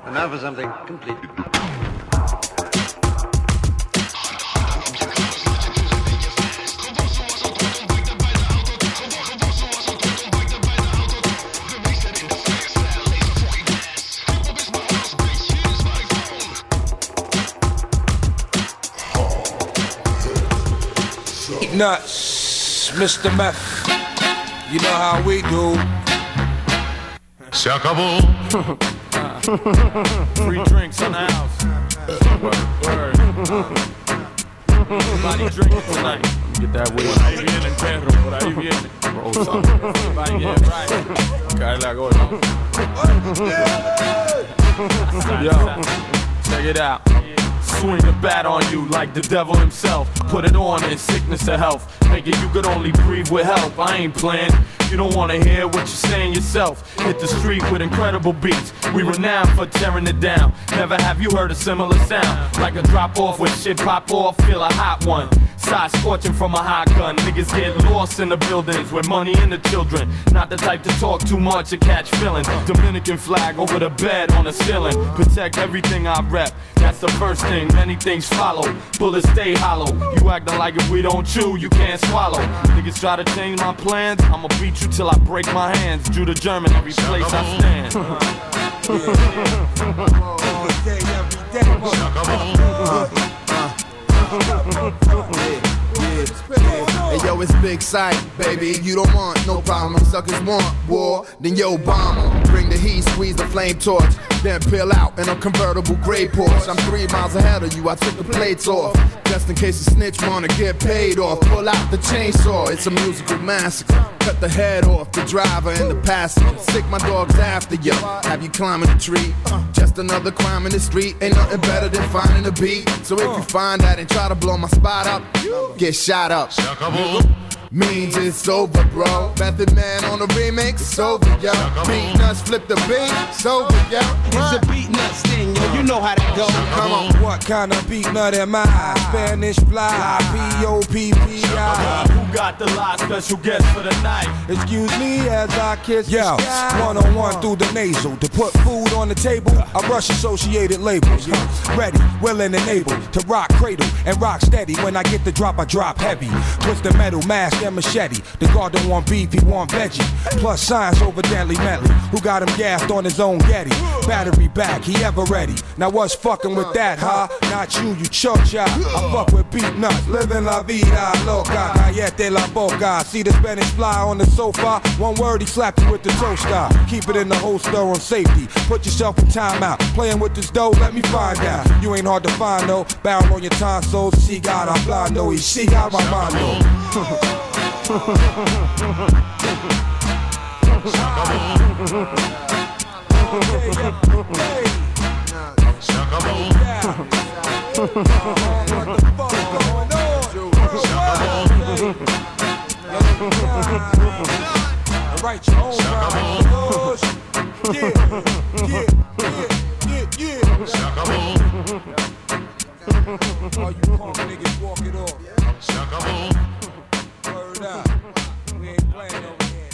And now for something completely different. Nuts, Mr. Meth. You know how we do. Se acabó. Free drinks in the house. Word. Everybody drinking tonight. Get that way. Por ahí viene, perro. Por ahí viene. Everybody get right. Cae la gorda. Yo, check it out. Swing the bat on you like the devil himself. Put it on in sickness or health. Make it you could only breathe with help. I ain't playing. You don't wanna hear what you're saying yourself. Hit the street with incredible beats. We renowned for tearing it down. Never have you heard a similar sound. Like a drop off when shit pop off. Feel a hot one. Side scorching from a hot gun. Niggas get lost in the buildings with money and the children. Not the type to talk too much or catch feelings. Dominican flag over the bed on the ceiling. Protect everything I rep. That's the first thing. Many things follow. Bullets stay hollow. You acting like if we don't chew, you can't swallow. Niggas try to change my plans. I'ma beat you till I break my hands. Judah German every place I stand. Hey yo, it's big sight, baby. You don't want no problem. Suckers want war, then yo bomber. Bring the heat, squeeze the flame torch, then peel out in a convertible gray Porsche. I'm 3 miles ahead of you. I took the plates off, just in case a snitch wanna get paid off. Pull out the chainsaw. It's a musical massacre. Cut the head off the driver and the passenger. Sick my dogs after you. Have you climbing a tree? Just another crime in the street. Ain't nothing better than finding a beat. So if you find that and try to blow my spot up, get shot up. Means it's over, bro. Method Man on the remix, it's over, yo. Beat nuts, flip the beat, it's over, yo. It's a beat nuts thing, yo. You know how that goes. Come on. What kind of beat nut am I? Spanish fly, P-O-P-P-I. Who got the lot? Special guest for the night. Excuse me as I kiss the sky. One-on-one through the nasal. To put food on the table, I rush associated labels. Ready, willing and able to rock cradle and rock steady. When I get the drop, I drop heavy. Twist the metal, mask and machete. The guard don't want beef, he want veggie. Plus science over Deadly Medley. Who got him gassed on his own Getty? Battery back, he ever ready. Now what's fucking with that, huh? Not you, you chocha. I fuck with beat nuts, living la vida loca. Callete la boca. See the Spanish fly on the sofa. One word, he slapped you with the toaster. Keep it in the holster on safety. Put yourself in timeout. Playing with this dough, let me find out. You ain't hard to find though. Barrel on your tonsils. She got a blando, y she got my mano. Write your own rhyme. Yeah. All you punk niggas walk it off. Word up. We ain't playing over here,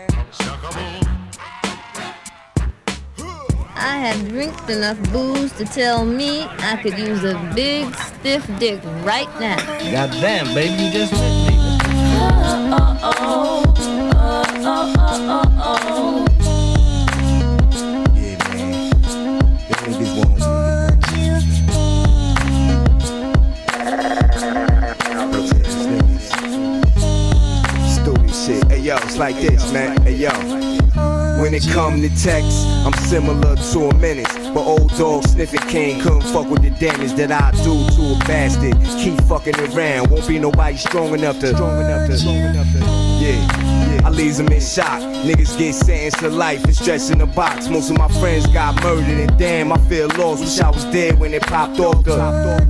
I had drank enough booze to tell me I could use a big stiff dick right now. Goddamn, baby, you just met me. Yeah, man. Them niggas want stupid shit. Hey yo, it's like this, man. Hey yo. When it come to text, I'm similar to a menace. But old dog sniffing king couldn't fuck with the damage that I do to a bastard. Keep fucking around, won't be nobody strong enough to. Yeah, I leaves them in shock. Niggas get sentenced to life and stretched in a box. Most of my friends got murdered and damn, I feel lost. Wish I was dead when it popped off the.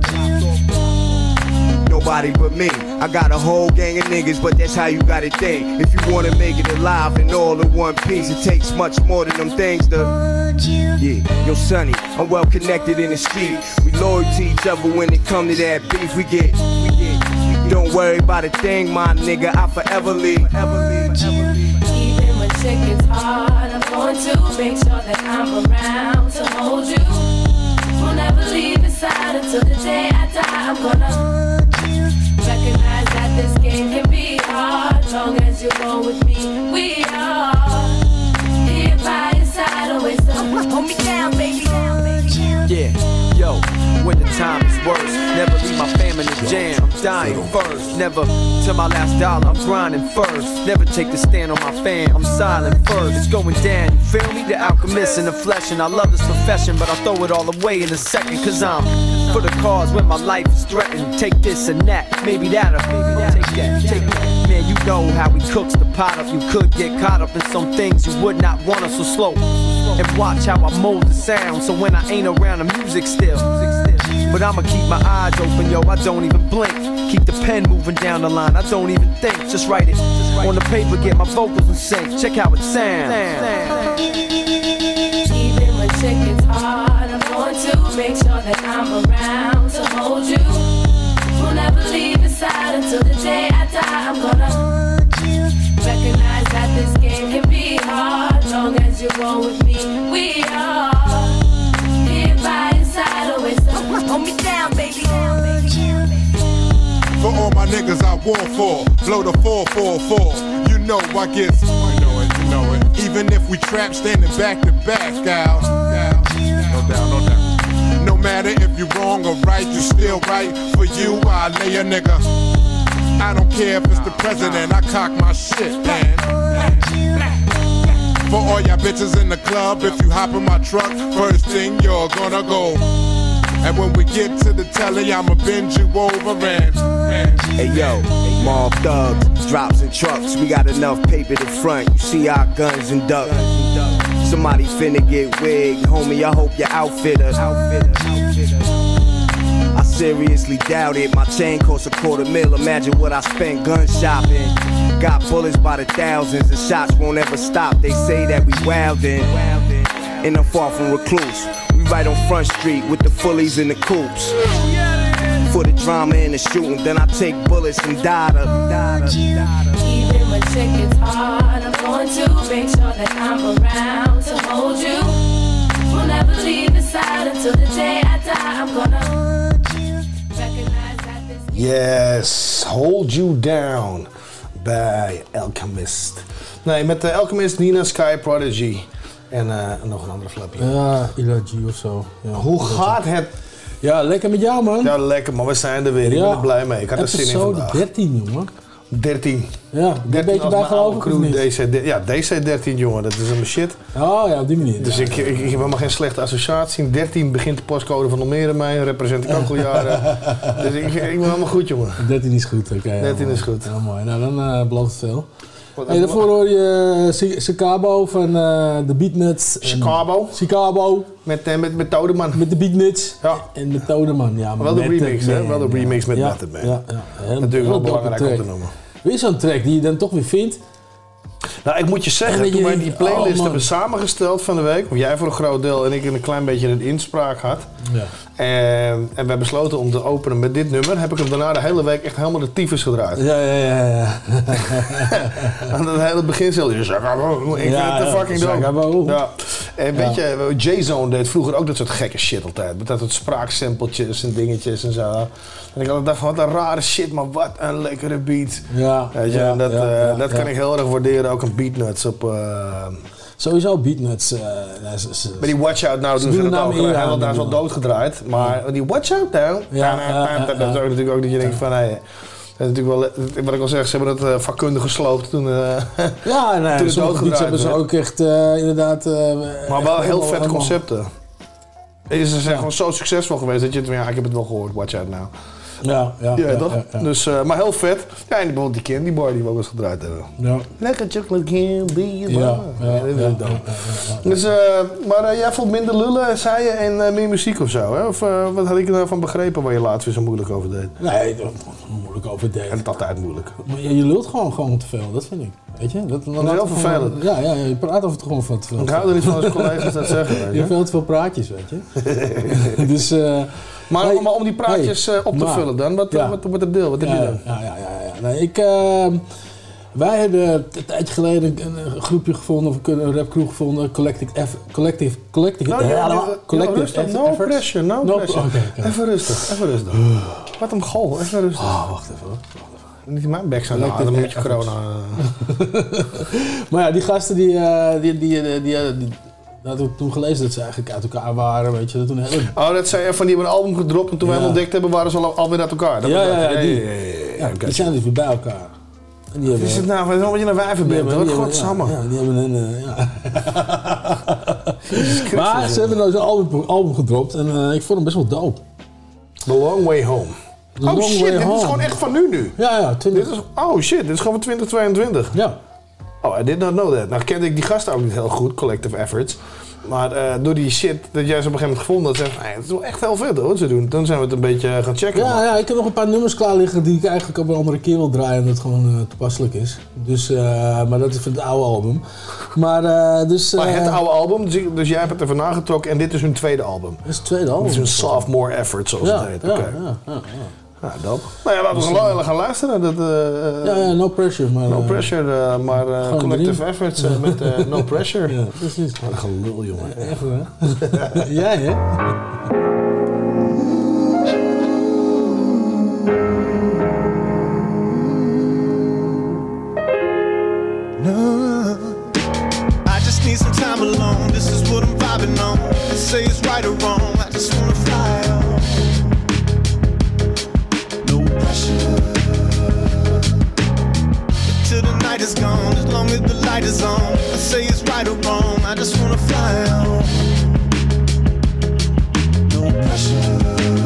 Nobody but me. I got a whole gang of niggas, but that's how you gotta think. If you wanna make it alive and all in one piece, it takes much more than them things to. Yeah, yo sonny, I'm well connected in the street. We loyal to each other when it come to that beef. We get. Don't worry about a thing, my nigga, I forever leave. Even when chick it's hard, I'm going to make sure that I'm around to hold you. We'll never leave your side until the day I die. I'm gonna recognize that this game can be hard. Long as you roll with me, we are here by your side, always hold me down, baby. Yeah, yo, when the time is worse, never leave my fam in the jam. I'm dying first, never till my last dollar. I'm grinding first, never take the stand on my fam. I'm silent first. It's going down, you feel me? The alchemist in the flesh, and I love this profession, but I throw it all away in a second, cause I'm for the cause when my life is threatened. Take this and that, maybe that'll take that, take that. Man, you know how he cooks the pot up. You could get caught up in some things you would not want us, so slow and watch how I mold the sound. So when I ain't around, the music still. But I'ma keep my eyes open, yo, I don't even blink. Keep the pen moving down the line, I don't even think. Just write it on the paper, get my vocals in sync. Check how it sounds. Even when chick it's hard, I'm going to make sure that I'm around to hold you. We'll never leave your side until the day I die. I'm gonna recognize that this game can be hard. Long as you roll with me, we are here by your side, always hold me down, baby. For all my niggas I war for, blow the 444. You know I get, you know it. Even if we trap standing back to back, gal. No doubt. No matter if you wrong or right, you still right. For you, I lay a nigga. I don't care if it's the president, I cock my shit, man. For all y'all bitches in the club, if you hop in my truck, first thing you're gonna go. And when we get to the telly, I'ma bend you over and hey yo, mob thugs, drops and trucks. We got enough paper to front. You see our guns and ducks. Somebody finna get wigged, homie. I hope your outfitter. I seriously doubt it. My chain costs $250,000. Imagine what I spent gun shopping. Got bullets by the thousands, and shots won't ever stop. They say that we wildin', and I'm far from recluse. We right on Front Street with the fullies and the coops. For the drama and the shooting, then I take bullets and data. Even when chick it's hard, I'm going to make sure that I'm around to hold you. We'll never leave your side until the day I die. I'm gonna recognize that this. Yes, Hold You Down bij Alchemist. Nee, met de Alchemist, Nina, Sky, Prodigy en nog een andere flapje. Ja, Ilaji of zo. Ja, hoe gaat het? Ja, lekker met jou, man. Ja, lekker, maar we zijn er weer. Ik ben er blij mee. Ik had er zin in vandaag. 13, jongen. 13. Ja, een beetje bijgelopen of niet? DC13, jongen, dat is een shit. Oh ja, op die manier. Dus ik heb helemaal geen slechte associatie. 13 begint de postcode van Almere mee, represent ik ook al jaren. Dus ik ben helemaal goed, jongen. 13 is goed, oké. 13 is goed. Ja, mooi. Nou, dan belooft het veel. Hey, daarvoor hoor je Chicago van de Beatnuts. Chicago. Met Todeman. Met de Beatnuts. Ja. En met Todeman, ja. Maar wel de remix, hè? Wel de remix met Method Man. Ja. Natuurlijk wel belangrijk om te noemen. Weer zo'n track die je dan toch weer vindt. Nou, ik moet je zeggen, toen wij die playlist hebben samengesteld van de week, jij voor een groot deel en ik een klein beetje een inspraak had. Ja. En we besloten om te openen met dit nummer, heb ik hem daarna de hele week echt helemaal de tyfus gedraaid. Ja. Aan het hele beginsel, ik vind het te fucking dope. Ja. En weet je, J-Zone deed vroeger ook dat soort gekke shit altijd. Met dat soort spraaksampletjes en dingetjes en zo. En ik dacht van, wat een rare shit, maar wat een lekkere beat. Ja. Weet je, dat kan ik heel erg waarderen, ook een Beatnuts op... Sowieso Beatnuts. Maar die Watch Out Now doen ze dat ook. Hij is wel doodgedraaid. Maar die Watch Out Now, dat is ook natuurlijk ook dat je denkt van... Hey, dat is natuurlijk wel, wat ik al zeg, ze hebben het vakkundig gesloopt toen toen sommige beats hebben ze ook echt inderdaad... maar wel heel vet concepten. Ze zijn gewoon zo succesvol geweest dat je het... Ja, ik heb het wel gehoord, Watch Out Now. Ja, toch? Ja. Dus, maar heel vet. Ja, en bijvoorbeeld die Candy Bar die we ook eens gedraaid hebben. Ja. Lekker chocolate candy bar. Dus, maar jij vond minder lullen, zei je, en meer muziek of zo, hè? Of wat had ik er nou van begrepen waar je laatst weer zo moeilijk over deed? Nee, moeilijk over deed. En het is altijd moeilijk. Maar je lult gewoon te veel, dat vind ik. Weet je? Dat is heel vervelend. Ja, je praat over het gewoon van te veel. Ik hou er niet van als collega's dat zeggen. Weet je? Je hebt veel te veel praatjes, weet je. Dus... Maar om die praatjes op te vullen dan, wat wordt het deel? Wat heb je dan? Nee, Wij hebben een tijdje geleden een groepje gevonden, of een rapcrew gevonden, Collective No pressure. Okay. Even rustig. Wat een goal, even rustig. Wacht even hoor. Niet in mijn bek zijn, dan moet je corona. Maar ja, die gasten die hadden we toen gelezen dat ze eigenlijk uit elkaar waren, weet je. Toen dat zei van die hebben een album gedropt en toen wij hem ontdekt hebben, waren ze alweer uit elkaar. Die zijn dus weer bij elkaar. En die hebben, is het nou, wat je een wijver bent, hoor. Godsamme. Ja, die hebben een... Maar ze hebben nou zo'n album gedropt en ik vond hem best wel dope. The Long Way Home. Dit is gewoon echt van nu. Ja. Dit is gewoon van 2022. Ja. I did not know that. Nou kende ik die gasten ook niet heel goed, Collective Efforts. Maar door die shit dat jij ze op een gegeven moment gevonden had, zei het is wel echt heel vet hoor, wat ze doen. Toen zijn we het een beetje gaan checken. Ja, ik heb nog een paar nummers klaar liggen die ik eigenlijk op een andere keer wil draaien, omdat het gewoon toepasselijk is. Dus, maar dat is van het oude album. Maar het oude album, dus jij hebt het even nagetrokken en dit is hun tweede album. Dit is het tweede album. Dit is een sophomore effort, zoals het heet. Ja, dope. Nou ja, laten we gaan luisteren. No pressure. No pressure, maar Collective Efforts met No Pressure. Ja, precies. Wat een gelul, jongen. Echt hè? Ja, hè? I just need some time alone. This is what I'm vibing on. They say it's right or wrong. I just wanna fly on. Till the night is gone, as long as the light is on. I say it's right or wrong, I just wanna fly on. No pressure.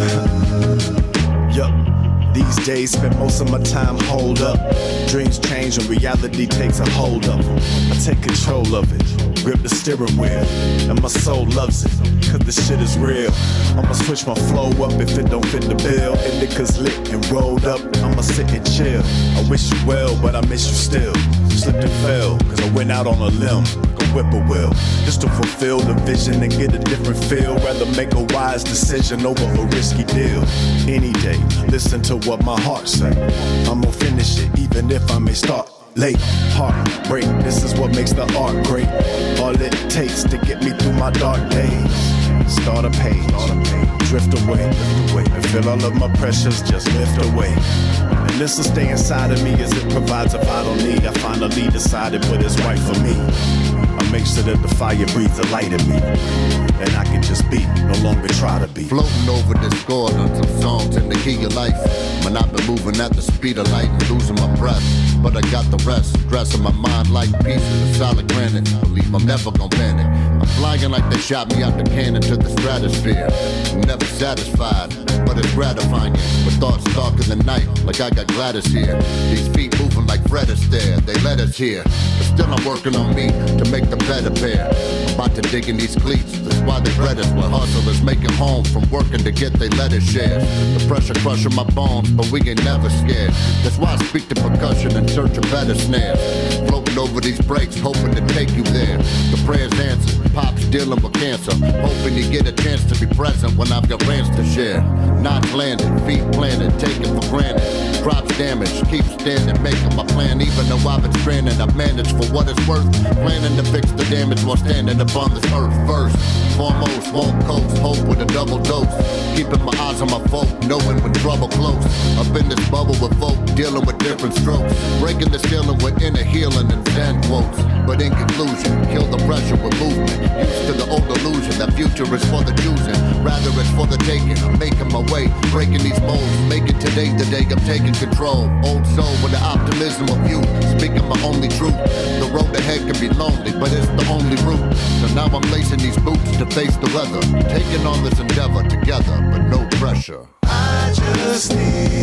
Yup, these days spend most of my time holed up. Dreams change and reality takes a hold of them. I take control of it, grip the steering wheel, and my soul loves it, cause the shit is real. I'ma switch my flow up if it don't fit the bill. Indica's lit and rolled up, I'ma sit and chill. I wish you well, but I miss you still. Slipped and fell, cause I went out on a limb, like a whippoorwill, just to fulfill the vision and get a different feel. Rather make a wise decision over a risky deal. Any day, listen to what my heart say. I'ma finish it, even if I may start late. Heartbreak, this is what makes the art great. All it takes to get me through my dark days. Start a page, drift away. I feel all of my pressures just lift away. And this will stay inside of me as it provides a vital need. I finally decided what is right for me. I make sure that the fire breathes a light in me, and I can just be, no longer try to be. Floating over this chord on some songs in the key of life. Man, I've been moving at the speed of light and losing my breath, but I got the rest. Stressing my mind like pieces of solid granite. Believe I'm never gonna panic. I'm flying like they shot me out the cannon to the stratosphere. Never satisfied, but it's gratifying. But thoughts darker than night, like I got Gladys here. These feet moving like Fred Astaire, they let us here. But still I'm working on me to make the better pair. I'm about to dig in these cleats, that's why they bred us. When hustlers make it home from working to get their letters shared. The pressure crushing my bones, but we ain't never scared. That's why I speak to percussion in search of better snares. Floating over these breaks, hoping to take you there. The prayers answered, Pop's dealing with cancer. Hoping you get a chance to be present when I've got rants to share. Knots landed, feet planted, taken for granted. Crops damaged, keep standing, making my plan. Even though I've been stranded, I've managed for what it's worth. Planning to fix the damage while standing upon this earth first. Foremost, won't coast, hope with a double dose. Keeping my eyes on my folk, knowing when trouble close. Up in this bubble with folk, dealing with different strokes. Breaking the ceiling with inner healing and Zen quotes. But in conclusion, kill the pressure with movement. Used to the old illusion that future is for the choosing. Rather it's for the taking. I'm making my way, breaking these molds. Making today the day I'm taking control. Old soul with the optimism of youth. Speaking my only truth. The road ahead can be lonely, but it's the only route. So now I'm lacing these boots to face the weather. Taking on this endeavor together, but no pressure. I just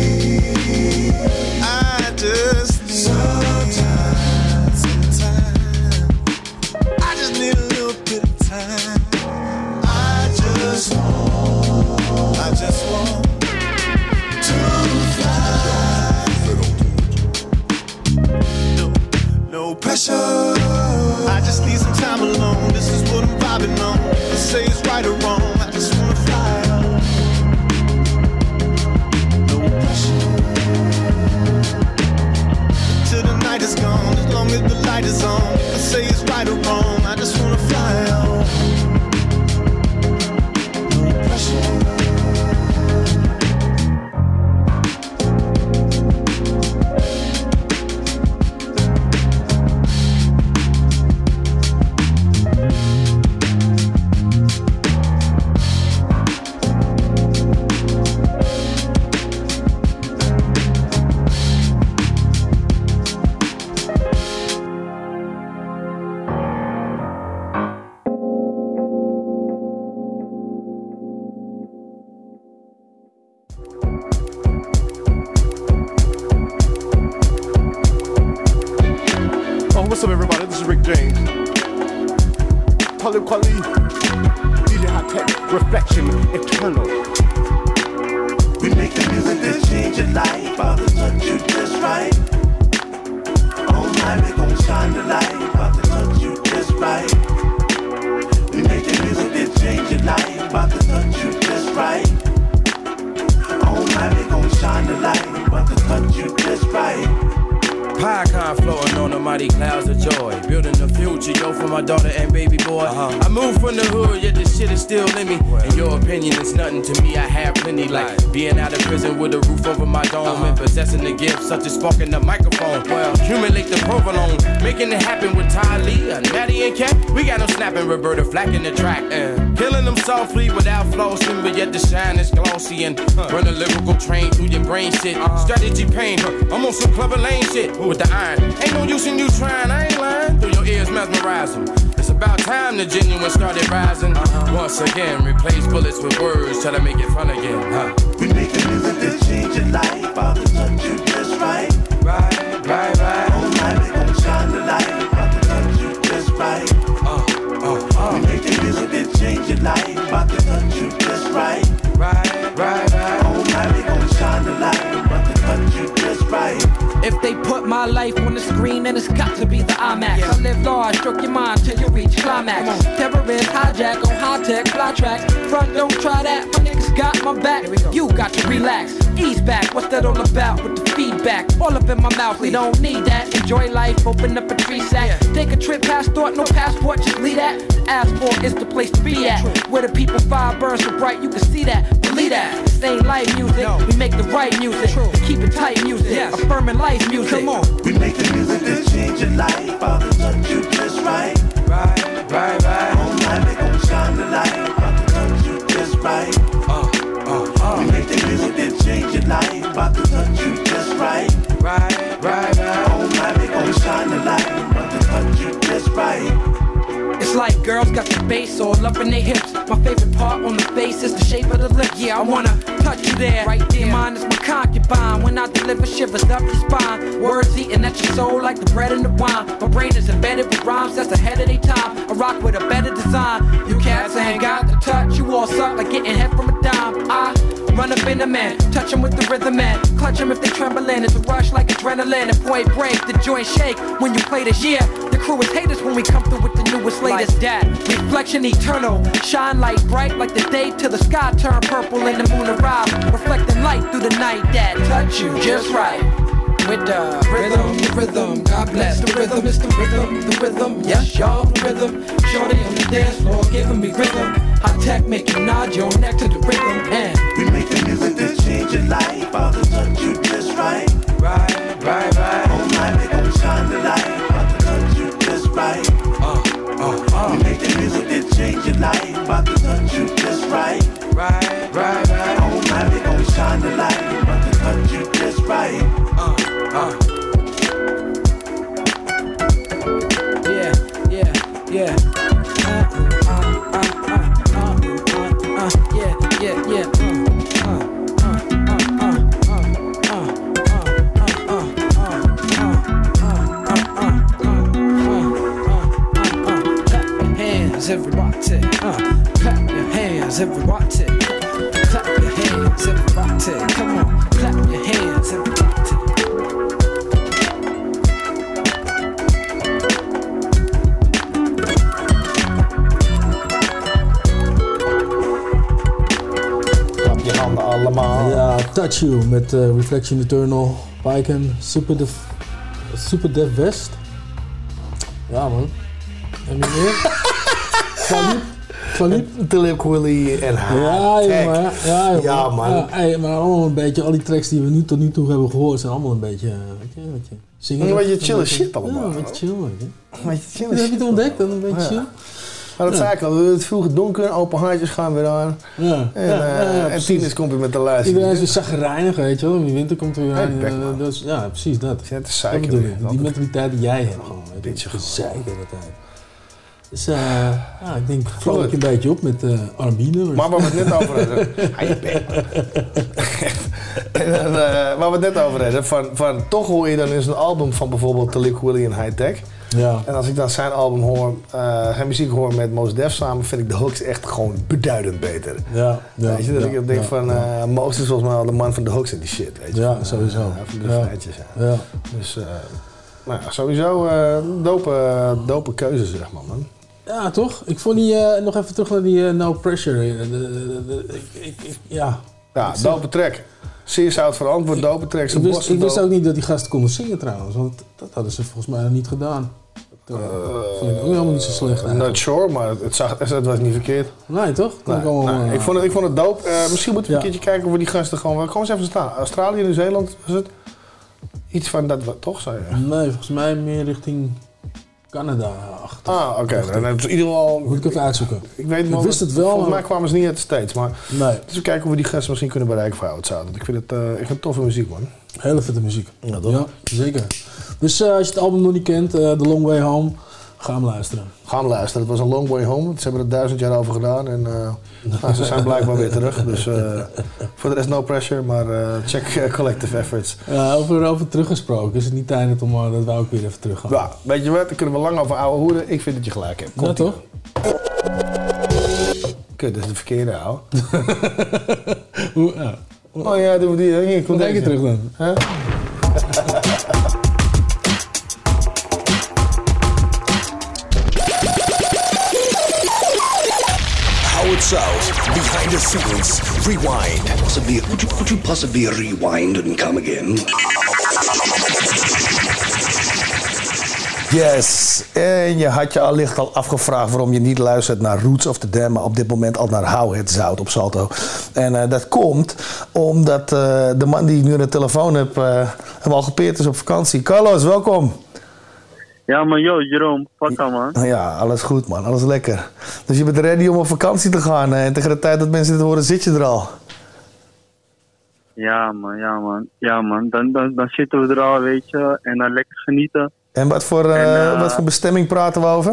need sometimes. I just need a little bit of time. I just want to fly. No pressure. I just need some time alone. This is what I'm vibing on. They say it's right or wrong. I just wanna fly on. No pressure. Till the night is gone. long as the light is on. I say it's right or wrong, I just wanna fly on. No pressure. What's up, everybody? This is Rick James. Talib Kweli, DJ Hot Tech, Reflection Eternal. We make the music that change your life. About to touch you just right. All night we gon' shine the light. About to touch you just right. We make the music that change your life. About to touch you just right. All night we gon' shine the light. About to touch you just right. Pie floating on the mighty clouds of joy. Building the future, yo, for my daughter and baby boy. I moved from the hood, yet this shit is still in me. In your opinion, it's nothing to me, I have plenty. Like being out of prison with a roof over my dome and possessing the gift such as sparking the microphone. Well, accumulate the provolone, making it happen with Ty Lee and Maddie and Cat. We got them snapping Roberta Flack in the track. Killing them softly without flossing, but yet the shine is glossy and run a lyrical train through your brain shit. Strategy pain, I'm on some Clubber Lane shit. With the iron, ain't no use in you trying, I ain't lying. Through your ears mesmerize them. It's about time the genuine started rising. Once again, replace bullets with words, try to make it fun again. We make the music that change your life. About to touch you just right. Right, right, right. All night we gon' shine the light. About to touch you just right. We make the music that change your life. About to touch you just right. Right, right, right. All night we gon' shine the light. About to touch you just right. If they put my life on the screen, then it's got to be the IMAX. I live large, stroke your mind till you reach climax. Terrorist hijack on high-tech fly tracks. Front, don't try that, my niggas got my back. You got to relax, ease back. What's that all about with the feedback? All up in my mouth, we don't need that. Enjoy life, open up a tree sack. Take a trip past thought, no passport, just leave that. Asphalt is the place to be at. Where the people fire burns so bright, you can see that. Believe that, this ain't life music. We make the right music, keep it tight music. Affirming life music. Come on. We make the music that change your life. About to touch you just right. Right, right, right. All night we gon' shine the light. About to touch you just right. We make the music that change your life. About to touch you just right. Right, right, right. All night we gon' shine the light. About to touch you just right. It's like girls got the bass all up in their hips. My favorite part on the face is the shape of the lips. Yeah, I wanna touch you there. Right there, mine is my concubine. When I deliver shivers up your spine. Words eating at your soul like the bread and the wine. My brain is embedded with rhymes that's ahead of their time. I rock with a better design. You cats ain't got the touch. You all suck like getting head from a dime. I run up in the man, touch them with the rhythm man. Clutch them if they trembling. It's a rush like adrenaline. And point break, the joint shake when you play this. Yeah, the crew is haters when we come through with the newest latest. That reflection eternal, shine light bright like the day till the sky turn purple and the moon arrive, reflecting light through the night. That touch you just right. With the rhythm, God bless the rhythm, it's the rhythm, yes y'all, the rhythm. Shorty on the dance floor giving me rhythm. Hot tech make you nod your neck to the rhythm. And we make the music that change your life. About to touch you just right. Right, right, right. All night we gon' shine the light. About to touch you just right. We make the music that change your life. About to touch you just right. Right, right, right. All night we gon' shine the light. About to touch you just right. Yeah, yeah, yeah. Yeah, yeah, yeah. Everybody, clap your hands, everybody. Clap your hands, everybody. Come on, clap your hands, everybody. Klap je handen allemaal. Ja, Touch You met Reflection Eternal, Pyken, Super Dev West. Ja, man. En wie meer? Talib? Talib, Willy en haar. Ja, man. Ja, hey, maar allemaal een beetje, al die tracks die we tot nu toe hebben gehoord, zijn allemaal een beetje, weet je zingen. Een beetje chille shit allemaal. Ja, een beetje chill, weet je. Een beetje chill shit. Heb je het ontdekt, dan een beetje chill? Maar dat zei ik al, het vroeg donker, open handjes gaan weer aan. Ja. En tieners komt weer met de lijst. Iedereen is weer zagrijnig, weet je wel. In de winter komt er weer aan. Ja, precies dat. Ja, het is zeiken. Die mentaliteit die jij hebt gewoon. Een beetje gezeiken de hele tijd. Dus ik denk, vloog ik een beetje op met R&B-nummers. Maar waar we het net over hadden. Waar we het net over hadden, van toch hoor je dan eens een album van bijvoorbeeld Talib Kweli en High Tech. Ja. En als ik dan zijn album hoor, zijn muziek hoor met Mos Def samen, vind ik de hooks echt gewoon beduidend beter. Weet je, dat ik denk van, Mos is volgens mij al de man van de hooks en die shit. Weet je. Ja, sowieso. Van de feitjes. Ja. Dus, sowieso dope keuze, zeg maar, man. Ja, toch? Ik vond die, nog even terug naar die No Pressure. Dope track. Zeer zout verantwoord, dope tracks. Ik wist ook niet dat die gasten konden zingen trouwens, want dat hadden ze volgens mij niet gedaan. Dat vond ik ook helemaal niet zo slecht eigenlijk. Not sure, maar het was niet verkeerd. Nee, toch? Ik vond het dope. Misschien moeten we een keertje kijken of we die gasten gewoon eens even staan. Australië, Nieuw-Zeeland, was het? Iets van dat, toch zei je? Nee, volgens mij meer richting Canada achter. Oké. Dan hebben ze in ieder geval... Moet ik even uitzoeken. Ik wist het wel. Volgens mij kwamen ze niet uit de States, maar... Nee. Dus we kijken of we die gasten misschien kunnen bereiken voor Oudzout. Ik vind het toffe muziek, man. Hele vette muziek. Ja, toch? Ja, zeker. Dus als je het album nog niet kent, The Long Way Home, ga hem luisteren. Ga hem luisteren. Het was een long way home. Ze hebben er 1000 jaar over gedaan en ze zijn blijkbaar weer terug. Dus voor de rest no pressure, maar check Collective Efforts. Ja, over teruggesproken is het niet tijd om dat we ook weer even terug gaan. Ja, weet je wat? Daar kunnen we lang over ouwe hoeren. Ik vind dat je gelijk hebt. Ja, toch? Kut, dat is de verkeerde, ouwe. Ja. Oh ja, doen we die. Hier, kom je terug dan. Huh? Howard South, behind the scenes, rewind. Could you possibly rewind and come again? Yes, en je had je allicht al afgevraagd waarom je niet luistert naar Roots of the Dam, maar op dit moment al naar Howard South op Salto. En dat komt omdat de man die ik nu aan de telefoon heb, hem al gepeerd is op vakantie. Carlos, welkom. Ja man, Jeroen, wat dan man? Ja, alles goed man, alles lekker. Dus je bent ready om op vakantie te gaan en tegen de tijd dat mensen dit horen zit je er al. Ja man, dan zitten we er al, weet je, en dan lekker genieten. En wat voor bestemming praten we over?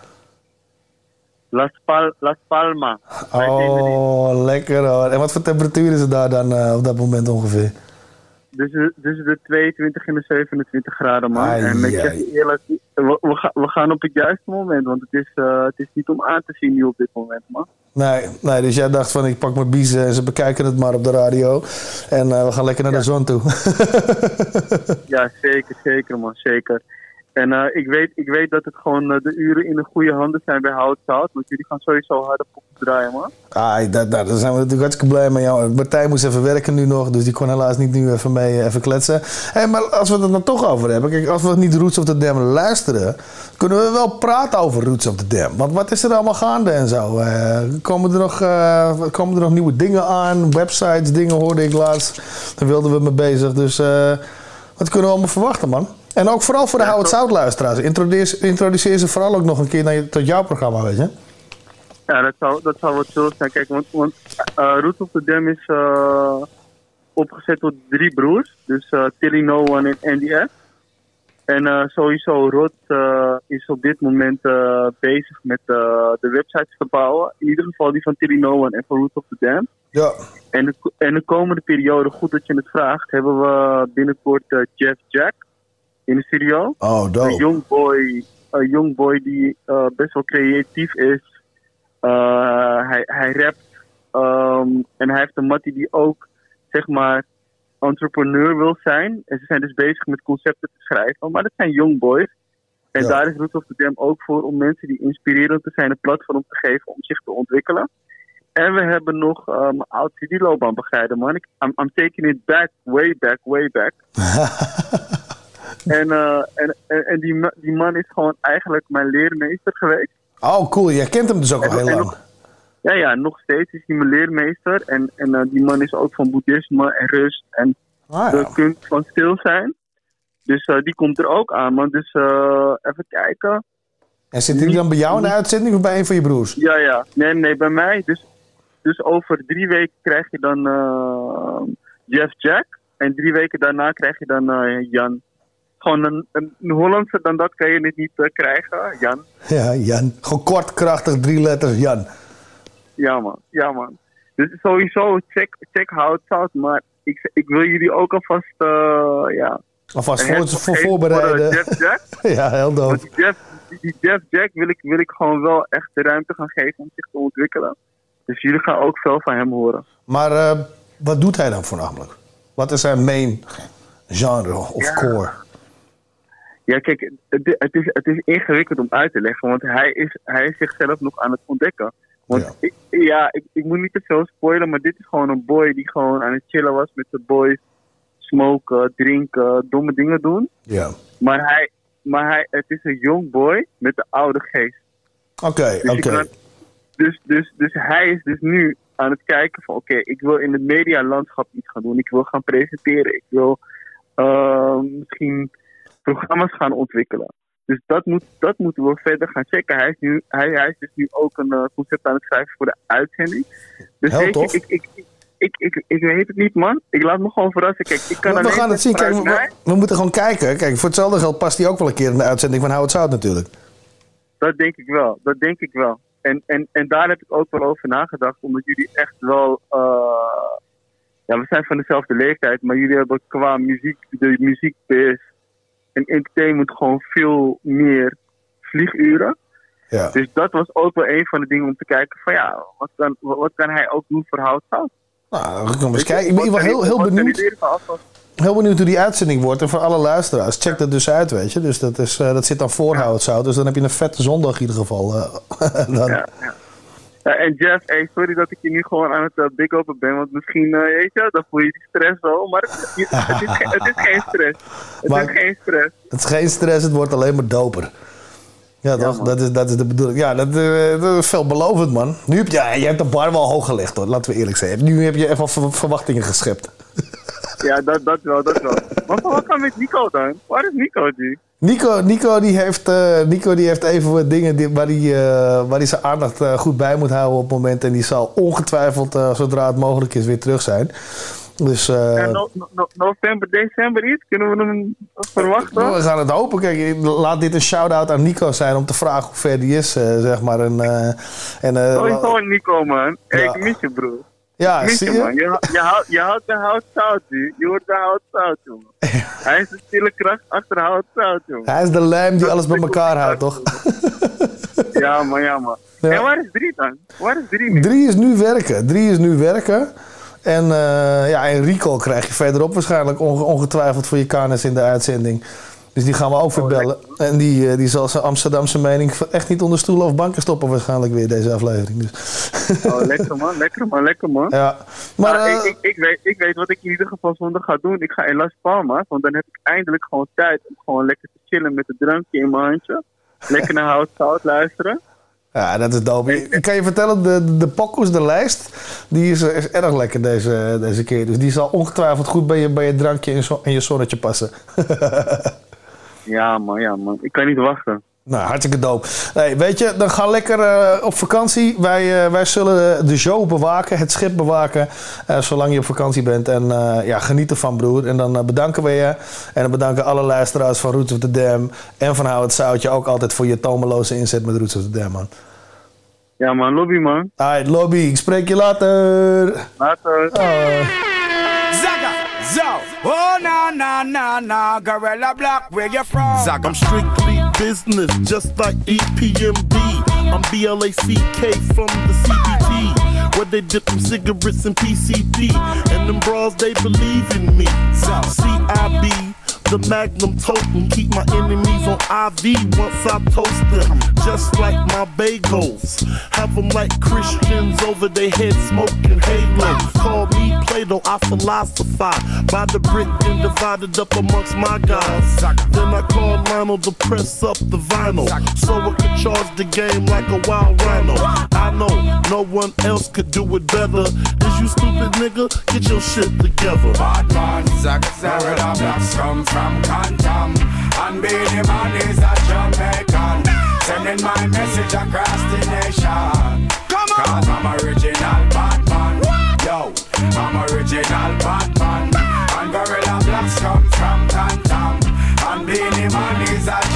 Las Palmas. Oh, lekker hoor. En wat voor temperatuur is het daar dan op dat moment ongeveer? Dus de 22 en de 27 graden man. En ik zeg je eerlijk, we gaan op het juiste moment, want het is niet om aan te zien nu op dit moment man. Nee, dus jij dacht van ik pak mijn biezen en ze bekijken het maar op de radio. En we gaan lekker naar de zon toe. Ja, zeker man, zeker. En ik weet dat het gewoon de uren in de goede handen zijn bij Howard South. Want jullie gaan sowieso harde poppen draaien, man. Daar zijn we natuurlijk hartstikke blij mee. Ja, Martijn moest even werken nu nog, dus die kon helaas niet nu even mee even kletsen. Hey, maar als we het er dan toch over hebben. Kijk, als we niet Roots of the Dam luisteren, kunnen we wel praten over Roots of the Dam. Want wat is er allemaal gaande en zo? Komen er nog nieuwe dingen aan? Websites, dingen hoorde ik laatst. Daar wilden we mee bezig. Dus wat kunnen we allemaal verwachten, man? En ook vooral voor de Howard South luisteraars. Introduceer ze vooral ook nog een keer tot jouw programma, weet je? Ja, dat zou wat chill zijn. Kijk, want Roots of the Dam is opgezet door 3 broers. Dus Tilly, No One en Andy F. En sowieso Rod is op dit moment bezig met de websites te bouwen. In ieder geval die van Tilly, No One en van Roots of the Dam. Ja. En de komende periode, goed dat je het vraagt, hebben we binnenkort Jeff Jack in de studio. Oh, dope. Een young boy die best wel creatief is. Hij rapt. En hij heeft een mattie die ook, zeg maar, entrepreneur wil zijn. En ze zijn dus bezig met concepten te schrijven. Maar dat zijn young boys. En daar is Roots of the Dam ook voor om mensen die inspirerend te zijn een platform te geven om zich te ontwikkelen. En we hebben nog mijn oud CD-loopbaan begeleiden, man. I'm taking it back, way back. En die man is gewoon eigenlijk mijn leermeester geweest. Oh, cool. Jij kent hem dus ook al heel lang. Ja, nog steeds is hij mijn leermeester. En die man is ook van boeddhisme en rust en de kunst van stil zijn. Dus die komt er ook aan, man. Dus even kijken. En zit hij dan bij jou in de uitzending of bij een van je broers? Ja. Nee, bij mij. Dus over 3 weken krijg je dan Jeff Jack. En 3 weken daarna krijg je dan Jan. Gewoon een Hollandse dan dat kan je niet krijgen, Jan. Ja, Jan. Gewoon kort, krachtig, 3 letters, Jan. Ja, man. Dus sowieso, check Hout Zout. Maar ik wil jullie ook alvast, alvast voor voorbereiden. Voor Jeff Jack. Ja, heel doof. Want die Jeff Jack wil ik gewoon wel echt de ruimte gaan geven om zich te ontwikkelen. Dus jullie gaan ook veel van hem horen. Maar wat doet hij dan voornamelijk? Wat is zijn main genre of core? Ja, kijk, het is ingewikkeld om uit te leggen, want hij is zichzelf nog aan het ontdekken. Want ik moet niet te veel spoilen, maar dit is gewoon een boy die gewoon aan het chillen was met de boys. Smoken, drinken, domme dingen doen. Ja. Maar het is een jong boy met een oude geest. Oké. Dus hij is dus nu aan het kijken van oké, ik wil in het medialandschap iets gaan doen. Ik wil gaan presenteren. Ik wil misschien programma's gaan ontwikkelen. Dus dat moeten we verder gaan checken. Hij is dus nu ook een concept aan het schrijven voor de uitzending. Dus ik weet het niet, man. Ik laat me gewoon verrassen. Kijk, we gaan het zien. Kijk, we moeten gewoon kijken. Kijk, voor hetzelfde geld past hij ook wel een keer in de uitzending van Hout Zout natuurlijk. Dat denk ik wel. En daar heb ik ook wel over nagedacht. Omdat jullie echt wel... we zijn van dezelfde leeftijd. Maar jullie hebben qua muziek, de muziekbase en entertainment gewoon veel meer vlieguren. Ja. Dus dat was ook wel een van de dingen om te kijken van wat kan hij ook doen voor Hout Zout? Nou, ik kom eens kijken. Ik ben heel benieuwd. Heel benieuwd hoe die uitzending wordt. En voor alle luisteraars, check dat dus uit, weet je. Dus dat zit dan voor Hout Zout. Dus dan heb je een vette zondag in ieder geval. Ja. En Jeff, sorry dat ik je nu gewoon aan het big open ben. Want misschien, dan voel je die stress wel. Maar het is geen stress. Het is geen stress, het wordt alleen maar doper. Ja, toch? Dat is de bedoeling. Ja, dat is veelbelovend, man. Nu je hebt de bar wel hoog gelegd, hoor. Laten we eerlijk zijn. Nu heb je even verwachtingen geschept. Ja, dat wel. Maar wat kan met Nico dan? Waar is Nico die? Nico die heeft even wat dingen waar hij zijn aandacht goed bij moet houden op het moment. En die zal ongetwijfeld, zodra het mogelijk is, weer terug zijn. Dus, november, december iets? Kunnen we hem verwachten? We gaan het hopen. Kijk, laat dit een shout-out aan Nico zijn om te vragen hoe ver die is, zeg maar. Sowieso Nico, man. Ik mis je, broer. Ja, zie je? Man. Je houdt de Hout Zout, je hoort de Hout Zout, jongen. Hij is de stille kracht achter Hout Zout, jongen. Hij is de lijm die alles bij elkaar houdt, toch? Ja, man. Ja. En waar is 3 dan? Waar is 3 nu? 3 is nu werken. En Rico krijg je verderop waarschijnlijk ongetwijfeld voor je kennis in de uitzending. Dus die gaan we ook verbellen. En die zal zijn Amsterdamse mening echt niet onder stoelen of banken stoppen waarschijnlijk weer deze aflevering. Dus. Lekker man. Ja. Maar ik weet wat ik in ieder geval zondag ga doen. Ik ga in Las Palmas, want dan heb ik eindelijk gewoon tijd om gewoon lekker te chillen met een drankje in mijn handje. Lekker naar Hout Zout luisteren. Ja, dat is dope. Ik kan je vertellen, de pokoes, de lijst, die is erg lekker deze keer. Dus die zal ongetwijfeld goed bij je drankje en je zonnetje passen. Ja man. Ik kan niet wachten. Nou, hartstikke dope. Nee, weet je, dan ga lekker op vakantie. Wij zullen de show bewaken, het schip bewaken, zolang je op vakantie bent. En geniet ervan, broer. En dan bedanken we je. En dan bedanken alle luisteraars van Roots of the Dam en van Hout Zoutje ook altijd voor je tomeloze inzet met Roots of the Dam, man. Ja man, lobby man. Alright, lobby. Ik spreek je later. Later. Zaga, zo. Oh, na, Gorilla Block, where you from? Zaga. I'm strictly business, just like EPMD. I'm BLACK from the CBT, where they dip them cigarettes in PCP. And them bras, they believe in me. CIB, the Magnum totem, keep my enemies on IV once I toast them, just like my bagels. Have them like Christians over their head smoking halo. Call me Plato, I philosophize by the brick and divided up amongst my guys. Then I call Lionel to press up the vinyl, so I could charge the game like a wild rhino. I know no one else could do it better. Is you stupid nigga? Get your shit together. Bad man, Zaga, blacks come from Cantam, and Beenie Man is a Jamaican, sending my message across the nation. Cause I'm original Batman. Yo, I'm original Batman. And Gorilla Blacks come from Cantam, and Beenie Man is a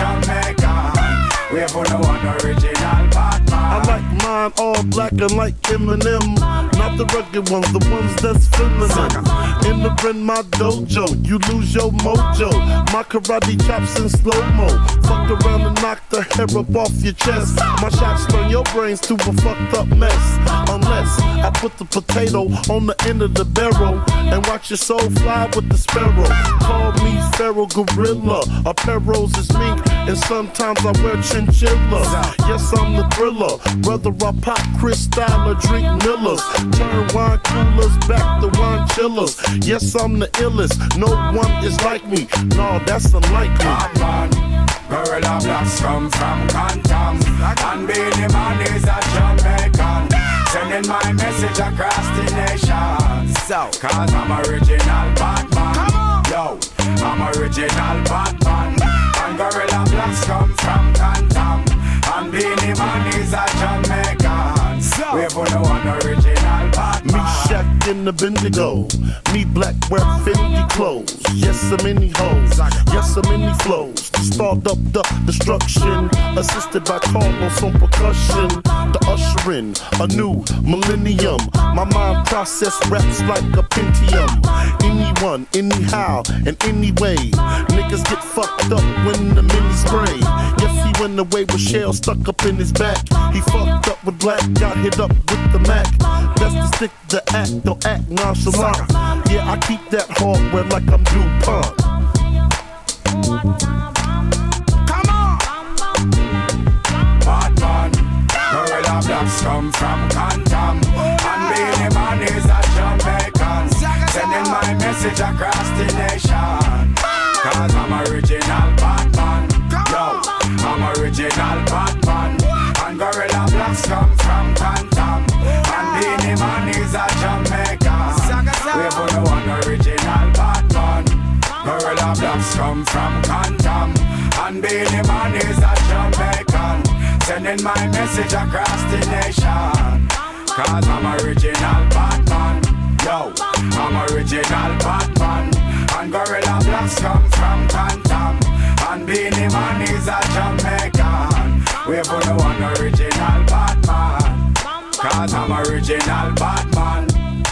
Jamaican. We're for the one original Batman. I like mine all black and like Eminem. Not the rugged ones, the ones that's feminine. Entering my dojo, you lose your mojo. My karate chops in slow-mo. Fuck around and knock the hair up off your chest. My shots turn your brains to a fucked up mess. Unless I put the potato on the end of the barrel and watch your soul fly with the sparrow. Call me Pharaoh Gorilla. Apparels is mink and sometimes I wear chinchilla. Yes, I'm the thriller. Whether I pop Cristal or drink Millers, turn wine coolers back to wine chillers. Yes, I'm the illest. No one is like me. No, that's unlikely. Batman, Gorilla Blacks come from Cantam, and Beenie Man is a Jamaican, sending my message across the nation. Cause I'm original Batman. Yo, I'm original Batman. And Gorilla Blacks come from Cantam, and Beenie Man is a Jamaican. We're for the one original Batman. Me Shaq in the Bendigo. Me black wear Fendi clothes. Yes, I'm in the hoes. Yes, I'm in the flows. Start up the destruction. Assisted by Carlos on percussion. The ushering a new millennium. My mind process raps like a Pentium. Anyone, anyhow, and anyway. Niggas get fucked up when the mini spray. Yes, he went away with shell stuck up in his back. He fucked up with black, got hit up with the Mac. Best to stick the act, don't act nonchalant. Yeah, I keep that hardware like I'm DuPont. Come on! Batman, Gorilla Blacks come from Cantam, and Beenie Man is a Jamaican, sending my message across the nation. Cause I'm original Batman. Yo, I'm original Batman. And Gorilla Blacks come from Cantam, and Beenie Man is a Jamaican. We're for the one original Batman. Gorilla Blacks come from Cantam, and Beenie Man is a Jamaican, sending my message across the nation. Cause I'm original Batman. Yo, I'm original Batman. And Gorilla Blacks come from Cantam, and Beenie Man is a Jamaican. We're for the one original Batman. Cause I'm original Batman.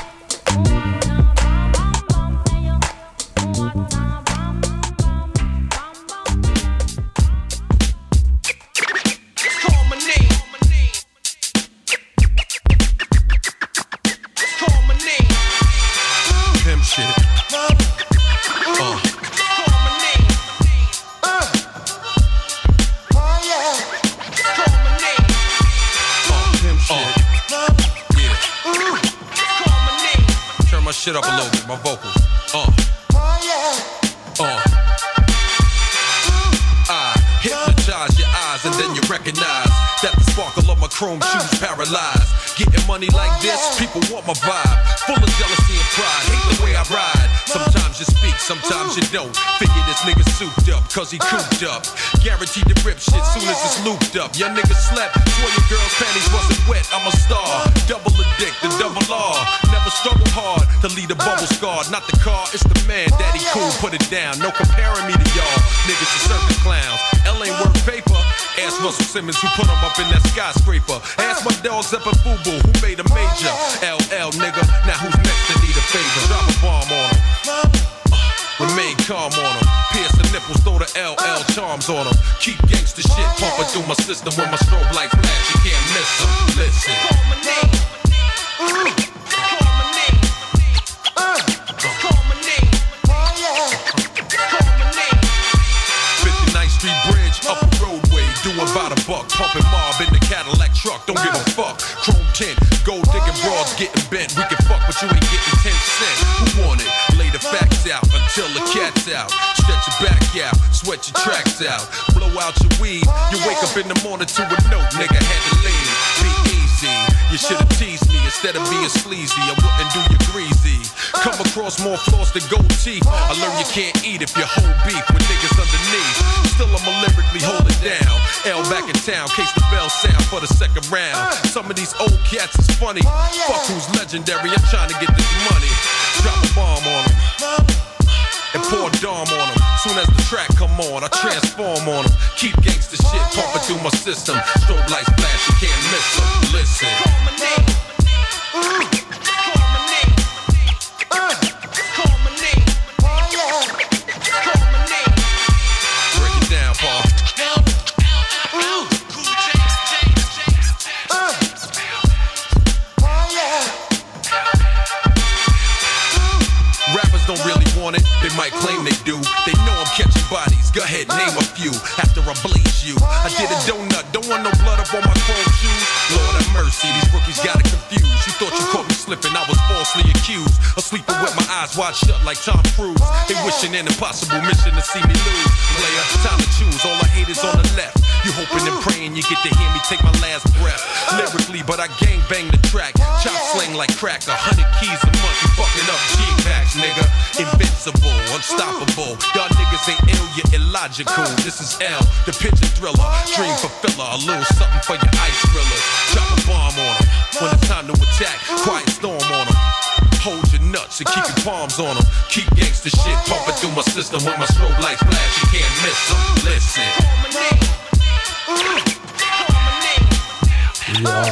Shit up a little bit, my vocals. I hypnotize your eyes and then you recognize that the sparkle of my chrome shoes paralyzed. Getting money like this, people want my vibe. Full of jealousy and pride, hate the way I ride. Sometimes you speak, sometimes you don't. Figure this nigga souped up, cause he cooped up. Guaranteed to rip shit soon as it's looped up. Your nigga slept, swore your girl's panties wasn't wet. I'm a star, double addicted, double R. Never struggle hard to lead a bubble scar. Not the car, it's the man, daddy cool, put it down. No comparing me to y'all, niggas are circus clowns. L ain't worth paper. Ask Russell Simmons who put him up in that skyscraper. Ask my dog Zeppa Fubu who made a major. LL nigga, now who's next to need a favor? Drop a bomb on him. Remain calm on him. Pierce the nipples, throw the LL charms on him. Keep gangsta shit pumping through my system. When my strobe lights flash, you can't miss them. Listen. Call my name. Call my name. Call my name. Oh yeah. Call my name. 59th Street Bridge up max out. Stretch your back out, sweat your tracks out. Blow out your weed, you wake up in the morning to a note, nigga had to leave. Be easy, you should've teased me instead of being sleazy. I wouldn't do you greasy. Come across more flaws than gold teeth. I learned you can't eat if you hold beef with niggas underneath. Still I'ma lyrically hold it down. L back in town, case the bell sound for the second round. Some of these old cats is funny. Fuck who's legendary, I'm trying to get this money. Drop a bomb on them and pour Dom on them. Soon as the track come on, I transform on them. Keep gangsta shit pumping through my system. Strobe lights flash, you can't miss them. Listen. Call my name. Call my name. Call my name. Call my name. Break it down, Paul. Rappers don't really want it, they might claim they do. They know I'm catching bodies, go ahead, name a few. After I blaze you, I did a donut, don't want no blood up on my chrome shoes. Lord have mercy, these rookies got it confused. You thought you caught me slipping, I was falsely accused of sleeping with my eyes wide shut like Tom Cruise. They wishing an impossible mission to see me lose. Player, time to choose, all I hate is on the left. You hoping and praying you get to hear me take my last breath. Lyrically, but I gang bang the track. Chop slang like crack, 100 keys a month. You fucking up G-Packs, nigga. Invincible, unstoppable. Y'all niggas ain't ill, you're illogical. This is L, the picture thriller. Dream fulfiller, a little something for your ice thrillers. Drop a bomb on them when it's time to attack. Quiet storm on them. Hold your nuts and keep your palms on them. Keep gangsta shit pumping through my system. When my strobe lights flash, you can't miss them. Listen. Ja.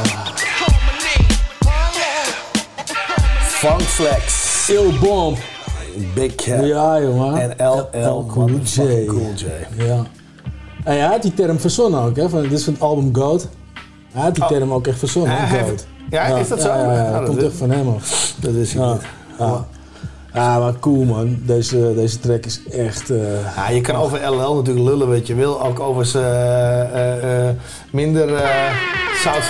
Funk Flex. Il Bomb. Big Cat. Ja, jongen. En LL Cool J. Ja. En hij had die term verzonnen ook, hè. Dit is van het album Goat. Hij had die term ook echt verzonnen, Goat. Ja, is dat zo? Ja, dat komt echt van hem af. Dat is ik niet. Ja, maar cool, man. Deze track is echt... Ja, je kan over LL natuurlijk lullen wat je wil. Ook over zijn minder zout.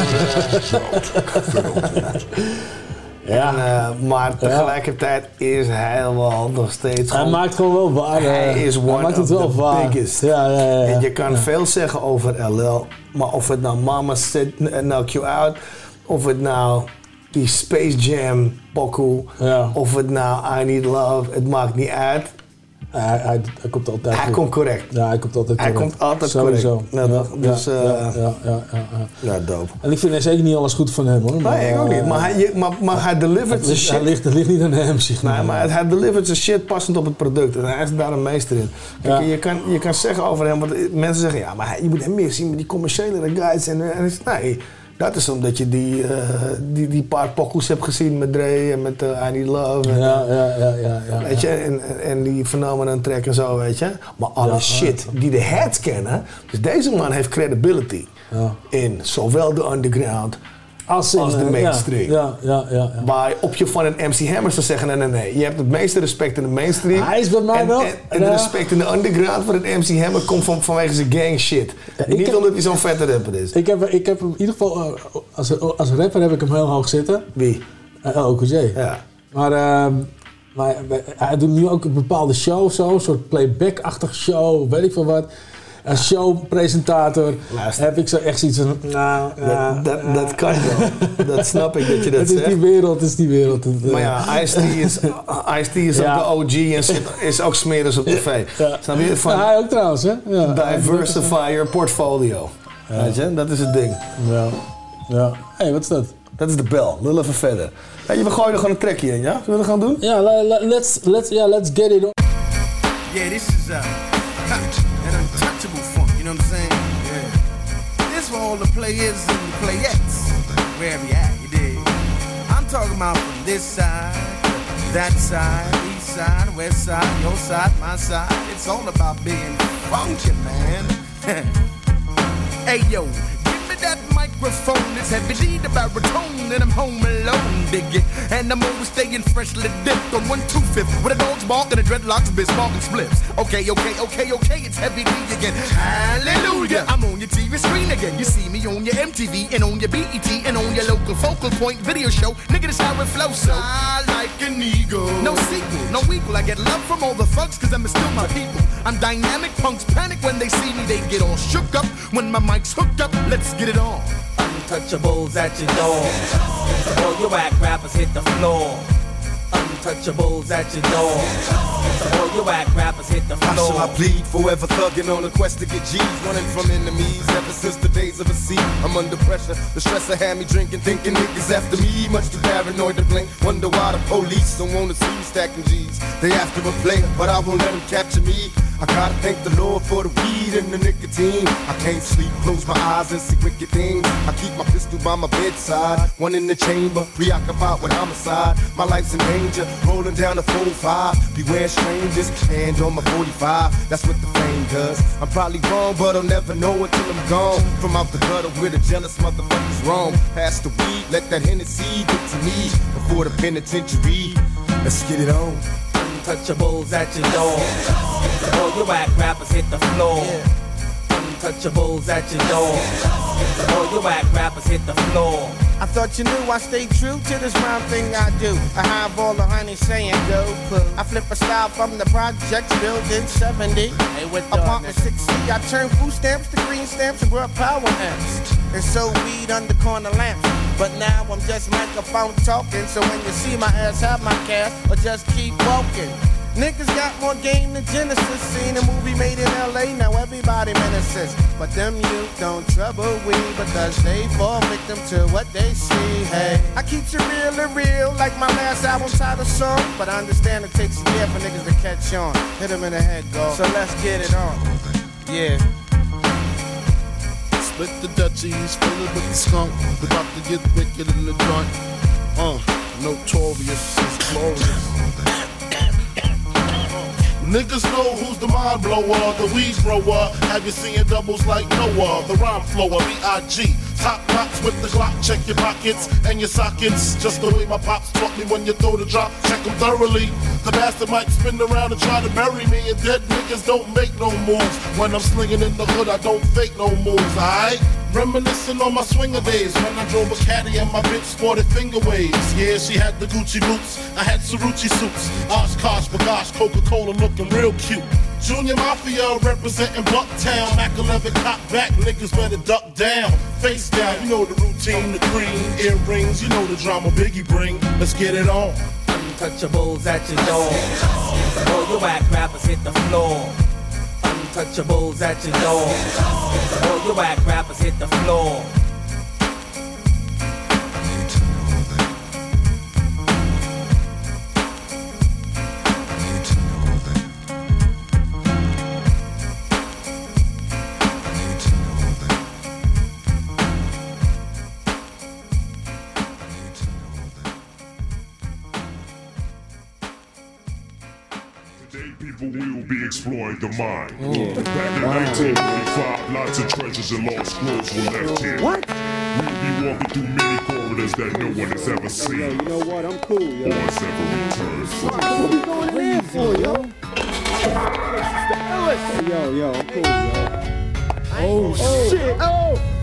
Ja. Maar tegelijkertijd is hij wel nog steeds... Hij maakt gewoon wel waar. Hij is one of the biggest. Ja. En je kan veel zeggen over LL. Maar of het nou Mama Said Knock You Out... Of het nou die Space Jam pokoe... Of het nou I Need Love... Het maakt niet uit. Hij komt altijd Hij komt correct. Ja, hij komt altijd correct. Hij komt altijd sowieso. Correct. Ja, dus, ja, dope. En ik vind zeker niet alles goed van hem, hoor. Maar, nee, ik ook niet. Maar hij delivert zijn shit. Het ligt niet aan hem, zeg maar. Nee, maar hij delivert zijn shit passend op het product. En hij is daar een meester in. Kijk, je kan zeggen over hem, want mensen zeggen... Ja, maar je moet hem meer zien met die commerciële guys. En nee... Dat is omdat je die paar pokoes hebt gezien met Dre en met I Need Love. En, ja. Weet je, en die Phenomenon track en zo, weet je. Maar alle shit die de heads kennen. Dus deze man heeft credibility in zowel de underground als de mainstream. Ja. Waar op je van een MC Hammer zou zeggen, nee. Je hebt het meeste respect in de mainstream. Hij is bij mij wel. En de respect in de underground van het MC Hammer komt vanwege zijn gang shit. Niet omdat hij zo'n vette rapper is. Ik heb hem in ieder geval, als rapper heb ik hem heel hoog zitten. Wie? OKJ. Ja. Maar hij doet nu ook een bepaalde show of zo. Een soort playback-achtige show, weet ik veel wat. Als showpresentator heb ik zo echt zoiets van... Dat kan wel. Dat snap ik dat je dat zegt. Het is die wereld. Maar ja, Ice-T is ook de OG en is ook smeris op tv. Snap je? Van hij ook trouwens, hè? Ja. Diversify your portfolio. Ja. Weet je? Dat is het ding. Ja. Hé, wat is dat? Dat is de bel. Lul even verder. Weet je, we gooien er gewoon een trackje in, ja? Zullen we dat gaan doen? Ja, let's get it on. Yeah, this is that untouchable funk, you know what I'm saying? Yeah. This for all the players and the playettes, wherever you at, you dig? I'm talking about from this side, that side, east side, west side, your side, my side. It's all about being funky, man. Hey, yo, give me that microphone. microphone is heavy D the baritone, and I'm home alone, dig it. And I'm always staying freshly dipped on 1/2 with a dog's bark and a dreadlocks, biz sparking spliffs. Okay, it's heavy D again. Hallelujah, I'm on your TV screen again. You see me on your MTV and on your BET and on your local focal point video show. Nigga, this how it flows, so I like an eagle. No sequel, no equal. I get love from all the thugs cause I'm still my people. I'm dynamic, punks panic when they see me. They get all shook up when my mic's hooked up. Let's get it on. Untouchables at your door. All your whack rappers hit the floor. Untouchables at your door. All your whack rappers hit the floor. How shall I plead? Forever thugging on a quest to get G's, running from enemies ever since the days of a sea. I'm under pressure. The stressor had me drinking, thinking niggas after me. Much too paranoid to blink. Wonder why the police don't wanna see me stacking G's. They after a player, but I won't let them capture me. I gotta thank the Lord for the weed and the nicotine. I can't sleep, close my eyes and see wicked things. I keep my pistol by my bedside, one in the chamber, preoccupied with homicide. My life's in danger, rolling down the 4-5. Beware strangers, hand on my 45. That's what the fame does. I'm probably wrong, but I'll never know until I'm gone. From out the gutter where the jealous motherfuckers roam. Pass the weed, let that Hennessy get to me before the penitentiary. Let's get it on. Untouchables at your door. All your whack rappers hit the floor. Untouchables at your door. All your whack rappers hit the floor. I thought you knew I stay true to this round thing I do. I have all the honey saying go poo. I flip a style from the projects building 70. Hey, apartment 6C. I turn food stamps to green stamps and brought power amps. And so weed under corner lamps. But now I'm just microphone talking. So when you see my ass, have my cash or just keep walking. Niggas got more game than Genesis. Seen a movie made in LA, now everybody menaces. But them youth don't trouble we because they fall victim to what they see. Hey, I keep it real and real like my last album title song. But I understand it takes a year for niggas to catch on. Hit them in the head, go. So let's get it on. Yeah. Split the Dutchies, fill it with the skunk. We're about to get wicked in the joint. Notorious is glorious. Niggas know who's the mind blower, the weed grower. Have you seen doubles like Noah? The rhyme flower, B.I.G. Top box with the Glock, check your pockets and your sockets. Just the way my pops taught me when you throw the drop, check them thoroughly. The bastard might spin around and try to bury me, and dead niggas don't make no moves. When I'm slinging in the hood, I don't fake no moves, alright? Reminiscing on my swinger days when I drove a caddy and my bitch sported finger waves. Yeah, she had the Gucci boots, I had Cerucci suits. Oshkosh, Bagash, Coca-Cola looking real cute. Junior Mafia representing Bucktown. Mac 11 cop back, niggas better duck down. Face down, you know the routine, the cream, earrings, you know the drama Biggie bring. Let's get it on. Untouchables at your door. All your whack rappers hit the floor. Untouchables at your door. All your whack rappers hit the floor. People will be exploring the mind. Back in 1945, lots of treasures and lost scrolls were left here. What? We'll be walking through many corridors that no one has ever seen. Yo, you know what? I'm cool, yo. Or has ever returned from. What we going in there for, yo? Yo, I'm cool, yo. Oh, shit. Oh!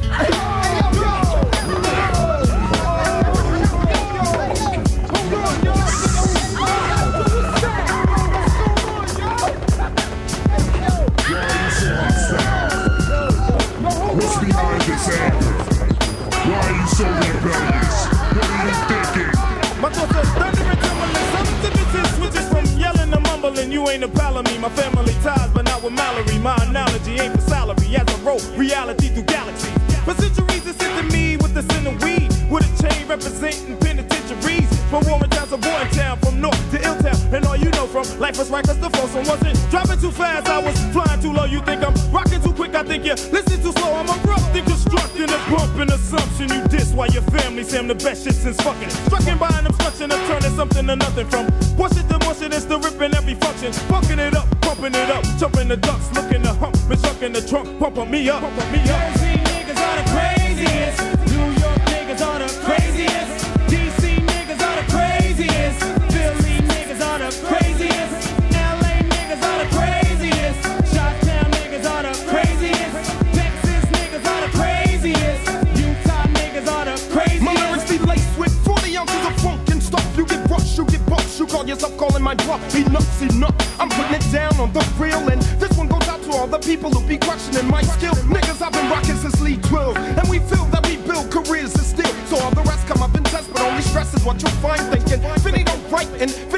What's behind this anger? Why are you so rebellious? What are you thinking? My thoughts are thunder and tumbling. Substances switches from yelling to mumbling. You ain't a pal of me. My family ties, but not with Mallory. My analogy ain't for salary. As I roll reality through galaxies. For centuries, it's into me with the sin of weed. With a chain representing penitentiaries. From Warren Town to Borntown, from North to Illtown. And all you know from life was right, cause the phone wasn't dropping too fast. I was flying too low. You think I'm rocking too quick? I think you listen too slow. I'm erupting, constructing a bumping assumption. You diss while your family say I'm the best shit since fucking. Strucking by an obstruction of turning something to nothing. From wash it to mush it, it's the ripping every function. Bunking it up, pumping it up, jumping the ducks, looking to hump, been stuck in the trunk, pumping me up, pumping me up. Jersey niggas are the craziest. You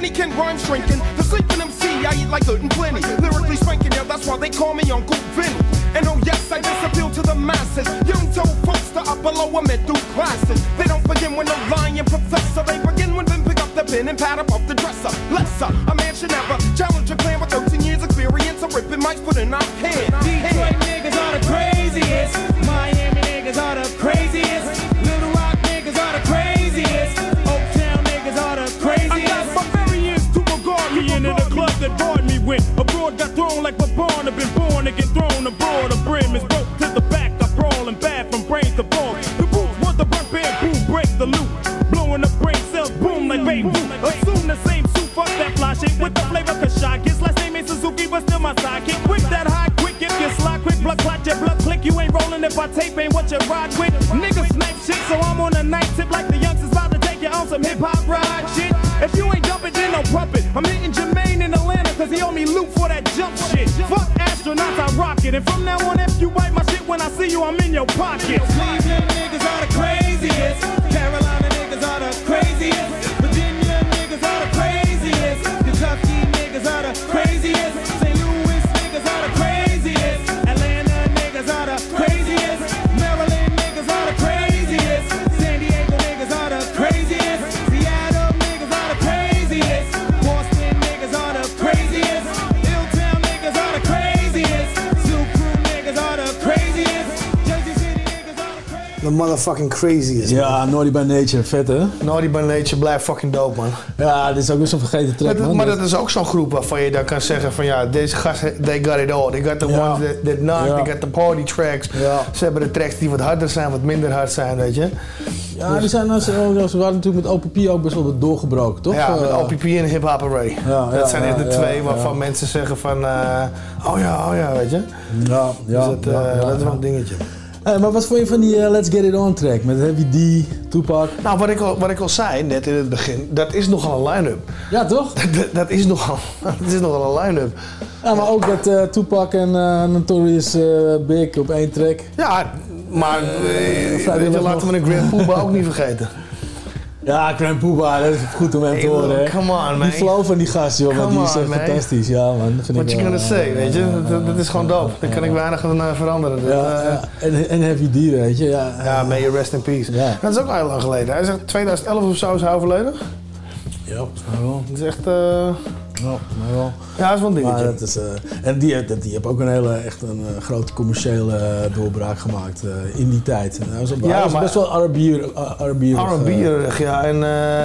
Many can rhyme shrinking. The sleeping MC, I eat like good and plenty. Lyrically spanking, yeah, that's why they call me Uncle Vinny. And oh yes, I just appeal to the masses. Young told folks to upper lower middle classes. They don't begin with no lying professor. They begin when them pick up the pen and pad up off the dresser. Lesser, a man should never challenge a clan with 13 years experience of ripping mics put in our hand. Detroit niggas are the craziest. Miami niggas are the craziest. Little Rock niggas are the craziest. Oaktown niggas are the craziest. I got barbarians to regard me into the club that bored me when abroad got thrown like a born. Have been born to get thrown abroad. The brim is broke to the back. I brawl and bad from brains to ball. The boots want the burnt bamboo, break the loop. Blowing the brain cells, boom like baby. Assume the same suit, fuck that fly shit with the flavor Kashak. His last name is Suzuki, but still my sidekick. Quick that high, quick if you slide, quick blood clot your blood click. You ain't rolling if I tape ain't what you ride with. Niggas snipe shit, so I'm on a night tip like the youngsters about to take you on some hip hop ride shit. If you ain't jumping, then no puppet. I'm hitting Jermaine in Atlanta, cause he owe me loot for that jump shit. Fuck astronauts, I rock it. And from now on, if you wipe my shit when I see you, I'm in your pocket. Cleveland niggas are the craziest. Carolina niggas are the craziest. Virginia niggas are the craziest. Kentucky niggas are the craziest. St. Louis niggas are the craziest. Atlanta niggas are the craziest. Maryland niggas are the craziest. San Diego niggas are the craziest. Seattle niggas are the craziest. Boston niggas are the craziest. Hilltown niggas are the craziest. Zoo Crew niggas are the craziest. Jersey City niggas are the craziest. The motherfucking craziest. Ja, Naughty by Nature, vet hè? Naughty by Nature blijft fucking dope, man. Ja, dit is ook weer zo'n vergeten track, man. Maar dat is ook zo'n groep waarvan je dan kan zeggen van ja, deze gasten, they got it all. They got the ones that knock, they got the party tracks. Ja. Ze hebben de tracks die wat harder zijn, wat minder hard zijn, weet je. Ja, dus, die zijn, ze waren natuurlijk met OPP ook best wel doorgebroken, toch? Ja, met OPP en Hip Hop Array. Dat zijn echt de twee waarvan mensen zeggen van, oh ja, weet je. Ja, dus dat is wel een dingetje. Maar wat vond je van die Let's Get It On track met Heavy D, Tupac? Nou, wat ik al zei net in het begin, dat is nogal een line-up. Ja, toch? dat is nogal een line-up. Ja, maar ook dat Tupac en Notorious Big op één track. Ja, maar laten we een Grand Poobah ook niet vergeten. Ja, Grand Poobah, dat is goed om hem te horen. Hè. Come on, man. Die flow van die gast, joh, die is echt fantastisch. Ja, man. What you gonna say, weet je? Dat is gewoon dope. Daar kan ik weinig aan veranderen. En Heavy D, weet je. Ja, may you rest in peace. Ja. Dat is ook al heel lang geleden. Hij zegt 2011 of zo is hij overleden. Ja, volgens mij wel. Dat is echt... Ja, maar wel. Ja, dat is wel een dingetje. Maar dat is, en die heeft ook echt een grote commerciële doorbraak gemaakt in die tijd. Hij was best wel R&B-erig. Ja. En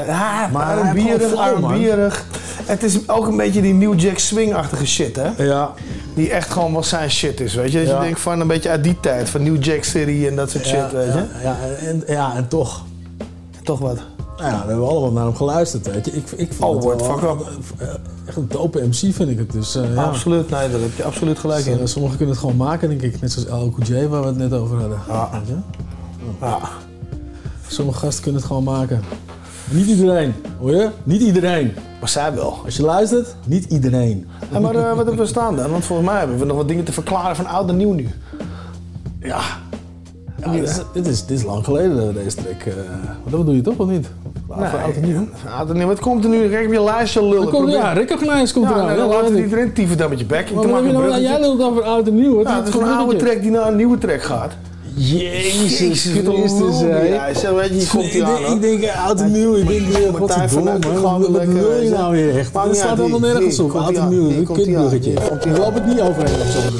R&B-erig. Het is ook een beetje die New Jack Swing-achtige shit, hè? Ja. Die echt gewoon wel zijn shit is, weet je? Dat je denkt van een beetje uit die tijd, van New Jack City en dat soort shit, weet je? En toch. Toch wat? Nou ja, we hebben allemaal naar hem geluisterd, weet je. Ik vond het wel echt een dope MC, vind ik het. Dus, absoluut, nee, daar heb je absoluut gelijk in. Sommigen kunnen het gewoon maken, denk ik. Net zoals El Cool J, waar we het net over hadden. Ja. Sommige gasten kunnen het gewoon maken. Niet iedereen, hoor je? Niet iedereen. Maar zij wel. Als je luistert, niet iedereen. Ja, maar wat hebben we staan dan? Want volgens mij hebben we nog wat dingen te verklaren van oud en nieuw nu. Ja. Dit is lang geleden, deze track. Dat bedoel je toch, of niet? Oud en nieuw. Wat komt er nu? Kijk op je lijstje lullen. Ja, Recognize komt eraan. Ja, laten we iedereen tieven dan met je bek. Jij lult over oud en nieuw. Het is gewoon een oude track die naar een nieuwe track gaat. Jezus Christus. Ja, weet je, komt hier aan. Ik denk oud en nieuw. Ik denk, wat wil je nou weer echt? Het staat allemaal nergens op. Oud en nieuw, een kutbuggetje. Ik loop het niet overheen of zo.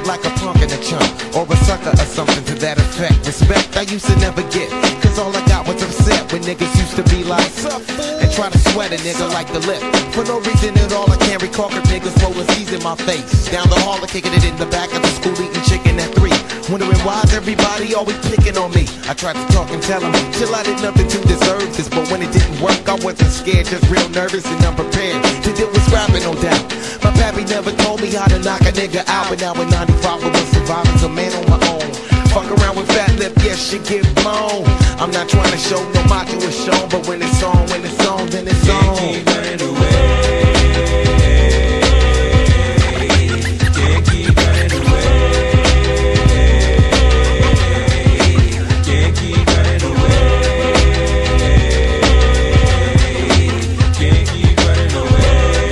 like a punk in a chunk, or a sucker or something to that effect. Respect I used to never get, cause all I got was upset when niggas used to be like, and try to sweat a nigga like the lip. For no reason at all, I can't recall cause niggas rolling C's in my face. Down the hall, kicking it in the back of the school, eating chicken at 3. Wondering why's everybody always picking on me. I tried to talk and tell them, till I did nothing to deserve this. But when it didn't work, I wasn't scared, just real nervous and unprepared to deal with scrapping, no doubt. My pappy never told me how to knock a nigga out. But now in 95, I was surviving as a man on my own. Fuck around with fat lip, yes, shit get blown. I'm not trying to show no macho is shown, but when it's on, then it's on. Can't keep running away. Can't keep running away. Can't keep running away. Can't keep running away.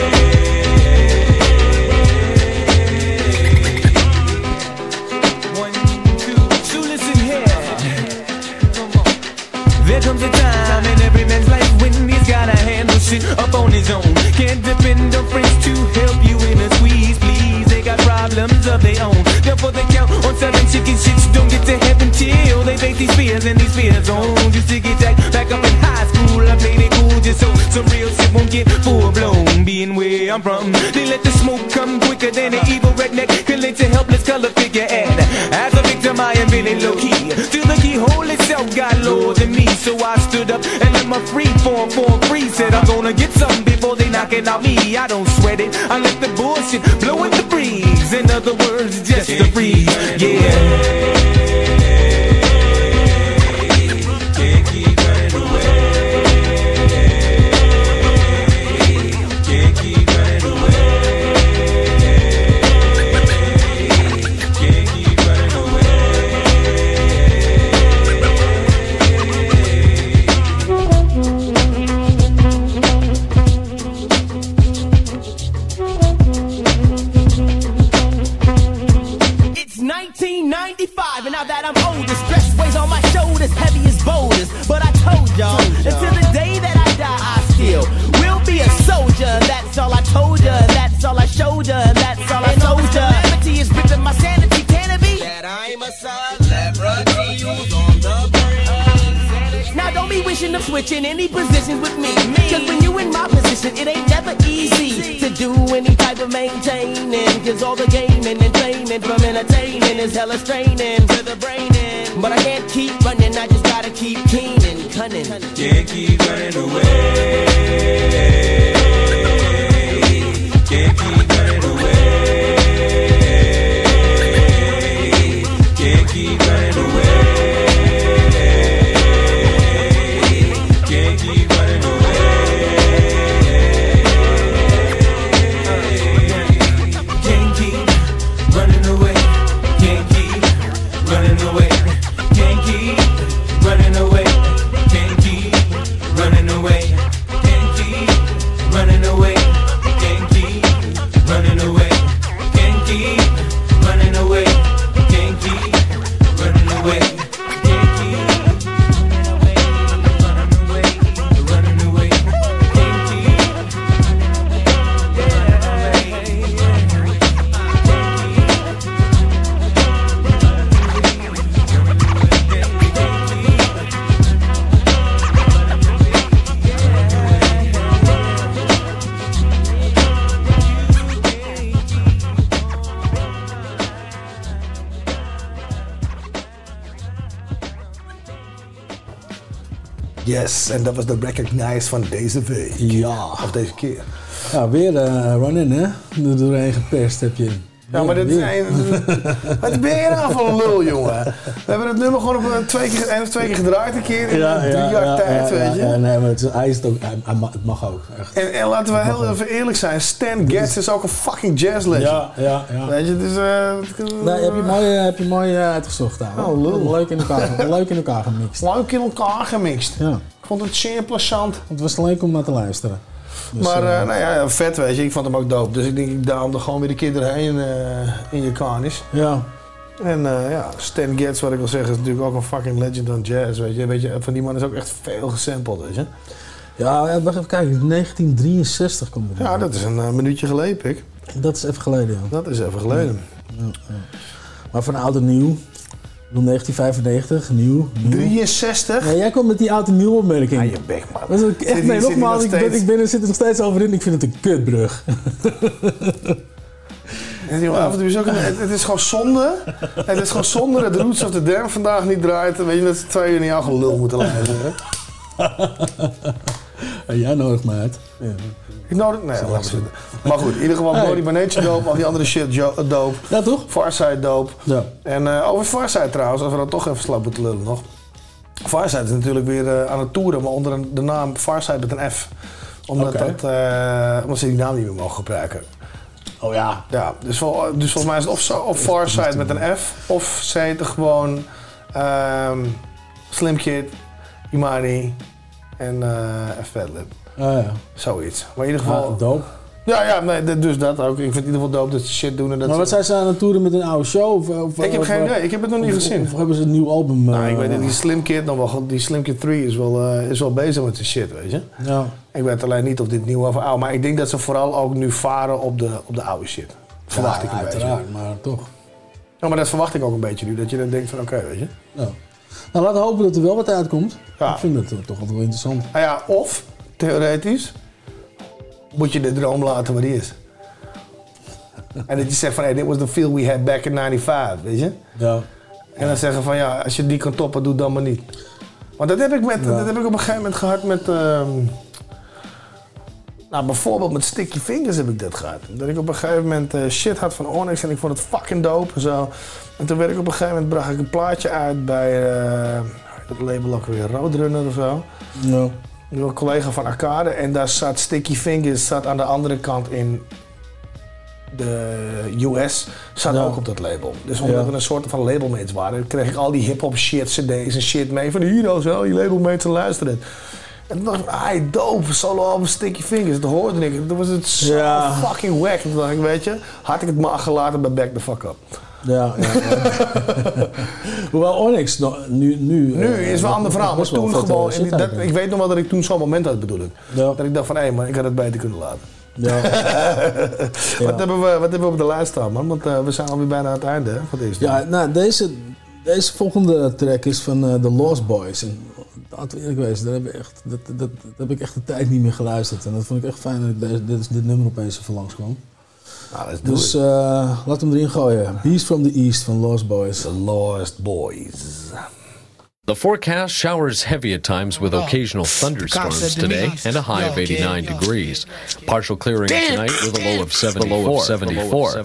One, two, so listen here. There comes a time in every man's life when he's gotta handle shit up on his own. Can't depend on friends to help you in a squeeze, please. They got problems of their own. Therefore they count on 7 chicken shits. Don't get to heaven till they face these fears and these fears on. Just to get back up in high school, I played it cool just so some real shit won't get full blown. Being where I'm from, they let the smoke come quicker than an evil redneck can let a helpless color figure. And as a victim, I am really low key. Still the keyhole itself got lower than me, so I stood up and let my free form free. Said I'm gonna get something before they knocking out me. I don't sweat it, I let the bullshit blow in the breeze. In other words, just a breeze, yeah. Can't keep running away. Can't keep running away. Can't keep running away. It's 1995, and now that I'm older, stress weighs on my shoulders, heavy as boulders. But I told y'all, until the day that I die, I still will be a soldier. That's all I told ya, that's all I showed ya, that's all I told ya. Calamity is ripping my sanity, can it be? That I'm a celebrity who's on the brink. Now don't be wishing of switching any positions with me. Cause when you in my position, it ain't never easy to do any type of maintaining. Cause all the gaming and training from entertaining is hella straining to the brain. But I can't keep running, I just gotta keep keen and cunning. Can't keep running away. Can't keep running away. Can't keep running away. Can't keep running away. Can't keep running away. Can't keep running away. Can't keep running away. Can't keep running away. Can't keep running away. Can't keep running away. Can't keep running away. Can't keep running away. Can't keep running away. Can't keep Yes, en dat was de Recognize van deze week. Ja. Of deze keer. Ja, weer Run-In, hè? Er doorheen geperst heb je. Ja, maar dit zijn... Wat ben je nou voor een lul, jongen? We hebben het nummer gewoon op 1 of 2 keer gedraaid een keer in 3 jaar tijd, weet je? Ja, nee, maar hij is het ook, het mag ook, echt. En laten we heel even eerlijk zijn, Stan Getz is ook een fucking jazz legend. Ja. Weet je, dus... Nee, heb je mooi uitgezocht, ouwe. Oh, lul. Leuk in elkaar gemixt. Leuk in elkaar gemixt. Ja. Ik vond het zeer plezant. Het was leuk om naar te luisteren. Dus, maar nou ja, vet, weet je. Ik vond hem ook dope. Dus ik denk, ik daarom er gewoon weer een keer doorheen in je kanis. Ja. En ja, Stan Getz, wat ik wil zeggen, is natuurlijk ook een fucking legend aan jazz, weet je. Van die man is ook echt veel gesampled, weet je. Ja, wacht even kijken. 1963 komt het. Ja, dat is een minuutje geleden, pik. Dat is even geleden, ja. Dat is even geleden. Maar van oud en nieuw. 1995, nieuw. 63? Ja, jij komt met die oud en nieuw opmerking. Ah, je bek, man. Dat is echt, nee, nogmaals, ik zit er nog steeds over in. Ik vind het een kutbrug. Af en toe is ook het is gewoon zonde. Het is gewoon zonde dat de Roots of the Dam vandaag niet draait. Weet je dat ze 2 uur in jouw gelul moeten luisteren. En jij nodigt me uit. Ja. Ik nodig... Nee, laat zitten. Maar goed, in ieder geval Bloody by Nature dope. Al die andere shit dope. Ja, toch? Farside dope. Ja. En over Farside trouwens, als we dan toch even slap moeten lullen nog. Farside is natuurlijk weer aan het toeren, maar onder de naam Farside met een F. Omdat ze die naam niet meer mogen gebruiken. Oh ja. Ja, dus volgens mij is het of Farside met een F, of ze heten gewoon Slim Kid, Imani en Fatlip. Ja. Zoiets. Maar in ieder geval... dope. Ja, nee, dus dat ook. Ik vind het in ieder geval dope dat ze shit doen. En dat maar wat zijn ze aan het toeren met een oude show? Ik heb geen idee. Ik heb het nog niet gezien. Of hebben ze een nieuw album? Nou, ik weet niet. Die Slim Kid, die Slim Kid 3 is wel bezig met zijn shit, weet je. Ja. Ik weet alleen niet of dit nieuw of oud. Maar ik denk dat ze vooral ook nu varen op de oude shit. Verwacht ik een uiteraard, beetje. Maar toch. Ja, maar dat verwacht ik ook een beetje nu. Dat je dan denkt van oké, weet je. Ja. Nou, laten we hopen dat er wel wat uitkomt. Ja. Ik vind het toch wel interessant. Nou ja, of, theoretisch, moet je de droom laten waar die is. En dat je zegt van, hey, dit was the feel we had back in 95, weet je? Ja. En dan zeggen van, ja, als je die kan toppen, doe dan maar niet. Want dat heb ik op een gegeven moment gehad met... nou, bijvoorbeeld met Sticky Fingers heb ik dat gehad. Dat ik op een gegeven moment shit had van Onyx en ik vond het fucking dope en zo. En toen werd ik op een gegeven moment, bracht ik een plaatje uit bij het label ook weer Roadrunner of zo. Ja. Een collega van Arcade en daar zat Sticky Fingers aan de andere kant in de US, zat ook op dat label. Dus omdat we een soort van labelmates waren, kreeg ik al die hip-hop shit, cd's en shit mee van hier zo, je labelmates en luisteren. En toen dacht ik, dope, solo album Sticky Fingers, dat hoorde ik. Toen was het zo fucking wack. Toen dacht ik, weet je, had ik het maar gelaten bij Back the Fuck Up. Ja. Hoewel Onyx nu is wel een ander verhaal. Maar toen gewoon, ik weet nog wel dat ik toen zo'n moment had, bedoel ik. Ja. Dat ik dacht van, hé man, ik had het beter kunnen laten. Ja. Wat hebben we op de lijst staan, man? Want we zijn alweer bijna aan het einde van deze. Ja, nou, deze volgende track is van The Lost Boys. En laten we eerlijk wezen, daar heb ik echt de tijd niet meer geluisterd. En dat vond ik echt fijn dat dit nummer opeens even langskwam. Dus laten we hem erin gooien. Beast from the East van Lost Boys. The Lost Boys. The forecast showers heavy at times with occasional thunderstorms today and a high of 89 degrees. Partial clearing tonight with a low of 74.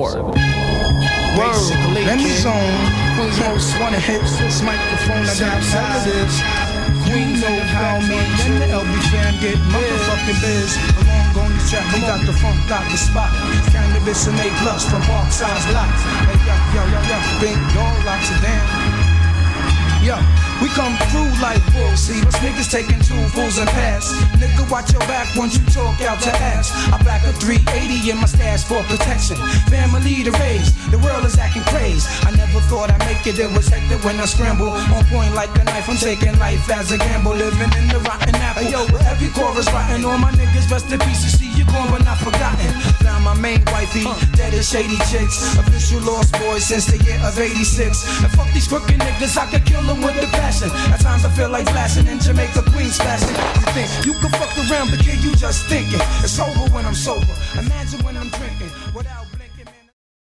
Let me zone. Most wanted hits. This microphone I got positives. You know how me and the LB fam get motherfucking biz. Along on the track, we got the funk, got the spot. Cannabis and A+ from Parkside's Block. Hey, yo, big dog locks it down. Yo, we come through like bulls. See, us niggas taking 2 fools and pass. Nigga, watch your back once you talk out your ass. I back a 380 in my stash for protection. Family to raise, the world is acting crazy. I never thought I'd make it was hectic when I scramble. On point like a knife, I'm taking life as a gamble. Living in the rotten apple. Hey, yo, with every chorus rotten. All my niggas rest in peace. You see, you're gone but not forgotten. Found my main wifey, dead as shady chicks. Official Lost Boys since the year of 86. And fuck these crooked niggas, I could kill them with the passion. At times I feel like blasting in Jamaica, Queens flashing. You think you can fuck around, but kid, you just thinking. It's over when I'm sober. Imagine when I'm drinking without blinking, man.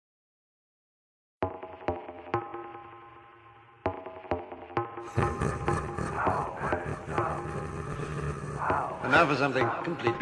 And now for something completely.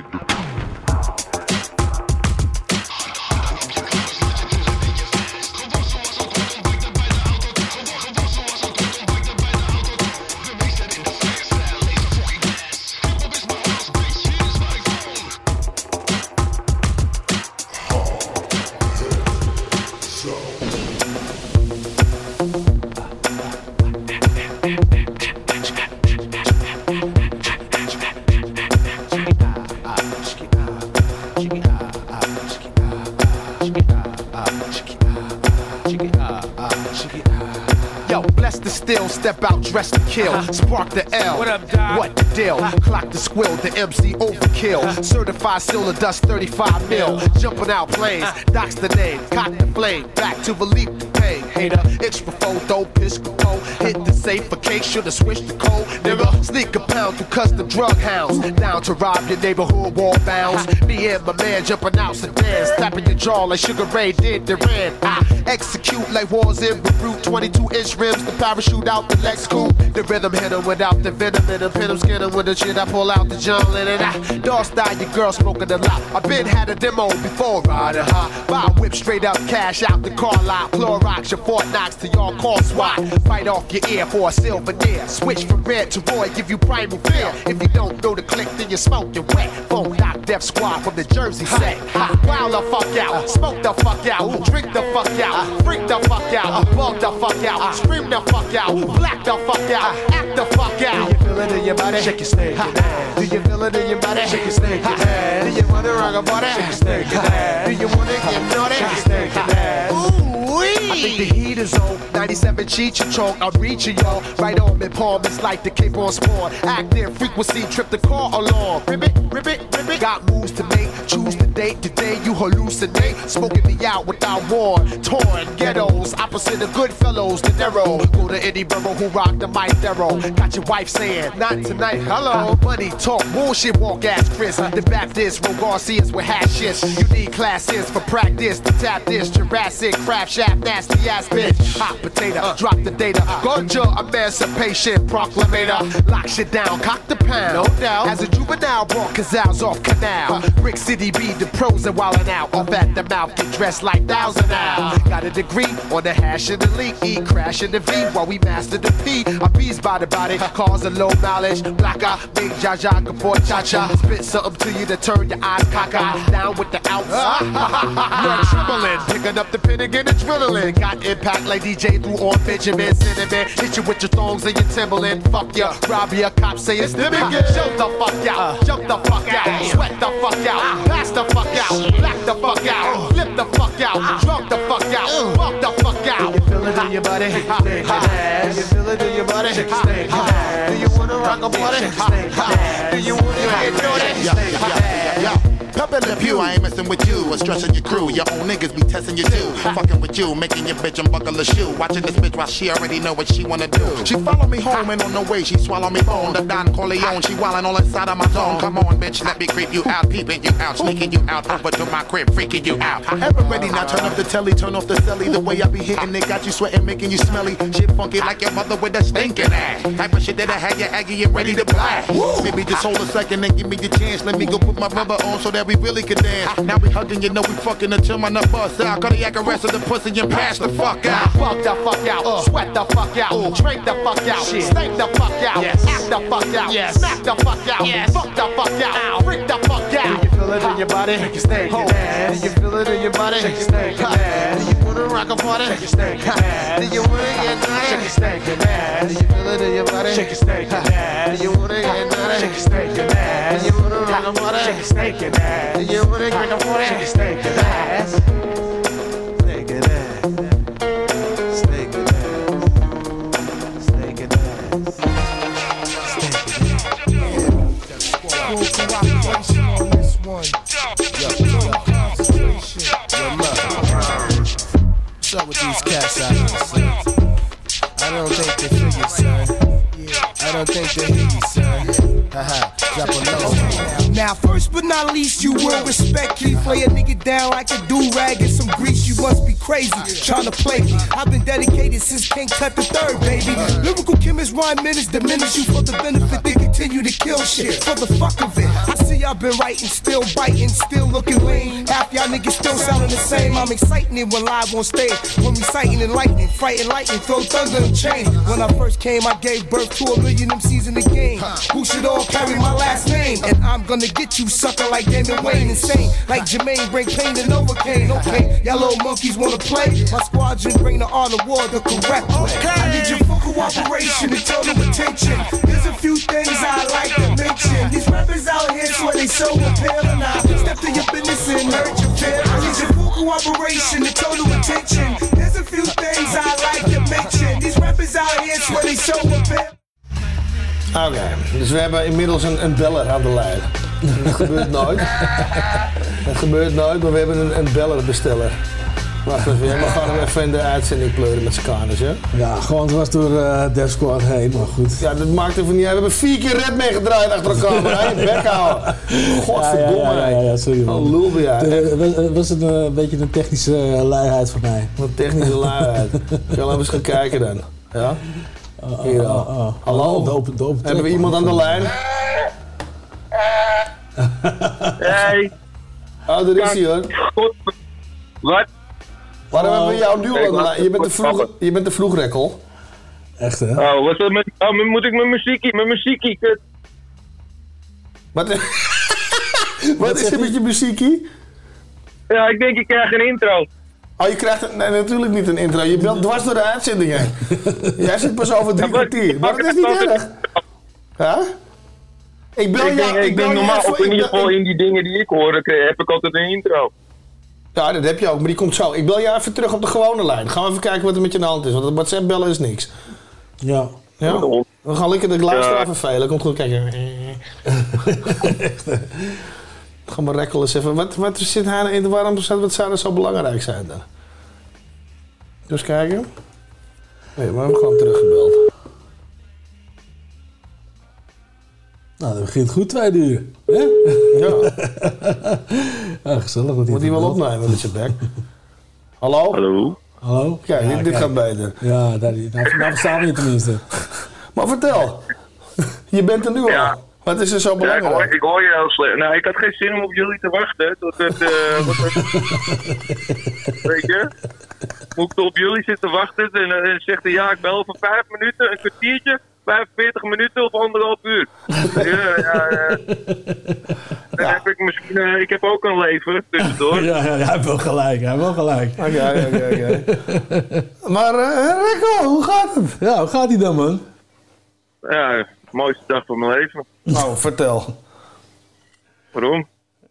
Yo, bless the still, step out, dress to kill. Spark the L. What up, Doc? What the deal? Clock the squill, the MC overkill. Certified silver dust, 35 mil. Jumping out planes, Doc's the name. Cock the flame, back to relief the pain. Hater, extra photo, pisco. Hit the safe for case, should've switched the code. Nigga, sneak a pound through custom drug hounds. Down to rob your neighborhood wall bounds. Me and my man jumping out sedans. Slapping your jaw like Sugar Ray did the Ran. I execute like wars in Beirut. 22-inch rims, the parachute out the Lex coupe. The rhythm hit him without the venom in him. Pin him, skin him with the shit. I pull out the John Lennon. Dog style, your girl smoking a lot. I been had a demo before riding high. Buy a whip straight up, cash out the car lot. Clorox, your Fort Knox to y'all call SWAT. Bite off your ear for a silver deer. Switch from red to Roy, give you primal fear. If you don't know the click, then you're smoking wet. Phone knock Def Squad from the Jersey set. Wild the fuck out, smoke the fuck out, drink the fuck out, freak the fuck out, bug the fuck out, scream the fuck out, black the fuck out, act the fuck out. Do you feel it in your body? Shake your snake. Do you feel it in your body? Shake your snake. Do you wanna rock a body? Shake your snake. Do you wanna get naughty? Shake your snake. Ooh-wee. I think the heat is on. 97 cheat your choke. I'm reaching y'all. Right on me palm. It's like the Cape on Spawn. Active frequency. Trip the car along. Ribbit, ribbit, ribbit. Got moves to make. Choose the date. Today you hallucinate. Smoking me out without war. Torn ghettos. Opposite of good fellows. The narrow. Go to any borough who rock the mic thorough. Got your wife saying, not tonight. Hello. Money talk. Bullshit walk ass Chris. The Baptist. Ro Garcias with hashes. You need classes for practice. To tap this. Jurassic. Craft shaft. Nasty ass bitch. Hot potato. Drop the data. Ganja emancipation proclamator. Lock shit down. Cock the pound. No doubt. As a juvenile brought Cazals off canal. Brick City be the pros and wildin' out. Off at the mouth. Get dressed like 1,000 now. Got a degree on the hash and the leak. E crash in the V while we master the P. I bees by the body. Cause a low mileage. Black eye. Big Jaja. Before cha-cha. Spit something to you to turn your eyes cockeyed. Down with the outside. You're trembling. Picking up the pen and get adrenaline. Got impact like DJ through on Benjamin Cinnamon. Hit you with your thongs and your Timberland. Fuck ya. Rob ya. Cops say it's the biggest. Jump the fuck out. Jump the fuck out. Sweat the fuck out. Pass the fuck out. Black the fuck out. Flip the fuck out. Drunk the fuck out. Fuck the fuck out. Do you feel it in your body? Do you feel it in your body? Do you wanna rock a body? Do you wanna get naughty? Pep in the pew, I ain't messing with you or stressing your crew. Your own niggas be testing you too. Fucking with you, making your bitch unbuckle a shoe. Watching this bitch while she already know what she wanna do. She follow me home and on the way she swallow me bone. The Don Corleone, she wildin' all inside of my zone. Come on, bitch, let me creep you out, peeping you out, sneaking you out, over to my crib, freaking you out. Ever ready now? Turn up the telly, turn off the celly. The way I be hitting it got you sweating, making you smelly. Shit funky like your mother with a stinking ass. Type of shit that I had you aggy and ready to blast. Maybe just hold a second and give me the chance. Let me go put my rubber on so that we really can dance. Now we hugging, you know we fucking until my nut bust out. Cardiac arrest of the pussy and pass the fuck out. Fuck the fuck out, sweat the fuck out, drink the fuck out, stink the fuck out, act the fuck out, smack the fuck out, fuck the fuck out, freak the fuck out. Do you feel it in your body? Shake your snake. Do you feel it in your body? Shake your snake. Do you wanna rock a party? Shake your snake. Do you wanna get naughty? Shake your snake. Do you feel it in your body? Shake your snake. Do you wanna get naughty? Shake your snake. Do you wanna rock a party? Shake your snake. Do you wanna get a party? Shake your snake. Ass. Snake and ass. Snake and ass. Snake and ass. Cooperation on this one. Concentration. What's up with these cats out here, son? I don't think they figure, son. I don't think they hear you, son. Haha, drop a low. Now, first but not least, you will respect me. Play a nigga down like a do-rag and some grease. You must be crazy, trying to play me. I've been dedicated since King Tut the Third, baby. Lyrical chemists, rhyme minutes, diminish you for the benefit. They continue to kill shit for the fuck of it. I see y'all been writing, still biting, still looking lame. Half y'all niggas still sounding the same. I'm exciting it when live on stage. When reciting and lightning, fighting lightning, throw thunder and chains. When I first came, I gave birth to 1 million MCs in the game. Who should all carry my last name? And I'm gonna get you sucker like Damon Wayne, insane like Jermaine, bring pain to Novocaine. Okay, y'all little monkeys wanna play? My squadron bring the art of war the correct way. I need your full cooperation and total attention. There's a few things I like to mention. These rappers out here swear they so appealing. I step to your business and hurt your feelings. I need your full cooperation and total attention. There's a few things I like to mention. These rappers Oké, dus we hebben inmiddels een beller aan de lijn. Dat gebeurt nooit. Dat gebeurt nooit, maar we hebben een bellerбesteller. Wacht even, we gaan hem even in de uitzending pleuren met z'n kaners, hè? Ja, gewoon dwars door Def Squad heen, maar goed. Ja, dat maakt even niet uit. We hebben 4 keer red meegedraaid achter elkaar, maar hij bek houden. Godverdomme. Ja, sorry man. Oh, lul ben jij. Was het een beetje een technische luiheid van mij? Een technische luiheid. Zullen we eens gaan kijken dan? Ja? Hier al. Hallo? De open hebben we iemand aan de lijn? Hey. Oh, daar is hij hoor. Wat? Waarom hebben we jou nu al aan de lijn? Je bent de vroegrekkel. Echt hè? Oh, wat is dat met... Oh, moet ik mijn muziekie, kut. Wat is er met je muziekie? Ja, ik denk ik krijg een intro. Oh, je krijgt natuurlijk niet een intro. Je belt dwars door de uitzending heen. Jij zit pas over 3 kwartier. Maar dat is niet erg. Ja? Ik denk normaal, of in ieder geval in die dingen die ik hoor, heb ik altijd een intro. Ja, dat heb je ook, maar die komt zo. Ik bel jou even terug op de gewone lijn. Gaan we even kijken wat er met je aan de hand is, want het WhatsApp bellen is niks. Ja. Ja? We gaan lekker de luisteraar vervelen. Komt goed, kijken. Ga maar rekkel eens even. Wat zit hij in? Waarom zou dat zo belangrijk zijn dan? Dus kijken. Nee, maar we hebben gewoon teruggebeld. Nou, dat begint goed 2 uur. Hè? Ja. Ja, gezellig. Moet hij wel opnemen met zijn bek. Hallo? Hallo? Kijk, Ja, dit gaat beter. Ja, nou verstaan we je tenminste. Maar vertel. Je bent er nu al. Wat is er zo belangrijk? Ja, ik hoor je heel slecht. Nou, ik had geen zin om op jullie te wachten. Tot het, weet je? Moet ik op jullie zitten wachten en zegt hij, ja, ik bel over 5 minuten, een kwartiertje, 45 minuten of 1,5 uur. Dan heb ik misschien, ik heb ook een leven tussendoor. Ja, hij heeft wel gelijk, Oké. Maar Rico, hoe gaat het? Ja, hoe gaat hij dan, man? Ja, de mooiste dag van mijn leven. Nou, vertel. Waarom?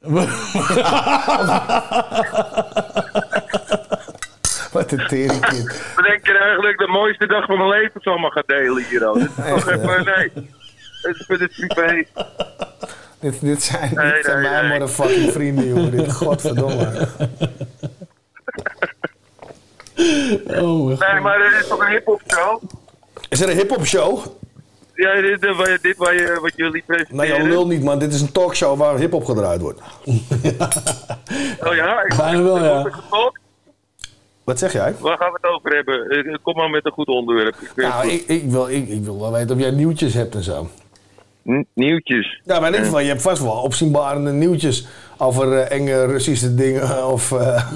Wat een teringkind. Bedenk je eigenlijk de mooiste dag van mijn leven zomaar gaan delen hier al? Dit is toch even, nee. Dit is privé. Dit zijn mijn motherfucking vrienden, jongen. Dit godverdomme. Oh, nee, maar dit is toch een hip-hop show? Is er een hip-hop show? Ja, dit wat jullie presenteren. Nee, joh, lul niet, man. Dit is een talkshow waar hip-hop gedraaid wordt. Oh ja? Bijna wel, ja. Wat zeg jij? Waar gaan we het over hebben? Kom maar met een goed onderwerp. Ik wil wel weten of jij nieuwtjes hebt en zo. Nieuwtjes? Ja, maar in ieder geval, je hebt vast wel opzienbarende nieuwtjes over enge Russische dingen of...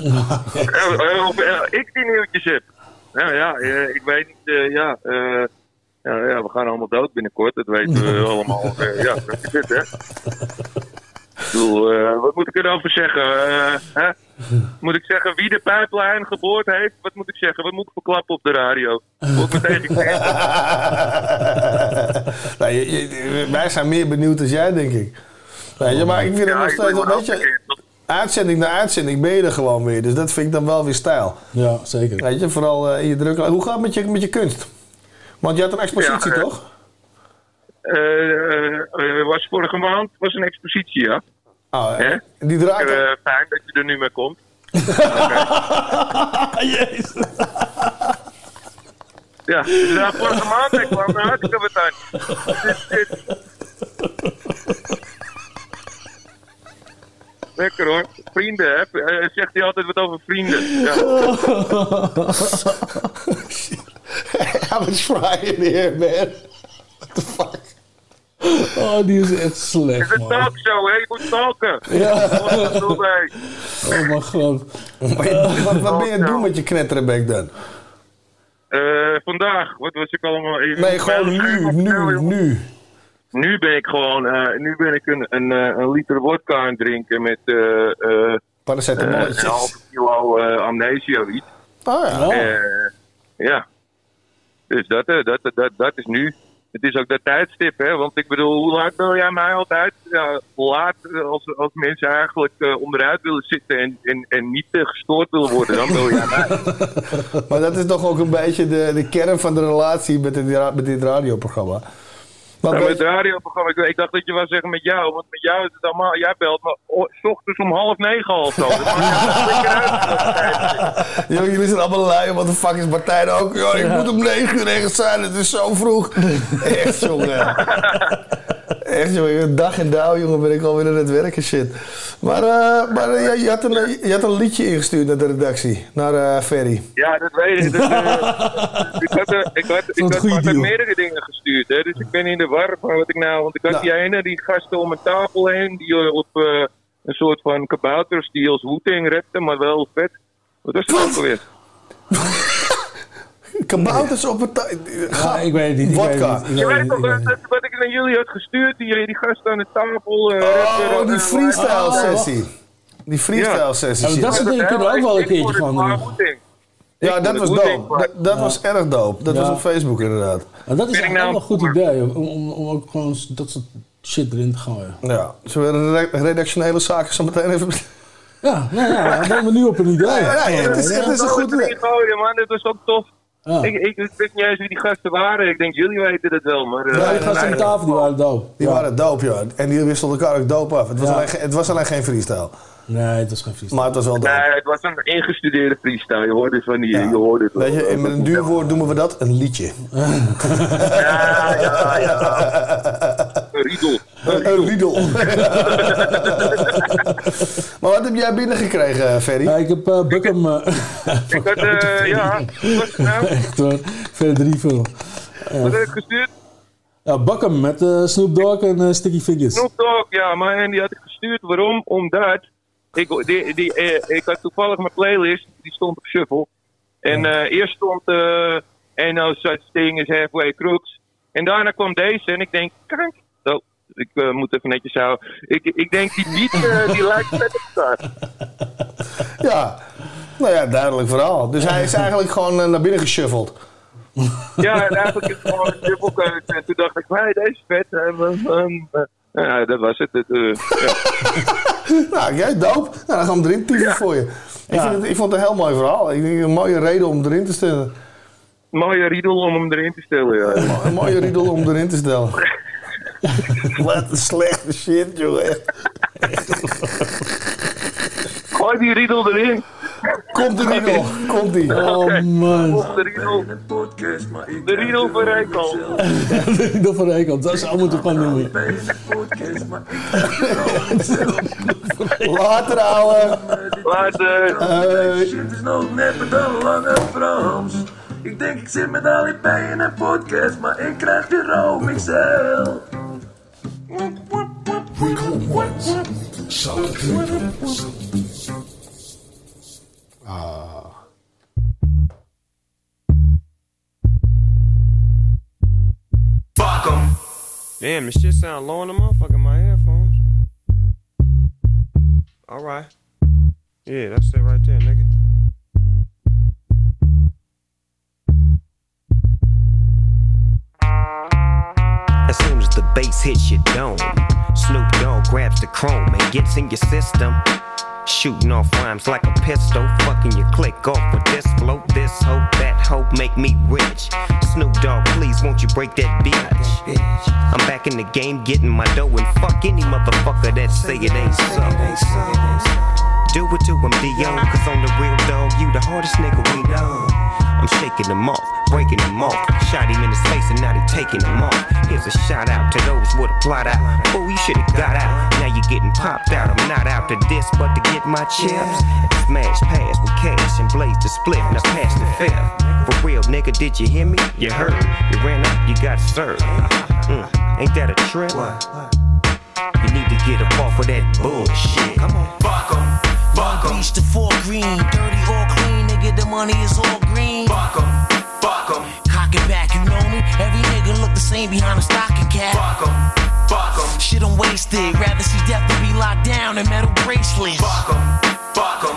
ik die nieuwtjes heb? Nou ja, ik weet niet, ja, we gaan allemaal dood binnenkort, dat weten we allemaal. Ja, dat is het, hè. Ik bedoel, wat moet ik erover zeggen? Hè? Moet ik zeggen wie de pijplijn geboord heeft? Wat moet ik zeggen? Wat moet ik verklappen op de radio? Word ik meteen gekend? Wij zijn meer benieuwd dan jij, denk ik. Weet je, maar ik vind het nog steeds wel, weet je, uitzending na uitzending ben je er gewoon weer. Dus dat vind ik dan wel weer stijl. Ja, zeker. Weet je, vooral in je druk. Hoe gaat het met je kunst? Want je had een expositie, toch? Was vorige maand was een expositie, ja. Oh, die draait... fijn dat je er nu mee komt. Jezus. Ja, dus vorige maand ik kwam er hartstikke wat aan. Lekker hoor. Vrienden, hè? Zegt hij altijd wat over vrienden. Ja. I was frying here, man. What the fuck? Oh, die is echt slecht, man. Het is een talkshow, hè? Je moet talken. Ja. Oh mijn god. Wat ben je aan het doen met je knetterenbek dan? Vandaag, wat was ik allemaal... Nee, gewoon nu. Nu ben ik gewoon, een liter wodka aan het drinken met paracetamolletjes. Een halve kilo amnesia of iets. Oh ja. Ja. Dus dat is nu. het is ook dat tijdstip, hè. Want ik bedoel, hoe laat bel jij mij altijd? Ja, laat, als mensen eigenlijk onderuit willen zitten en niet gestoord willen worden, dan bel jij mij. Maar dat is toch ook een beetje de kern van de relatie met dit radioprogramma. Ja, met het radioprogramma, ik dacht dat je wou zeggen met jou, want met jou is het allemaal, jij belt me 's ochtends om 8:30 al zo. Jullie zijn allemaal lui, wat de fuck is Martijn ook? Yo, ik moet om 9 uur ergens zijn, het is zo vroeg. Echt jongen. Echt jongen, dag en dauw jongen ben ik alweer aan het werken shit. Maar je had een liedje ingestuurd naar de redactie, naar Ferry. Ja, dat weet ik. Ik had meerdere dingen gestuurd, hè, dus ik ben in de war van wat ik nou... Want ik had die ene, die gasten om een tafel heen, die op een soort van kabouters die als Wu-Tang rapten, maar wel vet. Wat was dat ook alweer? Kabouters op een ja, ik weet het niet. Vodka. Je weet toch wat ik naar jullie had gestuurd? Die gasten aan de tafel. Die freestyle sessie. Die freestyle sessie. Ja, dat soort dingen kunnen we ook wel een keertje van doen. Ja, dat was dope. Dat was erg dope. Dat was op Facebook inderdaad. Maar dat is eigenlijk wel een goed idee om ook gewoon dat soort shit erin te gooien. Ja, zullen we de redactionele zaken zo meteen even... Ja, dan zijn we nu op een idee. Het is een goed idee. Man, dit was ook tof. Ja. Ik weet niet eens wie die gasten waren. Ik denk, jullie weten het wel. Maar, die gasten aan de tafel die waren dope. Die waren dope, ja. En die wisselden elkaar ook dope af. Het was alleen geen freestyle. Nee, het was geen freestyle. Maar het was wel dope. Nee, het was een ingestudeerde freestyle. Je hoorde het van die... Je hoorde het weet je, met een duur woord noemen we dat een liedje. Ja. Een riedel. Een riedel. Maar wat heb jij binnengekregen, Ferry? Ja, ik heb Buckham... ik had, wat was het nou? Echt hoor, verder 3 veel. Wat heb ik gestuurd? Ja, Buckham met Snoop Dogg en Sticky Fingers. Snoop Dogg, ja, maar en die had ik gestuurd. Waarom? Omdat ik had toevallig mijn playlist, die stond op shuffle. En eerst stond Ain't No Such Thing as Halfway Crooks. En daarna kwam deze en ik denk, kijk, ik moet even netjes houden. Ik denk, die beat die lijkt vet op elkaar. Ja, nou ja, duidelijk verhaal. Dus hij is eigenlijk gewoon naar binnen geshuffeld. Ja, en eigenlijk is het gewoon een shufflekeuze. En toen dacht ik, hey, deze is vet. Ja, dat was het. Ja. Nou, jij dope. Nou, dan gaan we erin typen voor je. Ik vond het een heel mooi verhaal. Ik denk een mooie reden om erin te stellen. Een mooie riedel om hem erin te stellen, ja. Een mooie riedel om erin te stellen. Wat een slechte shit, jongen. Gooi die riedel erin. Komt de riedel. Komt die. Oh man. Komt de riedel. De riedel van Rijkant. De riedel van Rijkant. Dat zou moeten gaan noemen. Later, ouwe. Later. Shit is nog net met een lange Frans. Ik denk ik zit met Ali B in een podcast, maar ik krijg de room XL. Fuck 'em. Damn, this shit sound low in the motherfucker in my headphones. Alright. Yeah, that's it right there, nigga. As soon as the bass hits your dome, Snoop Dogg grabs the chrome and gets in your system. Shooting off rhymes like a pistol, fucking your click off with this flow, this hope, that hope make me rich. Snoop Dogg, please won't you break that bitch? I'm back in the game getting my dough and fuck any motherfucker that say it ain't so. Do it to him, D.O., cause on the real dog, you the hardest nigga we know. I'm shaking them off, breaking them off. Shot him in his face and now they taking him off. Here's a shout out to those with a plot out. Fool, you should've got out. Now you're getting popped out. I'm not out to this, but to get my chips. Smash pass with cash and blaze the split. Now pass the fifth. For real, nigga, did you hear me? You heard. You ran out, you got served. Ain't that a trip? You need to get up off of that bullshit. Come on. Fuck 'em. Fuck 'em. Reach the 4 green. Dirty or clean, nigga, the money is all green. Fuck 'em. Fuck 'em. Cock it back, you know me? Every nigga look the same behind a stocking cap. Fuck 'em. Fuck 'em. Shit, I'm wasted. Rather see death than be locked down in metal bracelets. Fuck 'em. Fuck 'em. Don't make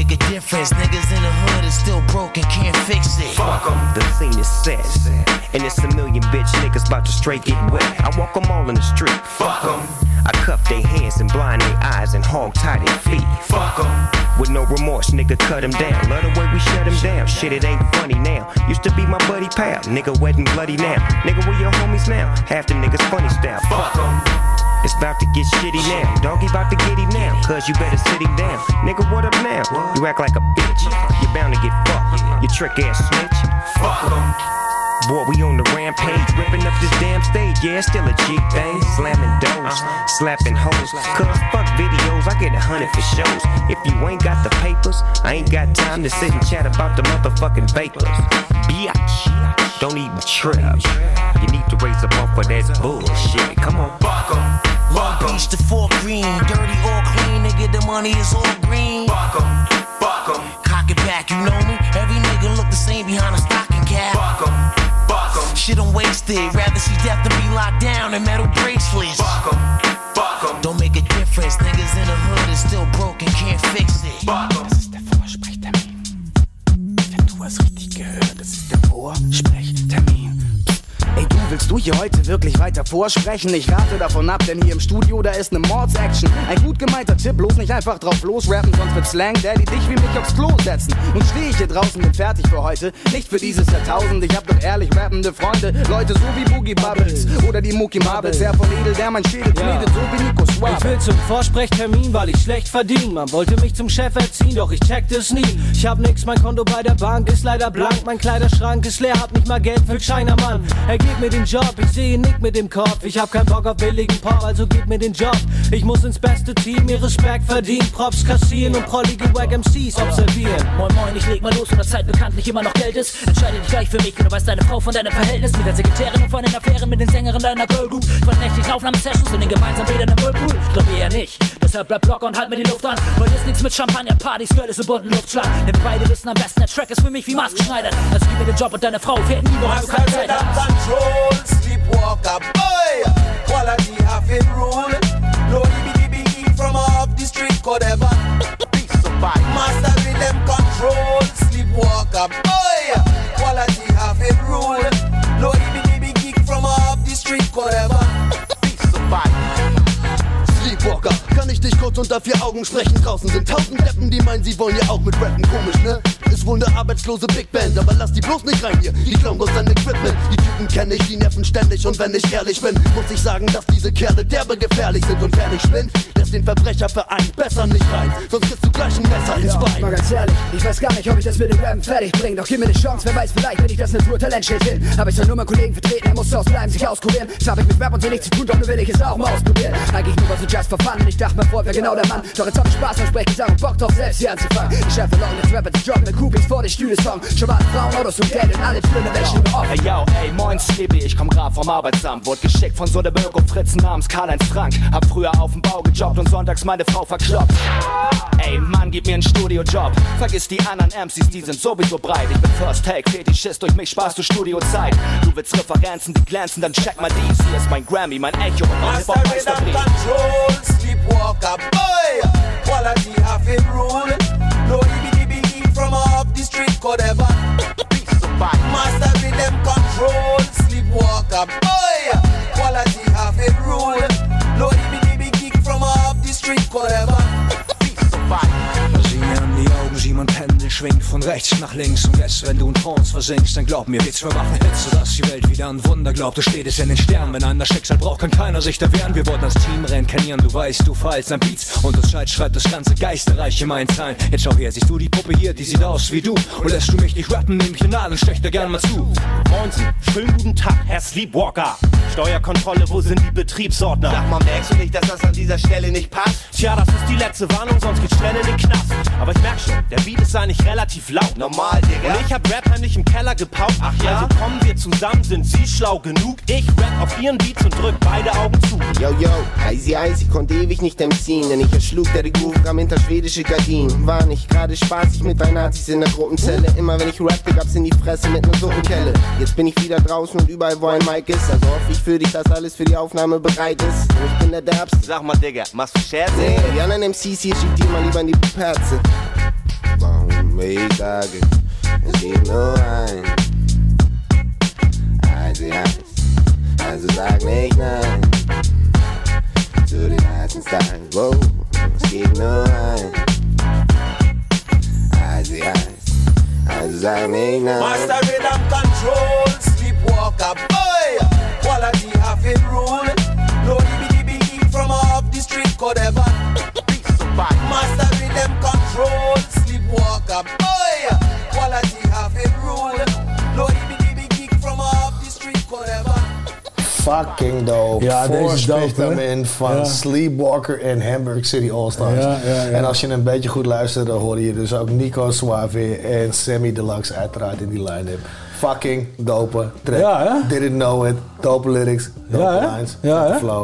make a difference. Niggas in the hood is still broke and can't fix it. Fuck 'em. The scene is set, and it's a million bitch niggas about to straight get wet. I walk 'em all in the street. Fuck 'em. I cuff their hands and blind their eyes and hog tie their feet. Fuck 'em. With no remorse, nigga, cut him down. Love the way we shut him down. Shit, it ain't funny now. Used to be my buddy pal. Nigga, wet and bloody now. Nigga, we your homies now. Half the niggas funny style. Fuck 'em. It's about to get shitty now. Doggy about to get him now. Cause you better sit him down. Nigga, what up now? You act like a bitch. You're bound to get fucked. You trick ass snitch. Fuck 'em. Boy, we on the rampage, ripping up this damn stage. Yeah, it's still a G thing. Slamming doors, slapping hoes. Cause fuck videos, I get 100 for shows. If you ain't got the papers, I ain't got time to sit and chat about the motherfucking vapors. Biatch, don't even trip. You need to raise up off of that bullshit. Come on, fuck 'em. Long Beach to Fort Greene, dirty or clean, nigga, the money is all green. Fuck 'em, fuck 'em. Cock it back, you know me. Every nigga look the same behind a stocking cap. Fuck 'em. Shit, I'm wasted. Rather see death than be locked down in metal bracelets. Fuck 'em, fuck 'em. Don't make a difference. Niggas in the hood is still broke and can't fix it. Fuck 'em. Das ist der Vorsprechtermin. Denn du hast richtig gehört, das ist der Vorsprechtermin. Ey, du, willst du hier heute wirklich weiter vorsprechen? Ich rate davon ab, denn hier im Studio, da ist ne Mordsaction. Ein gut gemeinter Tipp, bloß nicht einfach drauf losrappen, sonst wird Slang Daddy dich wie mich aufs Klo setzen. Nun steh ich hier draußen, bin fertig für heute, nicht für dieses Jahrtausend. Ich hab doch ehrlich rappende Freunde, Leute so wie Boogie Bubbles oder die Mookie Marbles. Der von Edel, der mein Schädel knetet, so wie Nico Schwab. Ich will zum Vorsprechtermin, weil ich schlecht verdiene. Man wollte mich zum Chef erziehen, doch ich checkte es nie. Ich hab nix, mein Konto bei der Bank ist leider blank. Mein Kleiderschrank ist leer, hab nicht mal Geld für Chinamann. Gib mir den Job, ich sehe Nick mit dem Kopf. Ich hab keinen Bock auf billigen Pop, also gib mir den Job. Ich muss ins beste Team, mir Respekt verdienen, Props kassieren und prollige Wack MCs observieren. Moin moin, ich leg mal los, und das Zeit bekanntlich immer noch Geld ist. Entscheide dich gleich für mich, du weißt deine Frau von deinem Verhältnis. Mit der Sekretärin und von den Affären mit den Sängerinnen deiner Girlgroup. Von nächtlichen Aufnahmesessions und den gemeinsamen Bädern im Whirlpool. Ich glaube eher nicht, deshalb bleib locker und halt mir die Luft an. Weil ist nichts mit Champagner, Partys, Girl ist im bunten Luftschlag. Denn wir beide wissen am besten, der Track ist für mich wie maßgeschneidert. Also gib mir den Job und deine Frau fährt nie, woran du keine Zeit hast. Sleepwalker, boy, quality have it rule. No DB from off the street, could ever piece of bike. Master rhythm control, sleepwalker, boy, quality have it rule. No DB from off the street, could ever piece of bike. Sleepwalker, kann ich dich kurz unter 4 Augen sprechen? Draußen sind 1000 Deppen, die meinen, sie wollen ja auch mit rappen. Komisch, ne? Ist wohl ne arbeitslose Big Band, aber lass die bloß nicht rein hier. Die klauen bloß dein Equipment. Die Typen kenn ich, die nerven ständig. Und wenn ich ehrlich bin, muss ich sagen, dass diese Kerle derbe gefährlich sind. Und wer nicht spinnt, lässt den Verbrecherverein besser nicht rein. Sonst kriegst du gleich ein Messer ins Bein. Mal ganz ehrlich, ich weiß gar nicht, ob ich das mit dem Rappen fertig bring. Doch gib mir ne Chance, wer weiß, vielleicht bin ich das Naturtalentschild hin. Hab ich soll nur meinen Kollegen vertreten, er muss ausbleiben, sich auskurieren. Das hab ich mit Rap und so nichts zu tun, doch nur will ich es auch mal ausprobieren. Eigentlich nur was so just for fun. Ich dachte mir vor, wer genau der Mann. Doch jetzt hab ich Spaß am Sprechen, sag und Bock drauf, selbst hier anzufangen. Ich schaffe Long, jetzt Rapper die Job mit Coupés vor den Stühle Song. Schon mal Frauen, Autos und Geld und alle schlimme Menschen über Hey yo, ey, moin Skibi, ich komm grad vom Arbeitsamt. Wurde geschickt von so ne Öko-Fritzen namens Karl-Heinz Frank. Hab früher auf dem Bau gejobbt und sonntags meine Frau verkloppt. Ey, Mann, gib mir einen Studiojob. Vergiss die anderen MCs, die sind sowieso breit. Ich bin First Take, Fetischist, durch mich sparst du Studiozeit. Du willst Referenzen, die glänzen, dann check mal dies. Hier ist mein Grammy, mein Echo und mein Hip-Hop-Meisterbrief. Control, sleepwalker, boy, quality have it rule. No DB from off the street, could ever piece of bike. Master rhythm control, sleepwalker, boy, quality have it rule. No DB from off the street, could ever piece of bike. Sieh mir an die Augen, sieh mein Pendel schwingt von rechts nach links. Und jetzt, wenn du in Trance versinkst, dann glaub mir, wir machen Hits, sodass die Welt wieder an Wunder glaubt. Du steht es in den Sternen, wenn einer Schicksal braucht, kann keiner sich da wehren. Wir wollten das Team reinkarnieren, du weißt, du feilst an Beats. Und das Scheit schreibt das ganze Geisterreich in meinen Zeilen. Jetzt schau her, siehst du die Puppe hier, die sieht aus wie du. Und lässt du mich nicht rappen, nehm ich den Nadel, stech da gern mal zu. Moinsen, schönen guten Tag, Herr Sleepwalker. Steuerkontrolle, wo sind die Betriebsordner? Sag mal, merkst du nicht, dass das an dieser Stelle nicht passt? Tja, das ist die letzte Warnung, sonst geht's schnell in den Knast. Aber ich merk schon, der Beat ist eigentlich relativ laut. Normal, Digga. Und ich hab Rap heimlich im Keller gepaukt. Ach ja? Also kommen wir zusammen, sind Sie schlau genug? Ich rap auf Ihren Beats und drück beide Augen zu. Yo, yo, Easy Ice, ich konnte ewig nicht MC'n, denn ich erschlug, der die Groove kam hinter schwedische Gardinen. War nicht gerade spaßig mit drei Nazis in der Gruppenzelle. Immer wenn ich rappte, gab's in die Fresse mit ner Suppenkelle. Jetzt bin ich wieder draußen und überall, wo ein Mic ist. Also hoffe ich für dich, dass alles für die Aufnahme bereit ist. Und ich bin der Derbste. Sag mal, Digga, machst du Scherze? Nee, die anderen MCs hier schickt die mal lieber in die Perze. meegagen. Es gibt nur eins. Eins, also sag nicht nein. Zu den heißen Stylen, wow. Es gibt nur eins. Also sag nicht nein. Master rhythm control, sleepwalker boy. Quality have it rule. No DB from off the street could ever. Master rhythm control, sleepwalker boy. Quality have it rule. No DB from off the street could ever. Fucking dope. Ja, deze is dope, Voorspectamen van Sleepwalker en Hamburg City All-Stars. Ja. En als je een beetje goed luistert, dan hoor je dus ook Nico Suave en Sammy Deluxe uiteraard in die line-up. Fucking dope track. Ja, Didn't know it. Dope lyrics, dope lines, dope flow.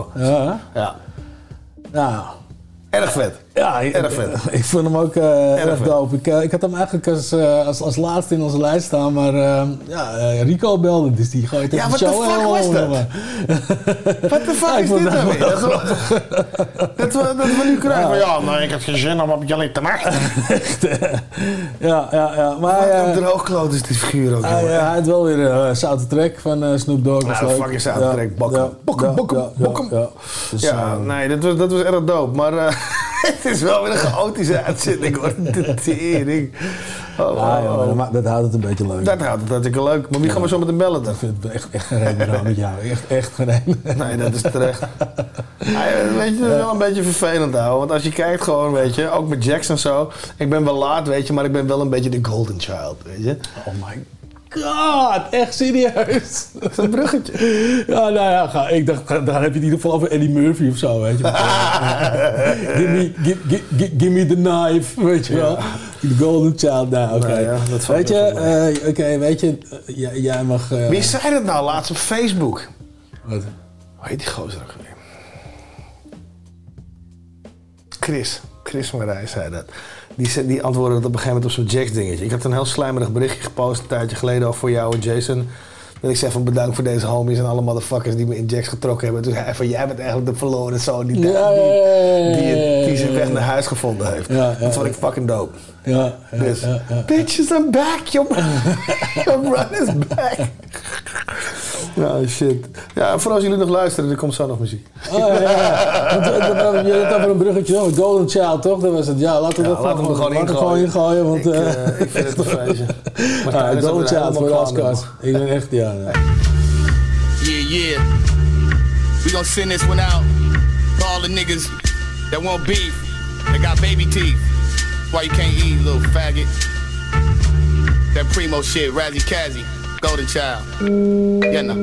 Nou. Erg vet. Ja, erg vet. Ik vond hem ook erg dope. Ik had hem eigenlijk als laatste in onze lijst staan, maar Rico belde, dus die gooit de show helemaal over. Wat de fuck is dit nou weer? Dat we nu krijgen. Ja, nou, ik heb geen zin om op jullie te maken. Ja. Maar wat een droogkloot is dit figuur ook. Hij had wel weer een zoute track van Snoop Dogg. Nou, fucking zoute track. Bokken. Ja, nee, dat was erg dope, maar... Het is wel weer een chaotische uitzending hoor. De tering. Dat houdt het een beetje leuk. Dat houdt het hartstikke leuk. Maar wie gaan we zo met hem bellen dan? Ik vind het echt geen reden met jou. Echt geen reden. Nee, dat is terecht. Weet je, dat is wel een beetje vervelend houden. Want als je kijkt gewoon, weet je, ook met Jackson en zo. Ik ben wel laat, weet je, maar ik ben wel een beetje de golden child, weet je. Oh my god, echt serieus. Dat is een bruggetje. Ja, nou ja, ik dacht, daar heb je het in ieder geval over Eddie Murphy of zo, weet je. Give me the knife, weet je wel. The golden child, nou, oké. Nou ja, weet je, jij mag... Wie zei dat nou laatst op Facebook? Wat? Hoe heet die gozer ook weer? Chris Marij zei dat. Die antwoordde dat op een gegeven moment op zo'n Jax dingetje. Ik had een heel slijmerig berichtje gepost een tijdje geleden voor jou en Jason. Dat ik zei van bedankt voor deze homies en alle motherfuckers die me in Jax getrokken hebben. Toen zei hij van jij bent eigenlijk de verloren zoon die zijn weg naar huis gevonden heeft. Dat vond ik fucking dope. Bitches, I'm back. Your run is back. Nou, shit. Ja, voor als jullie nog luisteren, er komt zo nog muziek. Je hebt over een bruggetje, Golden Child, toch? Dat was het. Ja, laten we laten we gewoon ingooien. Want, ik vind het een feestje. Golden Child voor de Oscars. Ik ben echt, Yeah. We gonna send this one out for all the niggas that want beef, that got baby teeth. Why you can't eat, little faggot? That primo shit, Razzie Kazzy, Golden Child. Yeah, no.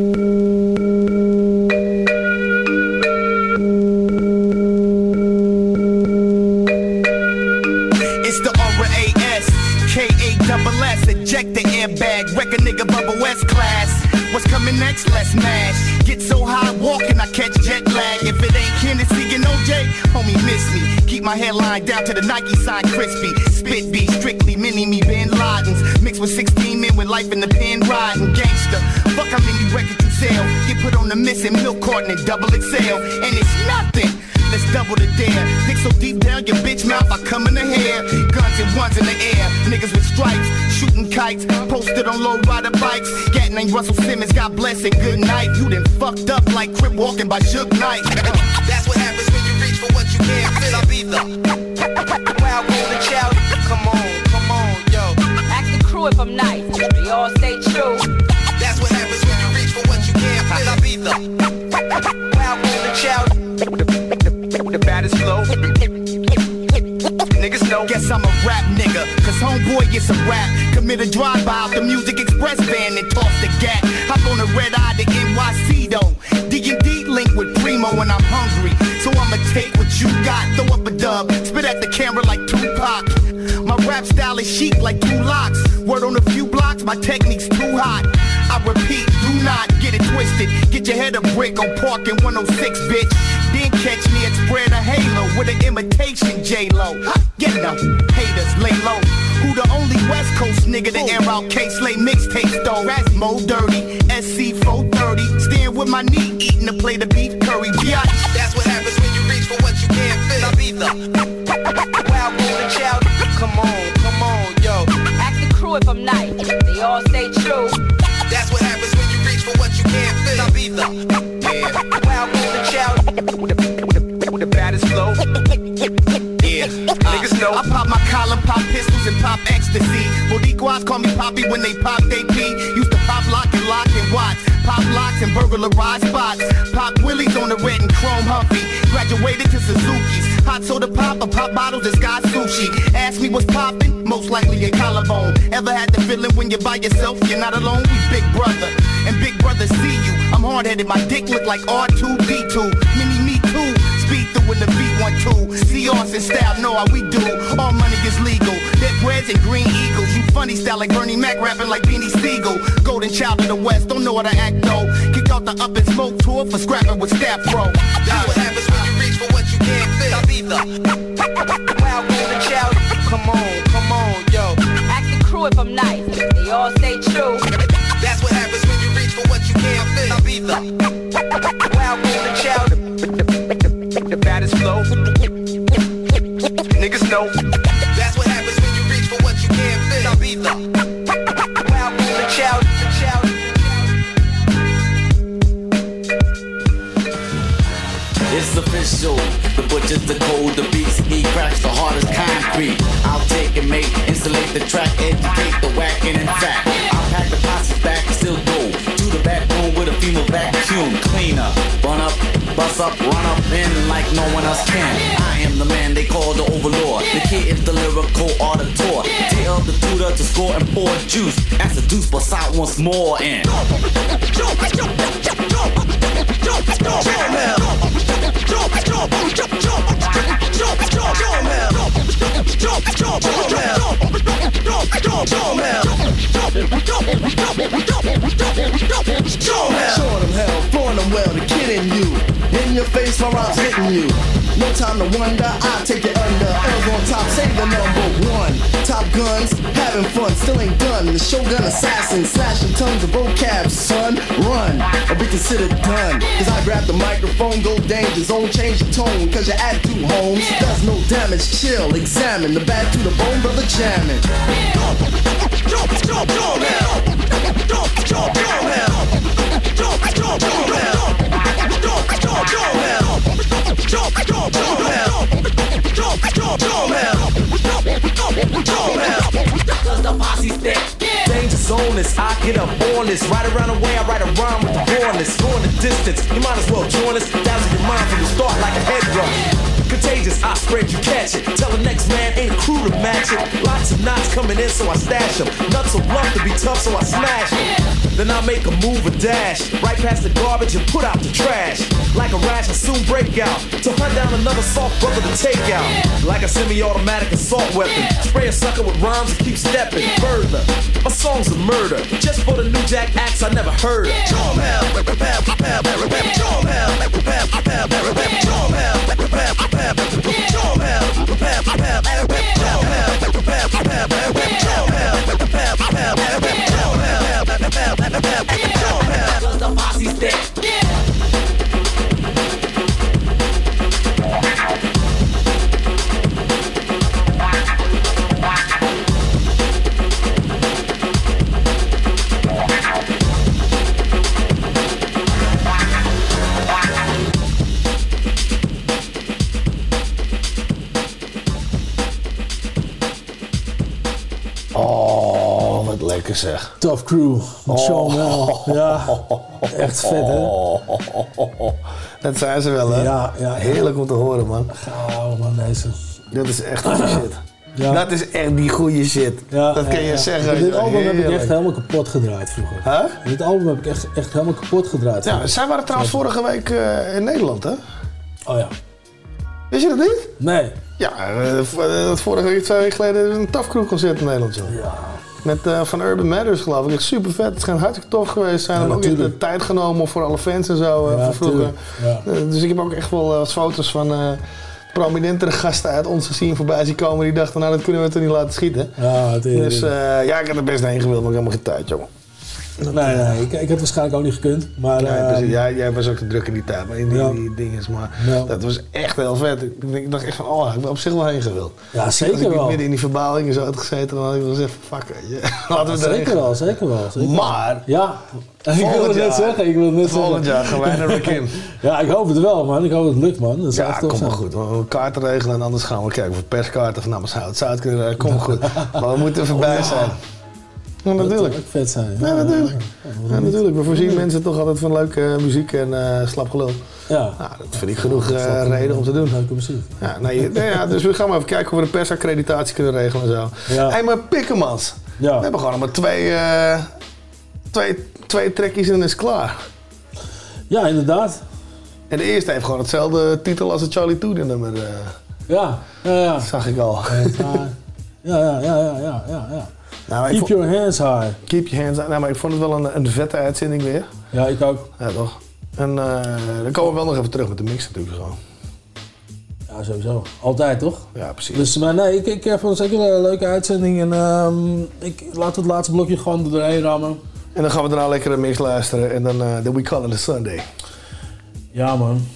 It's the RAS, KASS, eject the airbag, wreck a nigga Bubba West class. What's coming next? Let's mash. Get so high walking, I catch jet lag. If it ain't Hennessy and OJ, homie, miss me. Keep my hairline down to the Nike sign crispy. Spit beat, strictly mini me Bin Ladens. Mixed with 16 men with life in the pen riding. Gangster, fuck how many records you sell. Get put on the missing milk carton and double XL. And it's nothing. Let's double the dare. Pick so deep down your bitch mouth, I come in the hair. Guns and ones in the air. Niggas with stripes, shooting kites. Posted on low rider bikes. Gat named Russell Simmons, God bless and good night. You done fucked up like Crip walking by Suge Knight. That's what happens when you reach for what you can't fit. I'll be the wild golden child. Come on, yo. Ask the crew if I'm nice. We all stay true. That's what happens when you reach for what you can't fit. I'll be the wild golden child. The baddest flow. Niggas know. Guess I'm a rap nigga, cause homeboy gets a rap. Commit a drive-by out the Music Express van and toss the gat. Hop on the red eye to NYC though. D&D link with Primo when I'm hungry. So I'ma take what you got, throw up a dub, spit at the camera like Tupac. My rap style is chic like 2 locks. Word on a few blocks, my technique's too hot. I repeat, do not get it twisted. Get your head a brick on Park in 106, bitch. Then catch me at Spread a Halo with an imitation J-Lo. Get them haters, lay low. Who the only West Coast nigga to air out K-Slay mixtapes though? Mo Dirty, SC 430. Stand with my knee, eating a plate of beef curry. Biatch. That's what happens when you reach for what you can't fit. I'll be the wild golden child. Come on, yo. if I'm nice. They all stay true. That's what happens when you reach for what you can't feel. I'll be the wild golden child with the baddest flow. Yeah, niggas know I pop my collar, pop pistols, and pop ecstasy. Boricuas call me Poppy when they pop they pee. Used to pop lock and watch. Pop locks and burglarize spots. Pop willies on the red and chrome Humpy. Graduated to Suzuki's. Hot soda pop or pop bottles, disguise sushi. Ask me what's poppin', most likely a collarbone. Ever had the feeling when you're by yourself, you're not alone? We big brother, and big brother see you. I'm hard-headed, my dick look like R2-D2. Mini me too, speed through in the V12. See us in style, know how we do. All money is legal, dead breads and green eagles. You funny style like Bernie Mac, rapping like Beanie Siegel. Golden child of the West, don't know how to act though. Kick out the Up and Smoke tour for scrapping with Staff Pro. That's what happens when you reach for what you can't feel. I'll be the wild golden child. Come on, yo. Ask the crew if I'm nice. They all stay true. That's what happens when you reach for what you can't feel. I'll be the wild golden child. The baddest flow. Niggas know. That's what happens when you reach for what you can't feel. I'll be the wild golden child. It's official, the butcher's the cold, the beast, he cracks the hardest concrete. I'll take and make, insulate the track, educate the whack, and in fact, I'll pack the posse back, still go to the back room with a female vacuum cleaner. Run up, bust up, run up in like no one else can. I am the man they call the overlord. The kid is the lyrical auditor. Tell the tutor to score and pour juice. As the deuce busts out once more and Showing them hell, flowing them well, the kid in you. In your face, my rhymes hitting you. No time to wonder, I'll take it under. L's on top, say the number one. Top guns, having fun, still ain't done. The Shogun assassin, slashing tons of vocab, son. Run, or be considered done. Cause I grab the microphone, go danger zone, change the tone. Cause your attitude, Holmes, does no damage. Chill, examine, the bad to the bone, brother jamming. Cause the posse step. Danger zone is I get up on this. Right around the way I write a rhyme with the rawness. Going the distance, you might as well join us. Dazzle your mind from the start like a head rush. Contagious, I spread, you catch it. Tell the next man ain't a crew to match it. Lots of knots coming in, so I stash them. Nuts so blunt to be tough, so I smash them. Then I make a move, a dash. Right past the garbage and put out the trash. Like a rash, I soon break out. To hunt down another soft brother to take out. Like a semi-automatic assault weapon. Spray a sucker with rhymes and keep stepping further. My song's a murder. Just for the new jack acts I never heard of. Cause the posse step. Lekker zeg. Tough Crew, met Sean Mel. Ja, echt vet hè? Dat zijn ze wel hè? Ja. Heerlijk om te horen man. Gauw man deze. Dat is echt goede shit. Ja. Dat is echt die goede shit. Ja, dat kan je zeggen. Dit album heb ik echt helemaal kapot gedraaid vroeger. Huh? Dit album heb ik echt helemaal kapot gedraaid. Ja, zij waren trouwens vorige week in Nederland hè? Oh ja. Wist je dat niet? Nee. Ja, vorige week, 2 weken geleden een Tough Crew concert in Nederland zo. Ja. Met van Urban Matters geloof ik. Echt super vet. Het schijnt hartstikke tof geweest. Zijn hebben ook echt de tijd genomen voor alle fans en zo van vroeger. Ja. Dus ik heb ook echt wel wat foto's van prominentere gasten uit ons gezien voorbij zien komen. Die dachten, nou dat kunnen we toch niet laten schieten. Ja, dus ja, ik had er best heen gewild, maar ik heb helemaal geen tijd, jongen. Nee, ik heb waarschijnlijk ook niet gekund. Maar, jij was ook te druk in die tijd, maar in die dingen. Maar dat was echt heel vet. Ik dacht echt van, ik ben op zich wel heen gewild. Ja, zeker als ik wel. midden in die verbaling zo had gezeten, dan had ik wel eens even, fuck, weet je. Laten we zeker wel. Maar, ja, ik wil het net zeggen. Volgend jaar gaan wij naar Rakim. Ja, ik hoop het wel, man. Ik hoop dat het lukt, man. Dat komt wel goed. We gaan een kaart regelen en anders gaan we kijken of we perskaarten van Namenshout Zuid kunnen. Komt goed. Maar we moeten er voorbij zijn. Ja, natuurlijk. Dat vet zijn. Ja, natuurlijk. Ja, natuurlijk. We voorzien mensen toch altijd van leuke muziek en slap gelul. Ja. Nou, dat vind ik genoeg reden om te doen. Leuke muziek. Ja, dus we gaan maar even kijken of we de persaccreditatie kunnen regelen en zo. Ja. Hey, maar Pikkemans. Ja. We hebben gewoon nog maar twee trekjes en dan is het klaar. Ja, inderdaad. En de eerste heeft gewoon hetzelfde titel als het Charlie Toede nummer. Ja. Dat zag ik al. Ja. Nou, Keep your hands high. Keep your hands high. Nou, maar ik vond het wel een vette uitzending weer. Ja, ik ook. Ja, toch? En dan komen we wel nog even terug met de mix natuurlijk zo. Ja, sowieso. Altijd, toch? Ja, precies. Dus, maar nee, ik vond het zeker een leuke uitzending. En laten we het laatste blokje gewoon er doorheen rammen. En dan gaan we daarna lekker een mix luisteren. En dan We Call It A Sunday. Ja, man.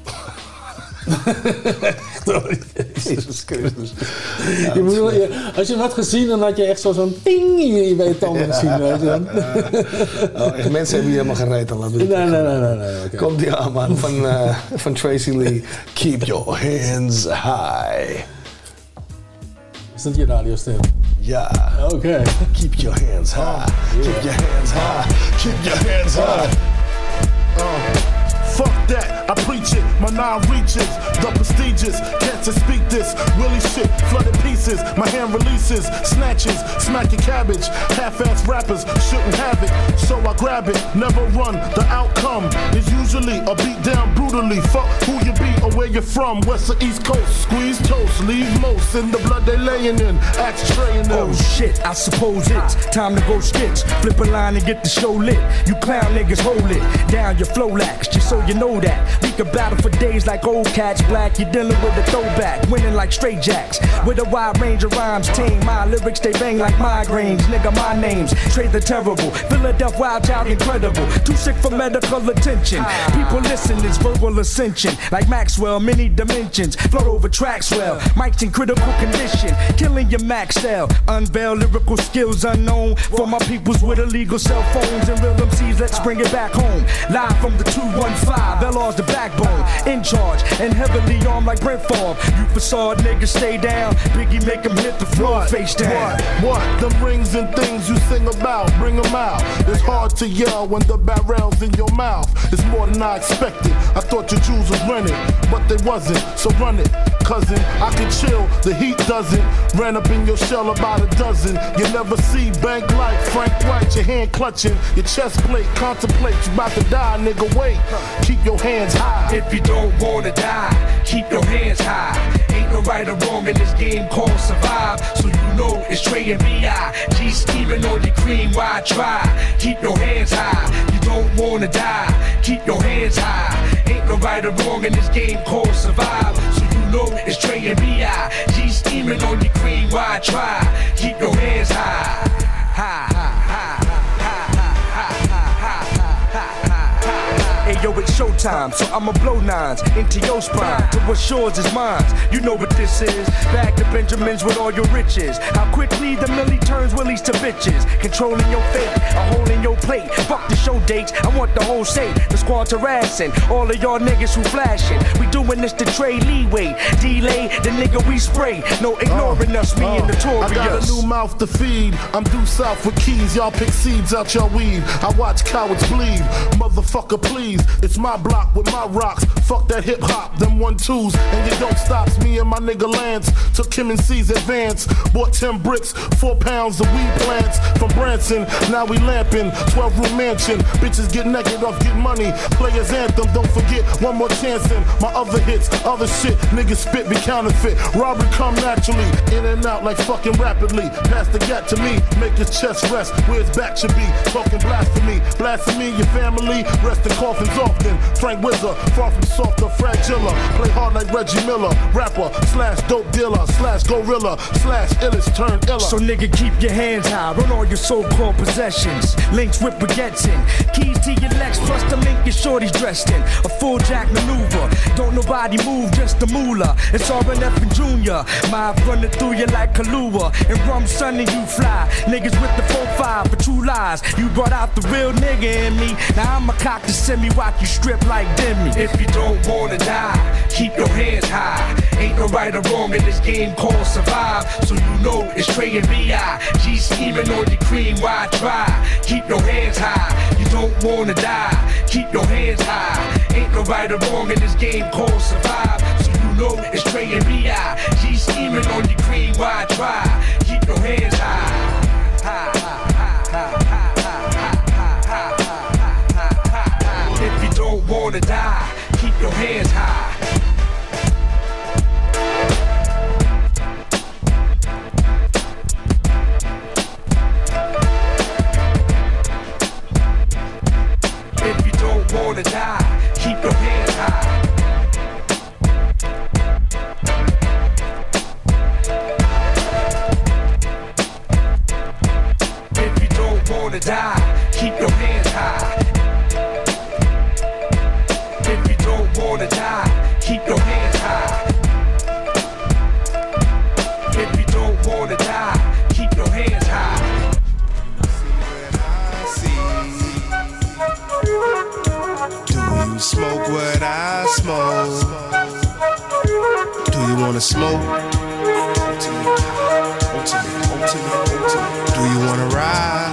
Jezus Christus. Als je hem had gezien, dan had je echt zo'n ting in je tanden gezien. Weet je echt, mensen hebben hier helemaal geen reet aan. Nee. Okay. Komt die aan, man, van Tracy Lee. Keep your hands high. Is dat je radiostem? Ja. Oké. Keep your hands high. Keep your hands high. Keep your hands high. Fuck that, I preach it, my nine reaches, the prestigious, can't speak this, Willie shit, flooded pieces, my hand releases, snatches, smack your cabbage, half-ass rappers shouldn't have it, so I grab it, never run, the outcome is usually a beat down brutally, fuck who you be or where you're from, west or east coast, squeeze toast, leave most in the blood they laying in, axe traying them. Oh shit, I suppose it's time to go stitch, flip a line and get the show lit, you clown niggas hold it, down your flow lax, just so you know that we can battle for days like old cats. Black, you're dealing with a throwback, winning like straight jacks. With a wide range of rhymes, team. My lyrics they bang like migraines. Nigga, my name's Trey the Terrible, Philadelphia Wild Child, incredible. Too sick for medical attention. People listen, it's verbal ascension. Like Maxwell, many dimensions. Float over tracks well. Mike's in critical condition, killing your max cell. Unveil lyrical skills unknown for my peoples with illegal cell phones and real MCs. Let's bring it back home. Live from the 215. LR's the backbone, in charge, and heavily armed like Brent Favre. You facade niggas stay down, Biggie make them hit the floor face down. What? Them rings and things you sing about, bring them out. It's hard to yell when the barrel's in your mouth. It's more than I expected. I thought your jewels was rented, but they wasn't, so run it. Cousin, I can chill, the heat doesn't. Ran up in your shell about a dozen. You never see bank like Frank White, your hand clutching, your chest plate, contemplate, you about to die, nigga, wait. Keep your hands high. If you don't wanna die, keep your hands high. Ain't no right or wrong in this game called survive. So you know it's Trey and B.I. G scheming on your cream, why try? Keep your hands high. You don't wanna die, keep your hands high. Ain't no right or wrong in this game called survive. So you know it's Trey and B.I. G scheming on your cream, why try? Keep your hands high. High, high, high. Hey yo, it's showtime, so I'ma blow nines into your spine. To what's yours is mine. You know what this is. Back to Benjamins with all your riches. How quickly the millie turns willies to bitches. Controlling your fate, a hole in your plate. Fuck the show dates, I want the whole state. The squad harassing all of y'all niggas who flashing. We doing this to trade leeway. Delay the nigga we spray. No ignoring us, me and Notorious. I got a new mouth to feed. I'm due south with keys. Y'all pick seeds out your weed. I watch cowards bleed. Motherfucker, please. It's my block with my rocks. Fuck that hip hop, them 1-2s, and you don't stop. Me and my nigga Lance took Kim and C's advance. Bought 10 bricks, 4 pounds of weed plants from Branson. Now we lamping, 12-room mansion. Bitches get naked off get money. Players anthem, don't forget one more chance in my other hits, other shit. Niggas spit be counterfeit. Robbery come naturally, in and out like fucking rapidly. Pass the gap to me, make his chest rest where his back should be. Talking blasphemy, blasphemy your family. Rest in coffins often. Frank Wizard, far from soft or fragile. Play hard like Reggie Miller. Rapper slash dope dealer slash gorilla slash illest turn iller. So nigga, keep your hands high. Run all your so-called possessions. Links with with baguettes in. Keys to your Lex, plus the Lincoln shorties dressed in. A full jack maneuver. Don't nobody move, just the moolah. It's RNF and Junior. Mob running through you like Kahlua. And rum son and you fly. Niggas with the 4-5 for true lies. You brought out the real nigga in me. Now I'm a cock to send me watch you strip like Demi. If you don't wanna die, keep your hands high. Ain't no right or wrong in this game called survive. So you know it's Trey and B.I. G scheming on your cream, why try? Keep your hands high, you don't wanna die. Keep your hands high. Ain't no right or wrong in this game called survive. So you know it's Trey and B.I. G scheming on your cream, why try? Keep your hands high. If you don't wanna die, keep your hands high. If you don't wanna die, keep your hands high. If you don't wanna die, keep your hands high. If you don't wanna die, keep your hands high. If you don't wanna die, keep your hands high. Do you smoke what I smoke? Do you wanna smoke? Do you wanna ride?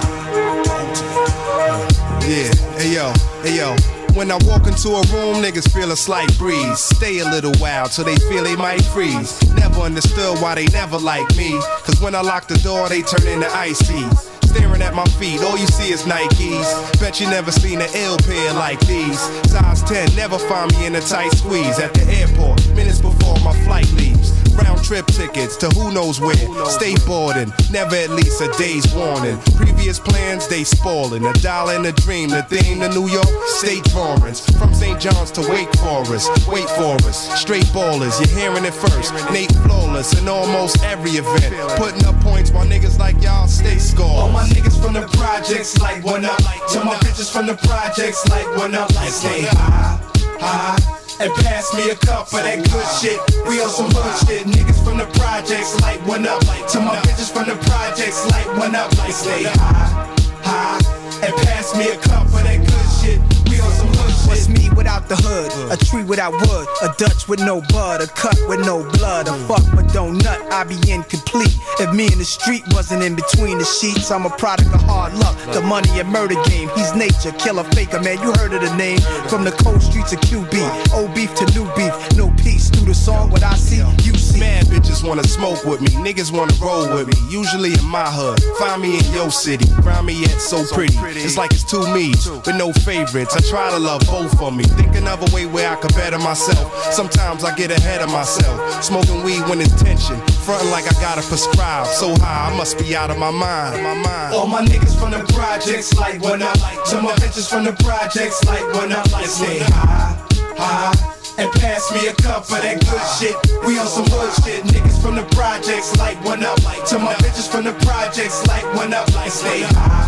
Yeah, hey yo. When I walk into a room, niggas feel a slight breeze. Stay a little while till they feel they might freeze. Never understood why they never like me. Cause when I lock the door, they turn into ices. Staring at my feet, all you see is Nikes. Bet you never seen an ill pair like these. Size 10, never find me in a tight squeeze. At the airport, minutes before my flight leaves. Round trip tickets to who knows where. Stay boarding, never at least a day's warning. Previous plans, they spoiling. $1 in a dream, the theme to New York, state drawings. From St. John's to Wake Forest, wait for us. Straight ballers, you're hearing it first. Nate flawless in almost every event. Putting up points while niggas like y'all stay score. All my niggas from the projects like one up. To my bitches from the projects like one up. Stay high, and pass me a cup of that good shit. We on some hood shit. Niggas from the projects like one up. To my bitches from the projects like one up. Stay high, and pass me a cup of that good shit. We on some hood shit. What's me without the hood? A tree without wood, a Dutch with no bud, a cut with no blood, a fuck but don't nut, I be incomplete. If me and the street wasn't in between the sheets, I'm a product of hard luck, the money and murder game. He's nature, killer, faker, man, you heard of the name. From the cold streets of QB, old beef to new beef, no peace. Through the song, what I see, you see. Mad bitches wanna smoke with me, niggas wanna roll with me. Usually in my hood, find me in your city. Grimy yet so pretty, it's like it's two me's, with no favorites. I try to love both of me, think another way where I could better myself. Sometimes I get ahead of myself, smoking weed when it's tension, frontin' like I gotta prescribe. So high, I must be out of my mind. All my niggas from the projects like one up. To my bitches from the projects like one up. Stay high, and pass me a cup of that good shit. We on some hood shit. Niggas from the projects like one up. To my bitches from the projects like one up. Stay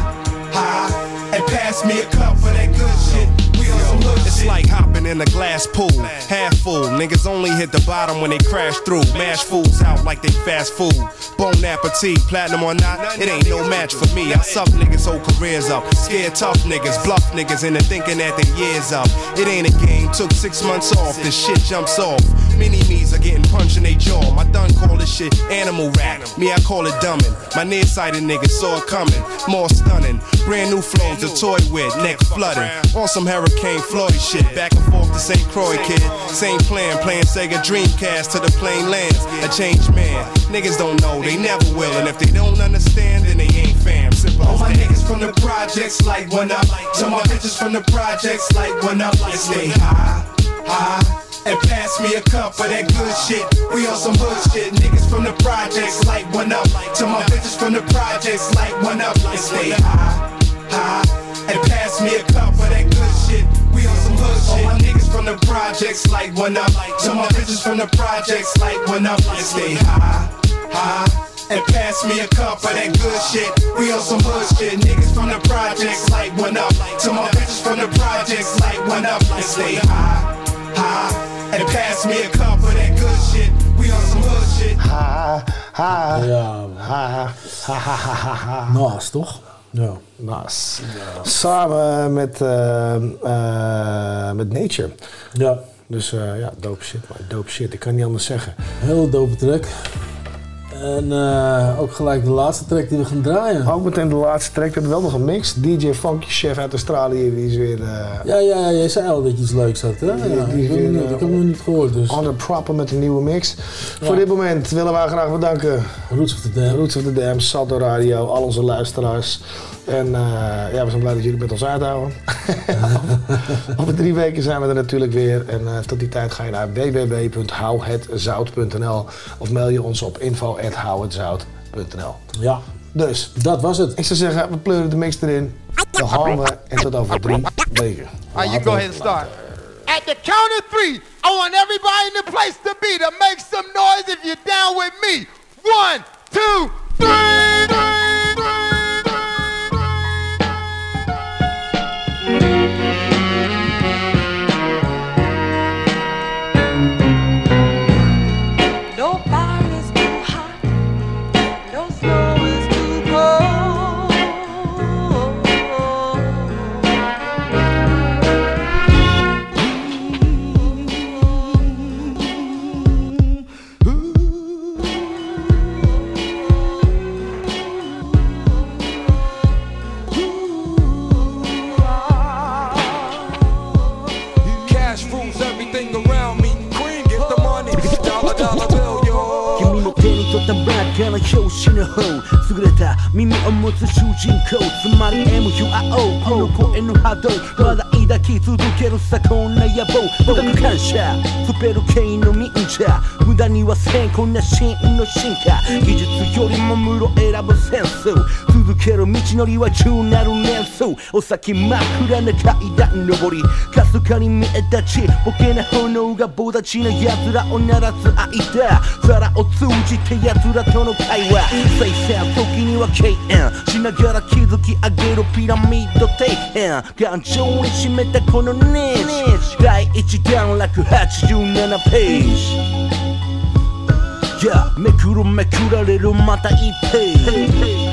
high, and pass me a cup of that good shit. It's like hopping in a glass pool, half full. Niggas only hit the bottom when they crash through. Mash fools out like they fast food. Bon appetit, platinum or not, it ain't no match for me. I suck niggas' whole careers up. Scared tough niggas, bluff niggas into thinking that their years up. It ain't a game, took 6 months off, this shit jumps off. Mini-me's are getting punched in they jaw. My done call this shit animal rap. Me, I call it dumbin'. My nearsighted niggas saw it coming. More stunning. Brand new flows to toy with, neck flooding. On some Hurricane Floyd shit. Back and forth to St. Croix, kid. Same plan, playing Sega Dreamcast to the plain lands. A changed man. Niggas don't know, they never will. And if they don't understand, then they ain't fam. All my niggas from the projects like one up. To my bitches from the projects like one up. Stay high, and pass me a cup of that good shit. We on some hood shit. Niggas from the projects like one up. To my bitches from the projects like one up. Stay high, and pass me a cup of that good shit. We on some hood shit. All my niggas from the projects like one up. To my bitches from the projects like one up. Stay high, and pass me a cup of that good shit. We on some hood shit. Niggas from the projects like one up. To my bitches from the projects like one up. And stay high, and pass me a cup of that good shit. We on some hood shit. Nas, toch? Ja. Nas. Ja. Samen met Nature. Ja. Dus ja, dope shit, man. Dope shit. Ik kan niet anders zeggen. Heel dope track. En ook gelijk de laatste track die we gaan draaien. Ook meteen de laatste track. We hebben wel nog een mix. DJ Funky Chef uit Australië, die is weer... Ja, jij zei al dat je iets leuks had, hè? Ik heb hem nog niet gehoord, dus... On the proper met een nieuwe mix. Ja. Voor dit moment willen wij graag bedanken... Roots of the Dam. Roots of the Dam, Salto Radio, al onze luisteraars. En ja, we zijn blij dat jullie met ons uithouden. Over 3 weken zijn we er natuurlijk weer. En tot die tijd ga je naar www.houhetzout.nl of mail je ons op info@houhetzout.nl. Ja. Dus, dat was het. Ik zou zeggen, we pleuren de mix erin. Dan gaan we en tot over 3 weken. You go ahead and start. At the count of 3, I want everybody in the place to be to make some noise if you're down with me. 1, 2, 3. 優れた耳を持つ主人公つまり MUIO この声の波動まだ抱き続けるさこんな野望僕の感謝スペル系の忍者無駄にはせんこんな真の進化技術よりも無路選ぶセンス続ける道のりは中なる年数お先真っ暗な階段登りかすかに見えたちボケな炎が棒立ちの奴らを鳴らす間皿を通じて奴らとの会話再生時には敬遠しながら築き上げるピラミッド底辺頑丈に締めたこのネジ第1段落87ページめくるめくられるまた1ページ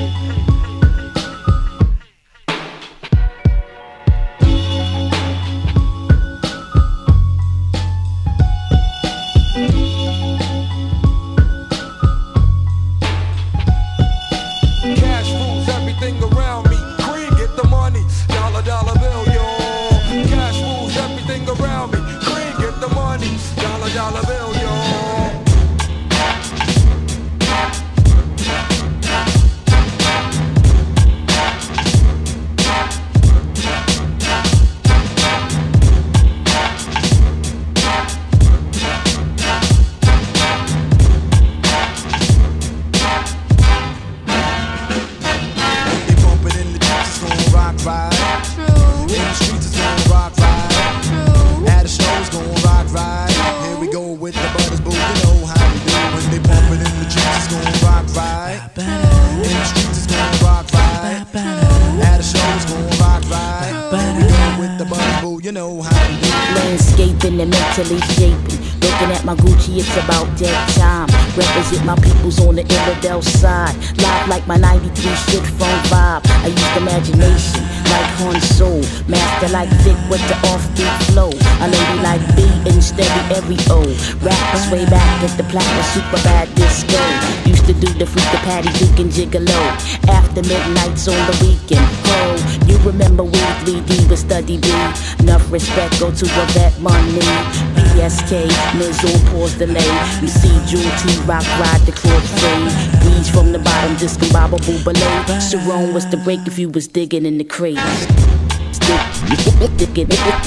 mentally shaping. Looking at my Gucci, it's about that time. Represent my peoples on the Illidale side. Live like my 93 shit phone vibe. I use imagination like Han Solo. Master like Vic with the offbeat flow. A lady like B and steady every O. Rappers way back at the platinum super bad disco. Used to do the freak the Patty Duke and Gigolo. After midnights on the weekend. Oh, you remember we 3D with Study B. Enough respect go to a vet money. BSK, Miz on pause delay. You see Jewel T Rock ride the crossfade. Breeze from the bottom, discombobble ballet. Sharon was the break if you was digging in the crate. Digging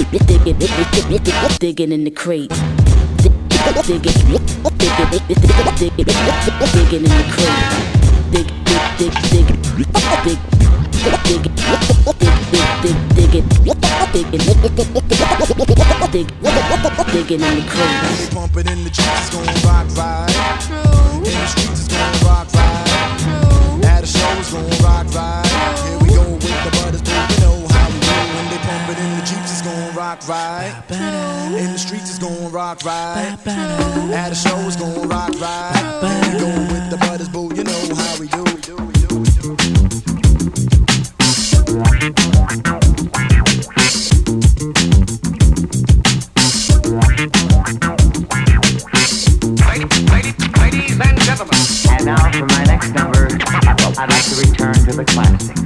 in the crate. Digging in the crate. Digging in the crate. Pump it in the streets, it's gon' rock right. In the streets, it's gon' rock right. rock right. In the streets it's gon' rock right. At a show it's gon' rock right. We going with the butters, boo, you know how we do. Ladies and gentlemen. And now for my next number, I'd like to return to the classics.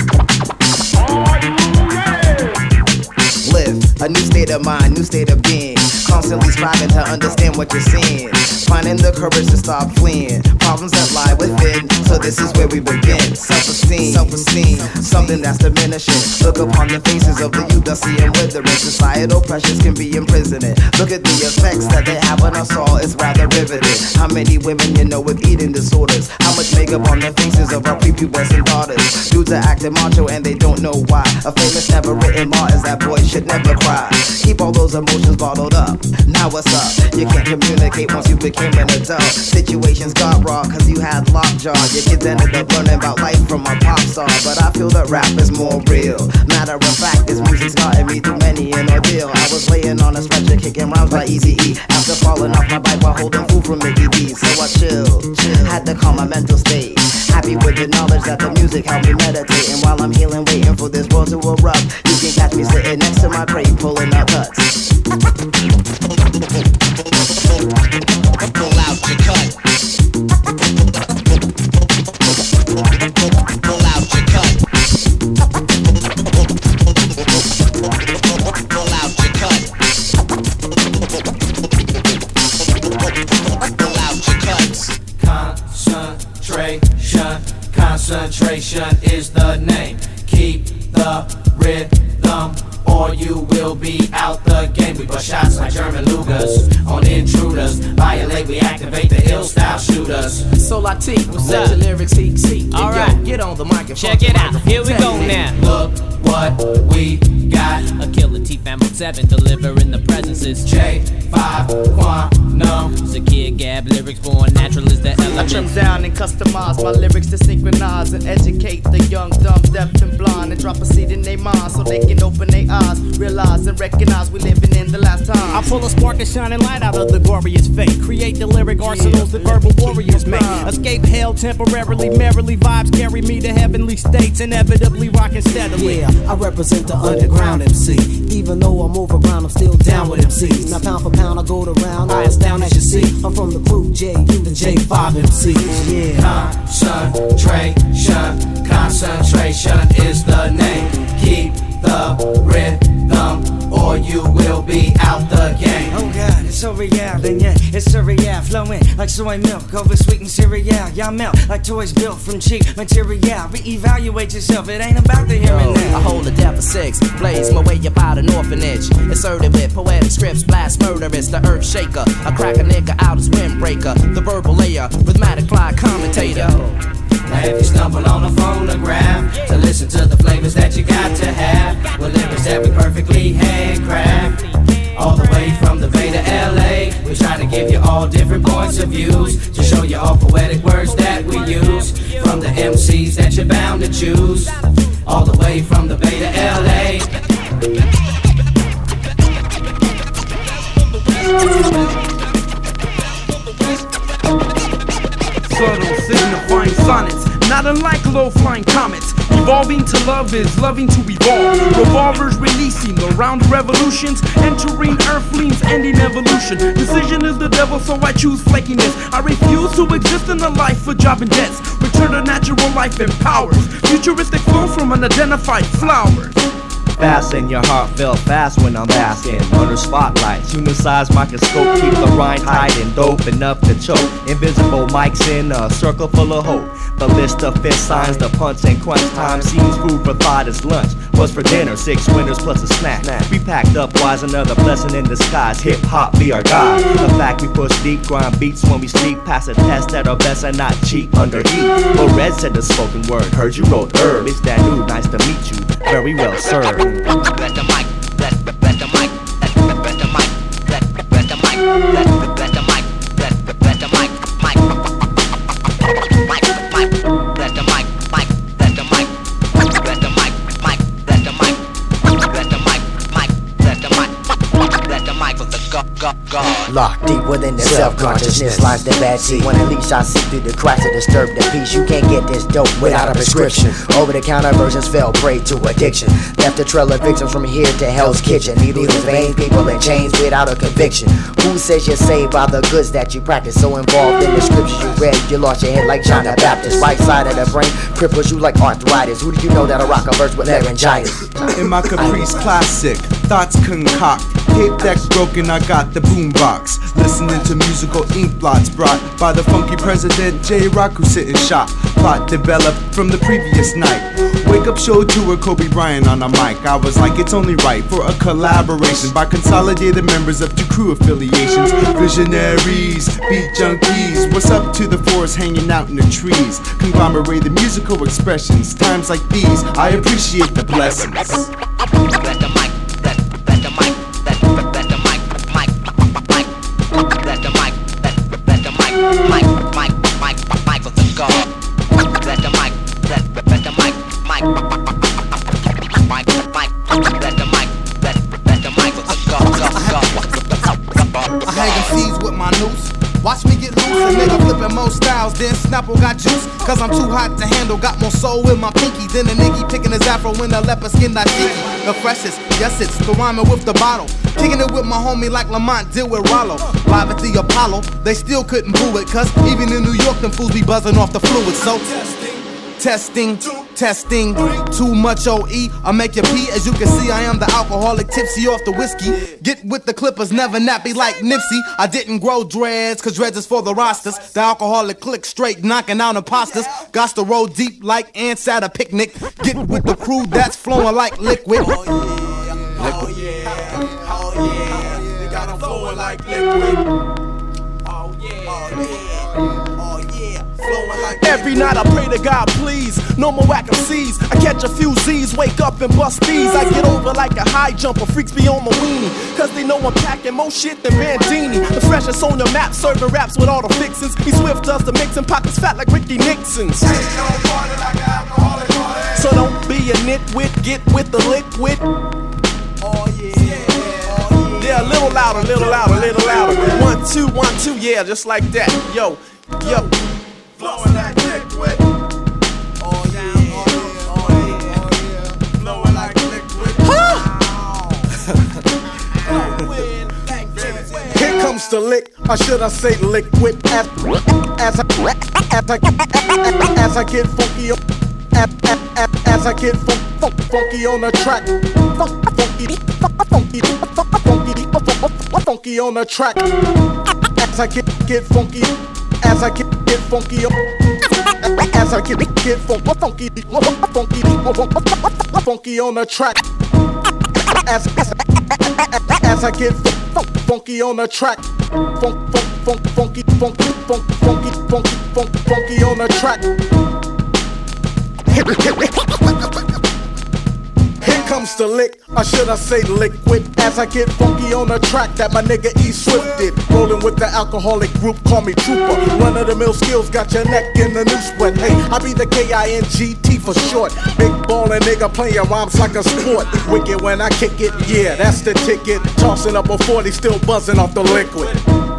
Live a new state of mind, new state of being. Constantly striving to understand what you're seeing. Finding the courage to stop fleeing. Problems that lie within. So this is where we begin. Self-esteem, something that's diminishing. Look upon the faces of the youth that see them withering. Societal pressures can be imprisoning. Look at the effects that they have on us all. It's rather riveting. How many women you know with eating disorders? How much makeup on the faces of our prepubescent daughters? Dudes are acting macho and they don't know why. A famous never written law is that boys should never cry. Keep all those emotions bottled up. Now what's up? You can't communicate once you became an adult. Situations got raw cause you had lockjaw. Your kids ended up learning about life from a pop star. But I feel that rap is more real. Matter of fact, this music's gotten me through many an ordeal. I was laying on a stretcher kicking rhymes by Eazy-E after falling off my bike while holding food from Mickey D. So I chilled, had to calm my mental state. Happy with the knowledge that the music helped me meditate. And while I'm healing, waiting for this world to erupt, you can catch me sitting next to my crate pulling out cuts. Pull out your cut. Pull out your cut. Pull out your cut. Pull out your cuts. Concentration is the name. Keep the rhythm or you will be out the game. We bust shots like German Lugers on intruders. Violate, we activate the ill style shooters. So Latif, what's up? Let your lyrics seek. Alright, get on the microphone. Check it out. Here we go now. Look what we got. A killer T-Fam 7 delivering the presences. J5 Quantum. Zakir Gab lyrics born natural is the element. I trim down and customize my lyrics to synchronize and educate the young, dumb, deaf, and blind, and drop a seed in their mind so they can open their eyes, realize and recognize we living in the last time. I pull a spark of shining light out of the glorious fate. Create the lyric arsenals that verbal warriors make. Escape hell temporarily, merrily vibes carry me to heavenly states, inevitably rocking steadily. Yeah, I represent the underground MC. Even though I'm overground, I'm still down with MCs. Now pound for pound, I go to round, I astound as you see. I'm from the crew J, the J5 MCs. Yeah. Concentration is the name. Keep the rhythm or you will be out the game. Oh God, it's so real, and yeah, it's so real. Flowing like soy milk over sweetened cereal. Y'all melt like toys built from cheap material. Reevaluate yourself, it ain't about the here and now. I hold a depth of 6, blaze my way up out an orphanage. Inserted with poetic scripts, blast murderous, the earth shaker. I crack a nigga out as windbreaker, the verbal layer, rhythmatic fly commentator. Now if you stumble on a phonograph to listen to the flavors that you got to have, with lyrics that we perfectly handcraft, all the way from the Bay to LA, we try to give you all different points of views, to show you all poetic words that we use, from the MCs that you're bound to choose, all the way from the Bay to LA. Subtle signifying sonnets, not unlike low-flying comets. Evolving to love is loving to evolve. Revolvers releasing the round revolutions, entering earthlings, ending evolution. Decision is the devil, so I choose flakiness. I refuse to exist in a life for job and debts. Return to natural life and powers. Futuristic flow from unidentified flowers. Fasten your heart felt fast when I'm basking under spotlights. Human size microscope keep the rind tight and dope enough to choke. Invisible mics in a circle full of hope. The list of fist signs, the punch and crunch time seems food for thought as lunch. What's for dinner? 6 winners plus a snack. We packed up wise, another blessing in disguise. Hip hop be our guide. The fact we push deep, grind beats when we sleep. Pass a test at our best and not cheap under heat. But Red said the spoken word. Heard you wrote herb. It's that new, nice to meet you. Very well served. Let the mic, let the mic, let the mic, let the mic, let the mic, let the mic, let the mic, let the mic, let the mic, let the mic, let the mic, let the mic, let the mic, let the mic, let the locked deep within the self-consciousness lies the bad seed. When at least I see through the cracks to disturb the peace. You can't get this dope without a prescription. Over-the-counter versions fell prey to addiction. Left a trail of victims from here to Hell's Kitchen. Needles and veins, people in chains without a conviction. Who says you're saved by the goods that you practice? So involved in the scriptures you read, you lost your head like John the Baptist. Right side of the brain cripples you like arthritis. Who do you know that'll rock a verse with laryngitis? In my Caprice classic, thoughts concoct. Tape deck broken, I got the boombox. Listening to musical ink blots brought by the funky president J-Rock who sit and shot. Plot developed from the previous night. Wake up show tour, Kobe Bryant on a mic. I was like, it's only right for a collaboration by consolidated members of two crew affiliations. Visionaries, beat junkies. What's up to the forest hanging out in the trees? Conglomerated musical expressions. Times like these, I appreciate the blessings. Bless the mic, bless the mic, bless the mic, bless the mic, bless the mic, mic for the God. Bless the mic, bless the mic, mic, bless the mic, bless the mic for the God. I hang MCs with my noose. Watch me get loose, a nigga flipping more styles than Snapple got juice. Cause I'm too hot to handle, got more soul in my pinky than a nigga picking his afro in a leopard skin dashiki. The freshest, yes it's the rhyming with the bottle. Kicking it with my homie like Lamont did with Rollo. Live at the Apollo, they still couldn't boo it. Cause even in New York, them fools be buzzing off the fluid. So testing, too much OE, I make you pee. As you can see, I am the alcoholic, tipsy off the whiskey. Get with the Clippers, never nappy like Nipsey. I didn't grow dreads, cause dreads is for the rosters. The alcoholic click straight, knocking out imposters. Got to roll deep like ants at a picnic. Get with the crew that's flowing like liquid. Oh yeah, they got them flowing like liquid. Every night I pray to God, please, no more whack MCs. I catch a few Z's, wake up and bust these. I get over like a high jumper, freaks be on my weenie. Cause they know I'm packing more shit than Bandini. The freshest on the map, serving raps with all the fixins. He swift does the mixing, pockets fat like Ricky Nixon's. So don't be a nitwit, get with the liquid. Yeah, a little louder, little louder, little louder. 1, 2, 1, 2, yeah, just like that. Yo. Flowing like liquid. Flowing like liquid. Here comes the lick, or should I say liquid? As I get funky, as I get funky on the track, funky on the track. As I get funky. As I get funky, as I get funky on the track. As I get funky on the track. Funky on the track. Here comes the lick, or should I say liquid? As I get funky on the track that my nigga E Swift did. Rolling with the alcoholic group, call me Trooper. Run of the mill skills, got your neck in the new sweat. Hey, I be the KINGT for short. Big ballin' nigga playing rhymes like a sport. Wicked when I kick it, yeah, that's the ticket. Tossing up a 40, still buzzing off the liquid.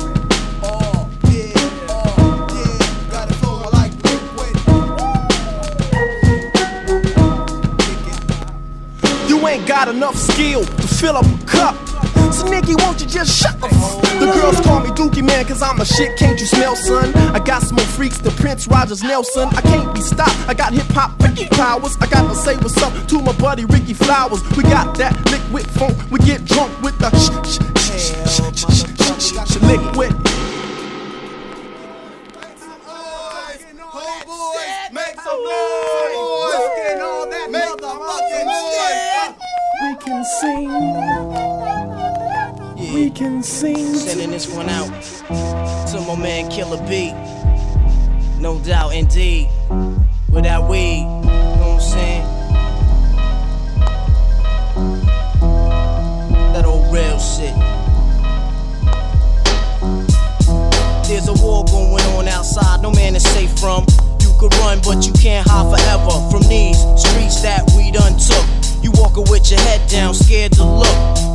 Ain't got enough skill to fill up a cup. So Nicky, won't you just shut the fuck? The girls call me Dookie Man cause I'm a shit, can't you smell, son? I got some more freaks than Prince Rogers Nelson. I can't be stopped, I got hip-hop Ricky powers. I got to say what's up to my buddy Ricky Flowers. We got that liquid funk, we get drunk with the liquid. Make some noise! Get all that motherfucking noise! We can sing. Yeah. We can sing. Sending this one out to my man Killer B. No doubt, indeed. Without weed, you know what I'm saying? That old real shit. There's a war going on outside, no man is safe from. You could run, but you can't hide forever from these streets that we done took. You walking with your head down, scared to look.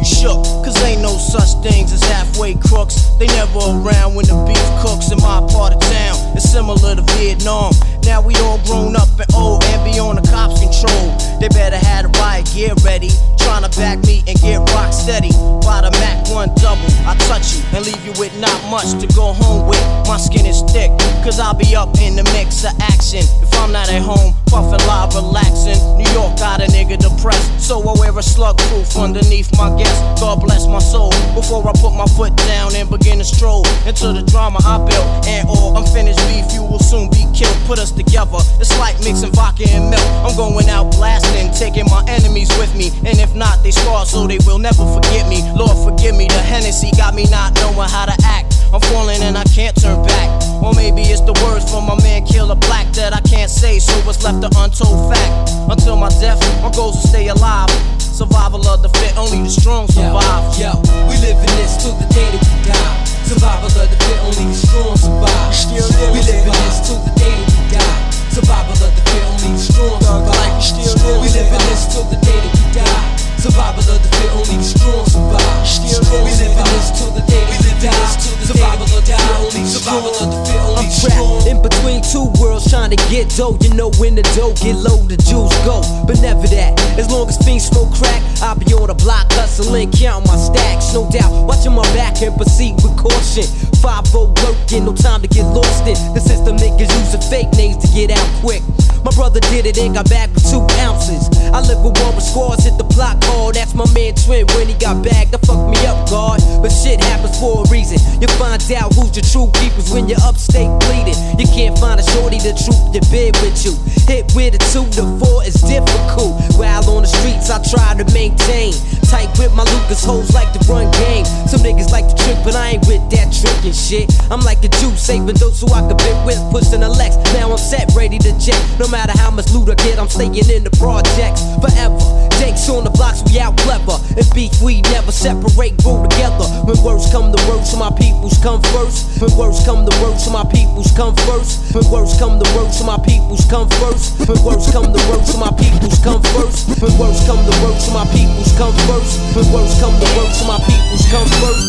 you shook. Cause ain't no such things as halfway crooks. They never around when the beef cooks in my part of town. It's similar to Vietnam. Now we all grown up and old and be on the cops' control. They better have the riot gear ready. Trying to back me and get rock steady. By the Mac 1 double, I touch you and leave you with not much to go home with. My skin is thick, cause I'll be up in the mix of action. If I'm not at home, puffin' live, relaxing. New York got a nigga depressed, so I wear a slug proof underneath my guest. God bless my soul. Before I put my foot down and begin to stroll into the drama I built. And all unfinished beef, you will soon be killed. Put us together, it's like mixing vodka and milk. I'm going out blasting, taking my enemies with me. And if not, they scar so they will never forget me. Lord forgive me, the Hennessy got me not knowing how to act. I'm falling and I can't turn back. Or maybe it's the words from my man Killer Black that I can't say, so what's left an untold fact. Until my death, my goals to stay alive. Survival of the fit, only the strong survive. Yo, we live in this till the day that we die. Survival of the fit, only the strong survive. We live in this till the day that we die. Survival of the fit, only the strong survive. We live in this till the day that we die. Survival of the fit, only the strong survive. We live in this till the day that we die. Survival of the fit, only the strong. I'm trapped in between two worlds trying to get dough. You know when the dough get low, the jewels go. But never that. As long as fiends smoke crack, I'll be on the block hustling, counting my stacks. No doubt, watching my back and proceed with caution. 5-0 working, no time to get lost in. The system niggas using fake names to get out quick. My brother did it and got back with 2 ounces. I live with one with scars, hit the block hard. That's my man Twin when he got bagged. That fucked me up, God. But shit happens for a reason. You find out who's your true keepers when you're upstate bleeding. You can't find a shorty to troop your bed with you. Hit with a 2 to 4 is difficult. While on the streets I try to maintain. Tight with my Lucas hoes like to run game. Some niggas like to trick, but I ain't with that trickin' shit. I'm like a Jew, saving those who I could bit with, pushing the Lex. Now I'm set, ready to jet. No matter how much loot I get, I'm staying in the projects forever. Jake's on the blocks, we out clever. And beef, we never separate, grow together. When words come to words, so my peoples come first. When words come to words, so my peoples come first. When words come to words, so my peoples come first. When words come to words, so my peoples come first. When words come to words, so my peoples come first. When words come to words, so my peoples come first.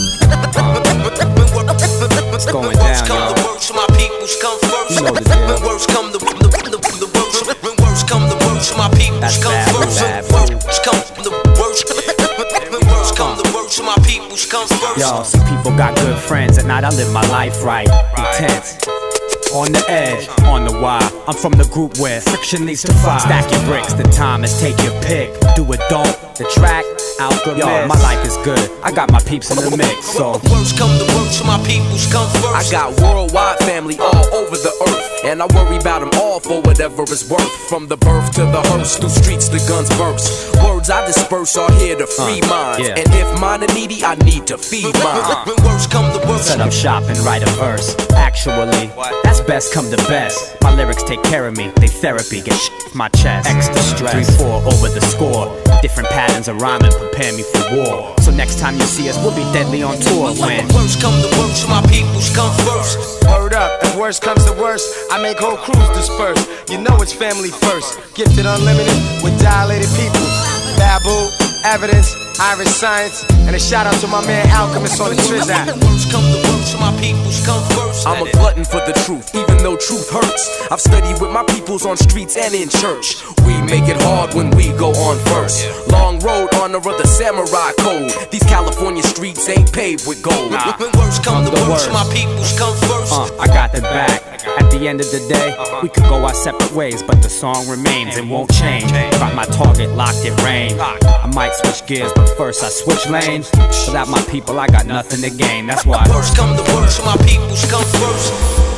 What's going down, y'all? You know the deal. When words come to when words come to words, so my peoples come first. When words come to words, when words come to words, so my peoples come first. Yo, some people got good friends. At night I live my life right, intense. On the edge, on the wire. I'm from the group where friction leads to fire. Stack your bricks, the time is take your pick. Do it, don't, the track, alchemist. Yo, my life is good, I got my peeps in the mix, so words come to words, so my peoples come first. I got worldwide family all over the earth, and I worry about them all for whatever it's worth. From the birth to the hearse, through streets the guns burst. Words I disperse are here to free minds, yeah. And if mine are needy, I need to feed mine. When words come to words, set up shop and write a verse. Actually, that's best come to best. My lyrics take care of me, they therapy, get shit off my chest. Extra stress, 3-4 over the score. Different patterns of rhyming prepare me for war. So next time you see us, we'll be deadly on tour. When words come to words, so my peoples come first. Word up, if worst comes to worst, I make whole crews disperse. You know it's family first. Gifted unlimited with dilated people. Babu, Evidence, Irish Science, and a shout out to my man Alchemist on the Trizak. Words come to words, so my peoples come first. I'm a glutton for the truth, even though truth hurts. I've studied with my peoples on streets and in church. We make it hard when we go on first. Long road, honor of the samurai code. These California streets ain't paved with gold. When words come to words, so my peoples come first. I got the back. At the end of the day, we could go our separate ways, but the song remains and won't change. Got my target locked in range. I might switch gears, but first I switch lanes. Without my people, I got nothing to gain. That's why words come to words, so my peoples come first.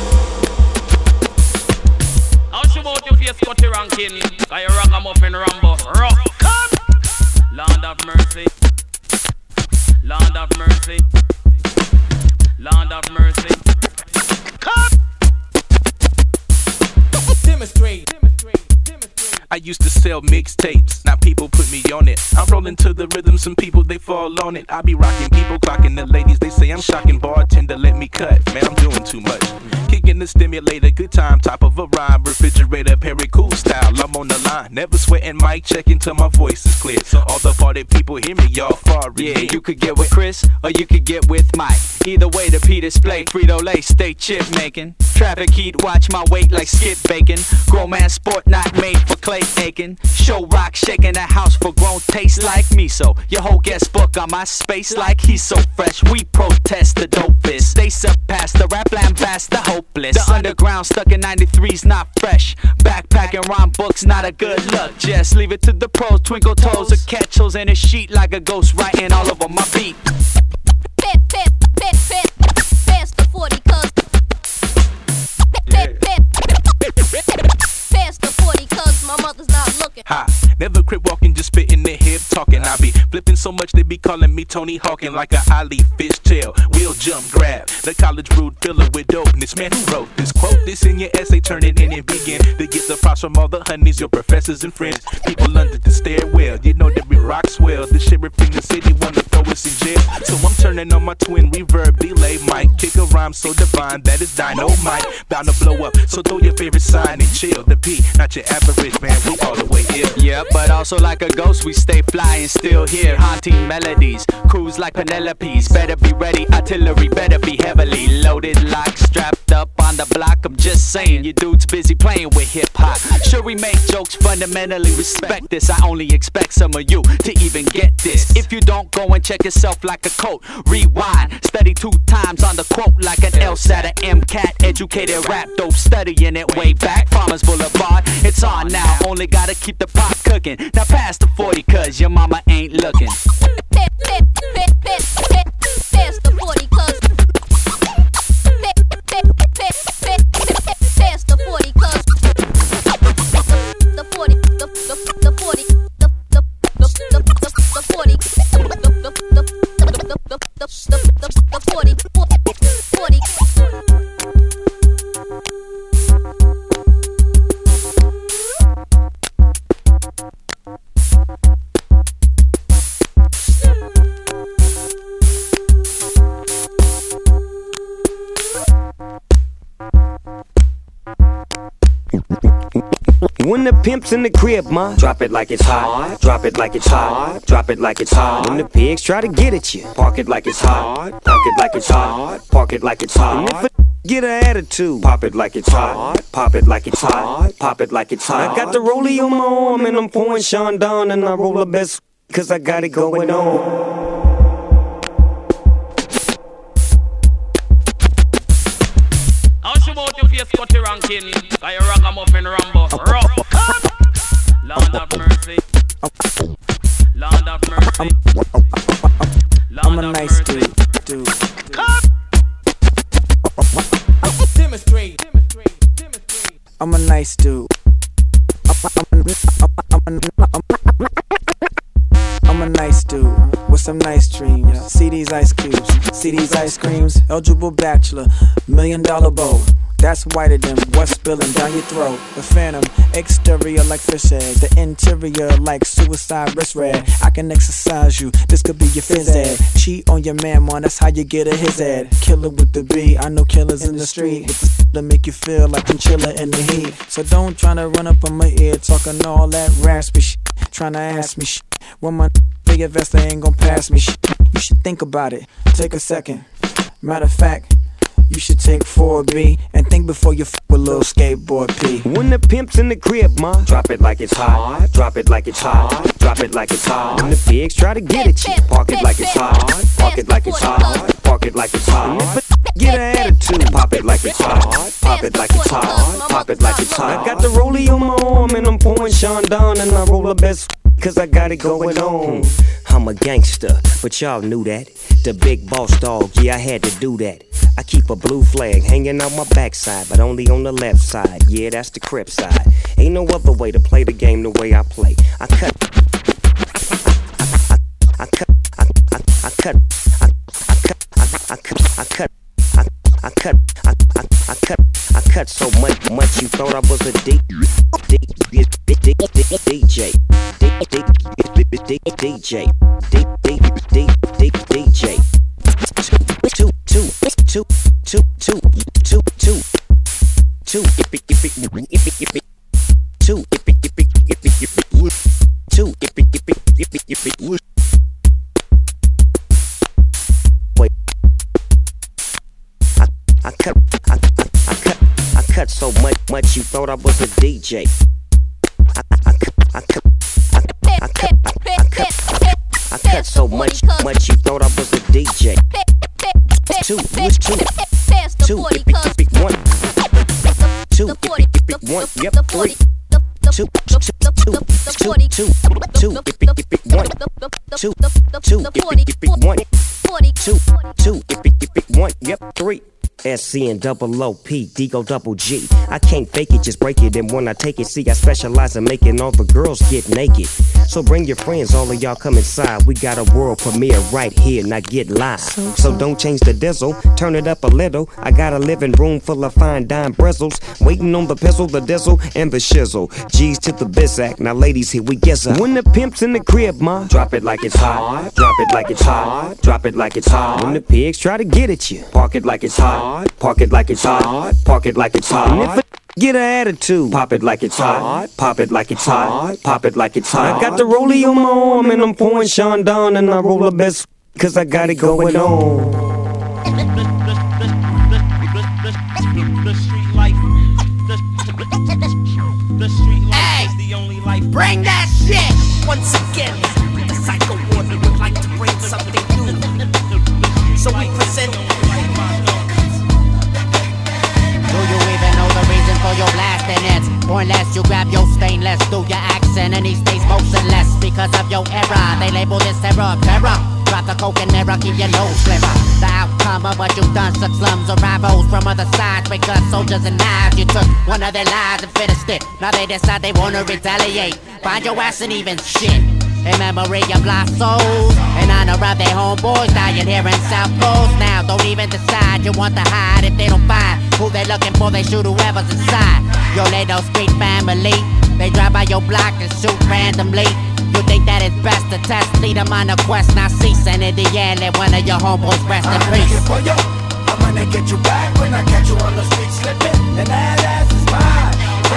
How should about your face cut the ranking? Got your ragamuffin Rambo. Rock. Land of mercy. Land of mercy. Land of mercy. Demonstrate. used to sell mixtapes, now people put me on it. I'm rolling to the rhythm, some people they fall on it. I be rocking, people clocking, the ladies they say I'm shocking. Bartender, let me cut, man, I'm doing too much. Kicking the stimulator, good time, top of a rhyme. Refrigerator, Perry cool style, I'm on the line. Never sweating, mic checking till my voice is clear. So all the party people hear me, y'all far. Yeah, you could get with Chris, or you could get with Mike. Either way, the P display, Frito-Lay, stay chip making. Traffic heat, watch my weight like skip bacon. Grown man sport, not made for clay aching. Show rock, shaking the house for grown taste like miso. Your whole guest book on my space like he's so fresh. We protest the dopest. They surpass the rap lambast, the hopeless. The underground stuck in 93's not fresh. Backpacking rhyme books, not a good look. Just leave it to the pros, twinkle toes, or catch holes in a sheet like a ghost writing all over my beat. Pass the 40 cuz. Pass the 40 cuz my mother's not looking. Ha, never crip walking, just spitting the hip talking. I be flipping so much they be calling me Tony Hawking like a Ali fishtail. Wheel jump grab, the college brewed filler with dopeness. Man, who wrote this? Quote this in your essay, turn it in and begin to get the props from all the honeys, your professors and friends. People under the stairwell, you know that we rock swell. The sheriff in the city wanna throw us in jail, so I'm turning on my twin reverb delay mic. Kick a rhyme so divine that it's dynamite, bound to blow up. So throw your favorite sign and chill. The P, not your average man, we all the way ill. Yeah, but also like a ghost, we stay fly and still hear haunting melodies. Cruise like Penelope's, better be ready. Artillery better be heavily loaded, lock strapped up on the block. I'm just saying, you dudes busy playing with hip hop. Sure, we make jokes, fundamentally respect this. I only expect some of you to even get this. If you don't, go and check yourself like a coat. Rewind, study 2 times on the quote like an LSAT, a MCAT. Educated rap, dope, studying it way back. Farmers Boulevard, it's on now. Only gotta keep the pot cooking. Now pass the 40 cuz your mama ain't looking. Pass the 40 cuz. Pass the 40 cuz. The 40, the 40, the 40, the 40, 40. When the pimp's in the crib, ma, drop it like it's hot. Drop it like it's hot. Drop it like it's hot. When the pigs try to get at you, park it like it's hot. Park it like it's hot. Park it like it's hot. And if a get an attitude, pop it like it's hot. Pop it like it's hot. Pop it like it's hot. I got the rollie on my arm and I'm pouring Sean down and I roll the best cause I got it going on. About your face, Scotty Rankin, like a ragamuffin Rambo. Rock, Lord of mercy, Lord of mercy. I'm a nice dude. Demonstrate. I'm a nice dude. I'm a nice dude with some nice dreams. See these ice cubes, see these ice creams. Eligible bachelor, $1 million bow. That's whiter than what's spilling down your throat. The phantom, exterior like fish eggs, the interior like suicide wrist red. I can exercise you, this could be your phys ed. Cheat on your man, man, that's how you get a his ad. Killer with the B, I know killers in the street with the to make you feel like chinchilla in the heat. So don't tryna run up on my ear talking all that raspy shit, tryna ask me shit. When my big investor ain't gon' pass me shit. You should think about it, take a second. Matter of fact, you should take 4B and think before you f with little skateboard P. When the pimp's in the crib, ma, drop it like it's hot. Drop it like it's hot. Drop it like it's hot. When the pigs try to get at you, park it like it's hot. Park it like it's hot. Park it like it's hot. And if a get an attitude, pop it like it's hot. Pop it like it's hot. Pop it like it's hot. I got the rollie on my arm and I'm pouring Sean down and I roll the best cause I got it going on. I'm a gangster, but y'all knew that. The big boss dog, yeah, I had to do that. I keep a blue flag hanging out my backside, but only on the left side. Yeah, that's the Crip side. Ain't no other way to play the game the way I play. I cut so much you thought I was a dick. DJ. DJ. DJ. Wait. I cut so much you thought I was a DJ. I cut so much you thought I was a DJ. Two, yep, three. One, yep, three. SC and double OP, Digo double G. I can't fake it, just break it. And when I take it, see, I specialize in making all the girls get naked. So bring your friends, all of y'all come inside. We got a world premiere right here, now get live. So don't change the diesel, turn it up a little. I got a living room full of fine dime bristles, waiting on the pistol, the diesel, and the shizzle. G's to the bizac, now ladies, here we guess up. When the pimp's in the crib, ma, drop it like it's hot. Drop it like it's hot. Drop it like it's hot. When the pigs try to get at you, park it like it's hot. Park it like it's hot. Park it like it's hot. And if it get an attitude, pop it like it's hot. Pop it like it's hot. Pop it like it's hot. I got the rollie on my arm and I'm pouring Sean down and I roll the best cause I got it going on. The street life. The street life is the only life. Bring that shit! Once again, the Psycho Ward would like to bring something new. So we present. Do you even know the reason for your blasting? It's pointless, you grab your stainless, do your accent, and he stays motionless because of your error. They label this terror of terror. Drop the coke and never keep your nose sliver. The outcome of what you've done such slums or rivals from other sides. With guns, soldiers, and knives. You took one of their lives and finished it. Now they decide they wanna retaliate. Find your ass and even shit. In memory of lost souls, in honor of their homeboys dying here in South Coast. Now don't even decide you want to hide. If they don't find who they looking for, they shoot whoever's inside. Your little street family, they drive by your block and shoot randomly. You think that it's best to test, lead them on a quest, not cease. And in the end, let one of your homeboys rest in peace. I'm gonna get you back when I catch you on the street slipping. And that ass is mine,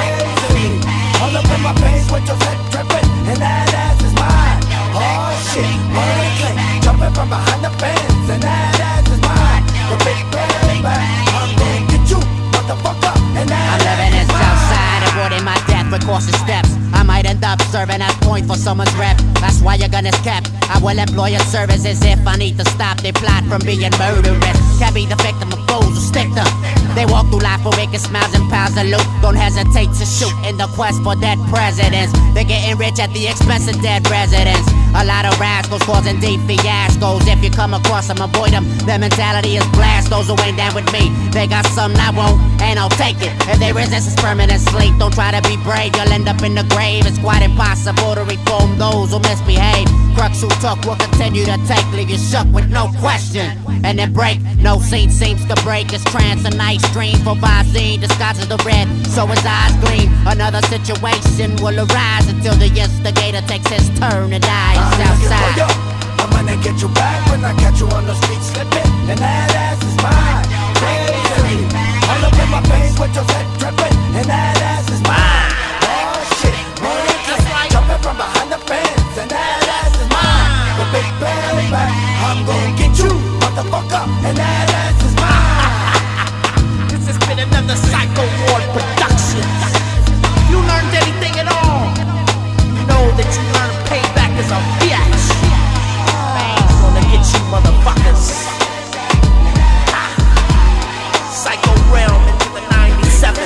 crazy. All up in my face with your head dripping. And that ass is mine, oh shit. Murder click, jumping from behind the fence. And that ass is mine, the big bang bang. I'm gonna get you, motherfucker. And that I'm living in Southside, avoiding my death with cautious steps. I might end up serving as point for someone's rep. That's why your gun is kept. I will employ your services if I need to stop their plot from being murderous. Can't be the victim of fools who stick them. They walk through life with wicked smiles and piles of loot. Don't hesitate to shoot in the quest for dead presidents. They're getting rich at the expense of dead residents. A lot of rascals causing deep fiascos. If you come across them, avoid them. Their mentality is blast. Those who ain't down with me, they got something I won't, and I'll take it. If they resist, it's permanent sleep. Don't try to be brave, you'll end up in the grave. It's quite impossible to reform those who misbehave. Crooks who talk will continue to take, leave you shook with no question. And then break, no scene seems to break. It's trance, a nice dream for Visine disguises the red, so his eyes gleam. Another situation will arise until the instigator takes his turn and dies outside. I'm gonna get you back when I catch you on the street slipping. And that ass is mine, crazy. All up in my face with your head dripping. And that ass is mine, oh shit. Murder click, jumping from behind the fence. And that ass is mine, the big bang bang. I'm gonna get you, motherfucker. And that ass is mine. This has been another Psycho Ward production. You learned anything at all? You know that you learned payback is a bitch. Bang's gonna get you motherfuckers. Psycho Realm into the 97.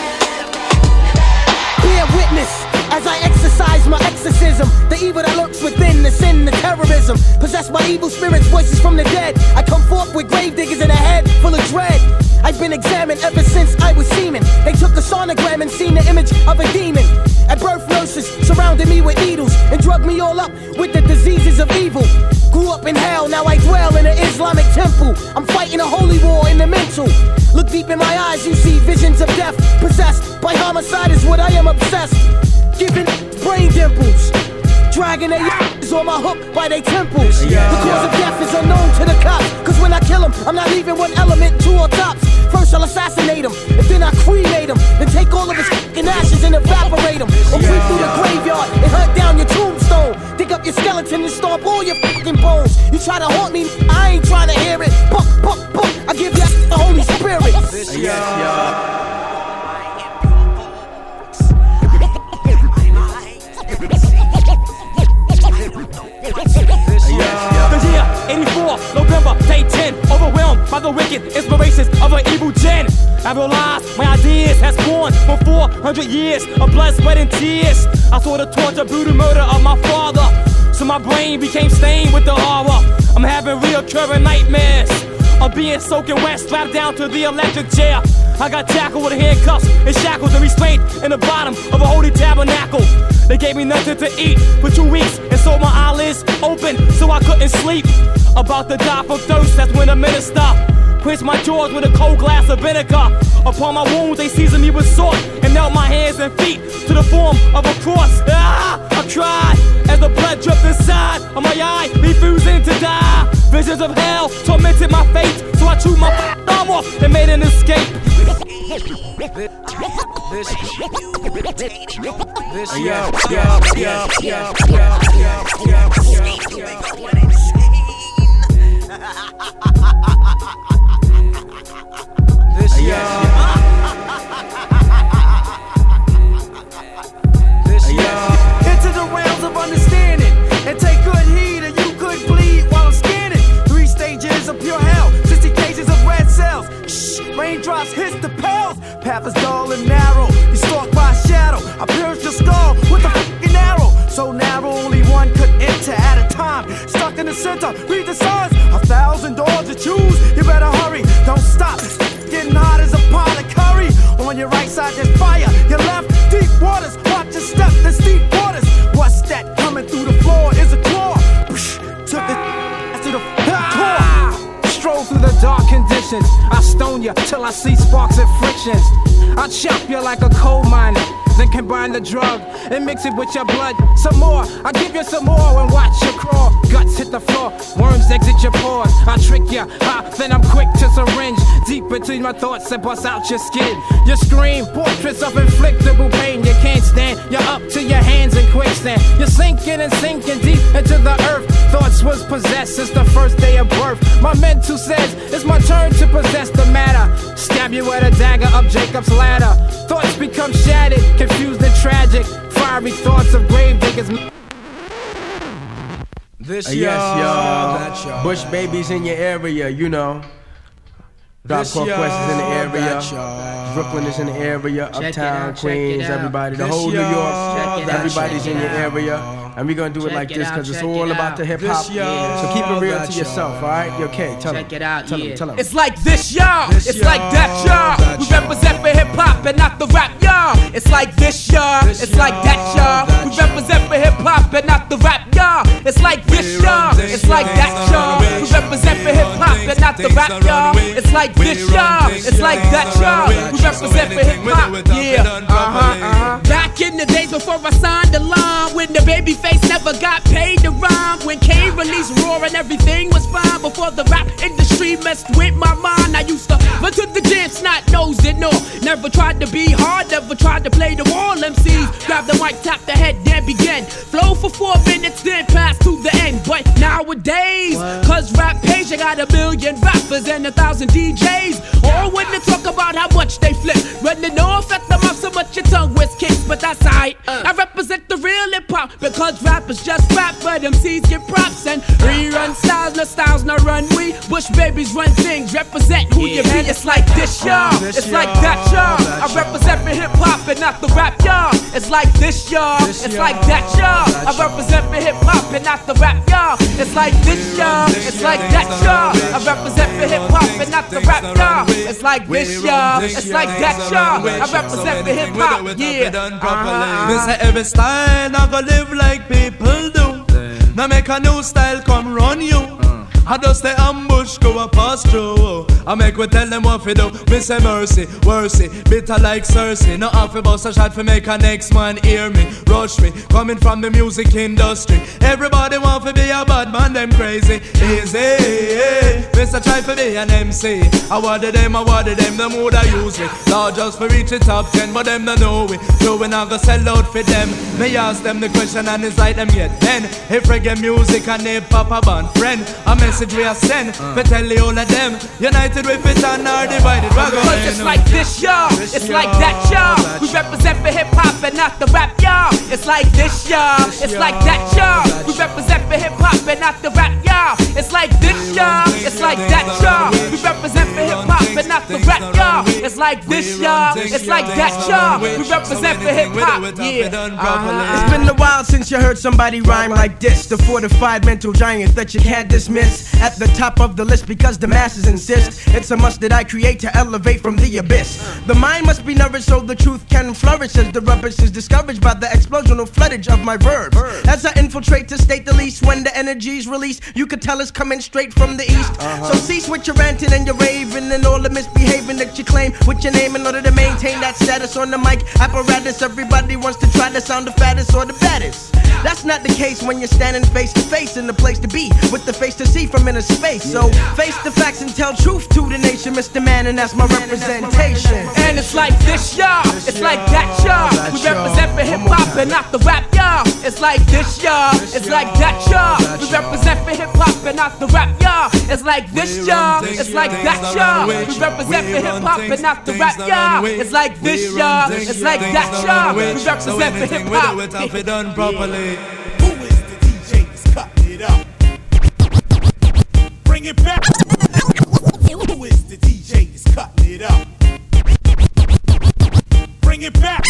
Bear witness as I exercise my exorcism. The evil that lurks within, the sin, the terrorism. Possessed by evil spirits, voices from the dead. I come forth with grave diggers in a head full of dread. I've been examined ever since I was semen. They took a sonogram and seen the image of a demon. At birth, nurses surrounded me with needles and drugged me all up with the diseases of evil. Grew up in hell, now I dwell in an Islamic temple. I'm fighting a holy war in the mental. Look deep in my eyes, you see visions of death. Possessed by homicide is what I am obsessed. giving brain dimples. Dragging their is on my hook by their temples. The cause of death is unknown to the cops. Cause when I kill them, I'm not leaving one element, two on tops. First I'll assassinate him, and then I cremate him. Then take all of his fucking ashes and evaporate him. Or creep through the graveyard and hunt down your tombstone. Dig up your skeleton and stomp all your fucking bones. You try to haunt me, I ain't trying to hear it. Buck, buck, buck, I give you the Holy Spirit. The year 84, November, day 10. Overwhelmed by the wicked inspirations of an evil gen. I realized my ideas has born for 400 years of blood, sweat, and tears. I saw the torture, brutal murder of my father. So my brain became stained with the horror. I'm having reoccurring nightmares of being soaking wet, strapped down to the electric chair. I got tackled with handcuffs and shackles and restrained in the bottom of a holy tabernacle. They gave me nothing to eat for 2 weeks and so my eyelids open so I couldn't sleep. About to die from thirst, that's when the minister quenched my jaws with a cold glass of vinegar. Upon my wounds they seasoned me with salt and knelt my hands and feet to the form of a cross. I cried as the blood dripped inside of my eye, refusing to die. Visions of hell tormented my fate, so I chewed my arm off and made an escape. Into the realms of understanding and take good heed, or you could bleed while I'm scanning. 3 stages of pure hell, 60 cases of red cells. Shh, raindrops hit the pales. Path is dull and narrow. You stalked by a shadow. I pierced your skull with a fucking arrow. So narrow, only one could enter at a time. Stuck in the center, read the signs. 1,000 doors to choose. You better hurry, don't stop. It's getting hot as a pot of curry. On your right side there's fire. Your left, deep waters. Watch your step, there's deep waters. What's that coming through the floor? Is a claw. Took it to the core. Stroll through the dark conditions. I stone you till I see sparks and frictions. I chop you like a coal miner, then combine the drug and mix it with your blood. Some more, I give you some more and watch you crawl. Guts hit the floor, worms exit your pores. I trick you, then I'm quick to syringe deep between my thoughts and bust out your skin. You scream, portraits of inflictable pain. You can't stand, you're up to your hands in quicksand. You're sinking and sinking deep into the earth. Thoughts was possessed since the first day of birth. My mental says it's my turn to possess the matter. Stab you with a dagger up Jacob's ladder. Thoughts become shattered, confused and tragic. Fiery thoughts of grave diggers. This y'all, Bush babies in your area, you know. Drop Quest is in the area. Brooklyn is in the area. Uptown, Queens, everybody, the whole New York, everybody's in your area. And we're gonna do it like this because it's all about the hip hop. So keep it real to yourself, alright? Okay, tell them. Tell them. It's like this, y'all. It's like that, y'all. We represent for hip hop and not the rap, y'all. It's like this, y'all. It's like that, y'all. We represent for hip hop and not the rap, y'all. It's like this, y'all. It's like that, y'all. We represent for hip hop and not the rap, y'all. It's like this, y'all. It's like that, y'all. We represent for hip hop, yeah. Back in the days before I signed the line, when the baby face never got paid to rhyme, when Kane released Raw and everything was fine, before the rap industry messed with my mind, I used to run to the gym, snot-nosed and all. Never tried to be hard, never tried to play the wall. MCs grab the mic, tap the head, then begin. Flow for 4 minutes, then pass to the end. But nowadays, cause rap page, I got 1 million rappers and 1,000 DJs. All when they talk about how much they flip, running off at the mouth so much your tongue was kicked. But that's alright, I represent the real hip hop, because rappers just rap, but MCs get props and rerun styles, no styles, no run we. Bush babies run things, represent who you be. It's like this, y'all. It's like that, y'all. I represent for hip hop and not the rap, y'all. It's like this, y'all. It's like that, y'all. I represent for hip hop and not the rap, y'all. It's like this, y'all. It's like that, y'all. I represent for hip hop and not the rap, y'all. It's like this, y'all. It's like that, y'all. I represent for hip hop, yeah. Me say every style not gonna live like people do. Now make a new style come run you. I just stay humble push, go a pass through. I make we tell them what fi do. Me say mercy, worcy, bitter like Cersei. No half a bust a shot fi make a next man hear me. Rush me, coming from the music industry. Everybody want to be a bad man, them crazy. Easy, Mr. try to be an MC. I wanted them, them would I use me. Lord just for reach the top 10, but them don't know we. So we not go sell out for them. Me ask them the question and it's like them yet then. If reggae music and hip hop a band friend, a message we are send. But tell the all of them, united we fit and are divided. Cause it's like this, y'all. It's like that, y'all. We represent for hip hop and not the rap, y'all. It's like this, y'all. It's like that, y'all. We represent for hip hop and not the rap, y'all. It's like this, y'all. It's like that, y'all. We represent for hip hop and not the rap, y'all. It's like this, y'all. It's like that, y'all. We represent for hip hop, yeah. It's been a while since you heard somebody rhyme like this. The fortified mental giant that you can't dismiss. At the top of the list because the masses insist. It's a must that I create to elevate from the abyss. The mind must be nourished so the truth can flourish. As the rubbish is discouraged by the explosional floodage of my verbs. As I infiltrate to state the least, when the energy's released, you could tell it's coming straight from the east. So cease with your ranting and your raving and all the misbehaving that you claim with your name in order to maintain that status on the mic apparatus. Everybody wants to try to sound the fattest or the baddest. That's not the case when you're standing face to face in the place to be with the face to see from inner space. So face the facts and tell truth to the nation, Mr. Man, and that's my representation. And it's like this, y'all. It's like that, y'all. We represent for hip hop and not the rap, y'all. It's like this, y'all. It's like that, y'all. We represent for hip hop and not the rap, y'all. It's like this, y'all. It's like that, y'all. We represent for hip hop and not the rap, y'all. It's like this, y'all. It's like that, y'all. We represent for hip hop. Who is the DJ that's cutting it up? Bring it back. Who is the DJ that's cutting it up? Bring it back.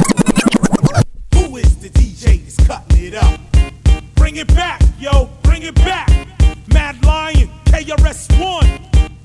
Who is the DJ that's cutting it up? Bring it back, yo, bring it back. Mad Lion, KRS-One.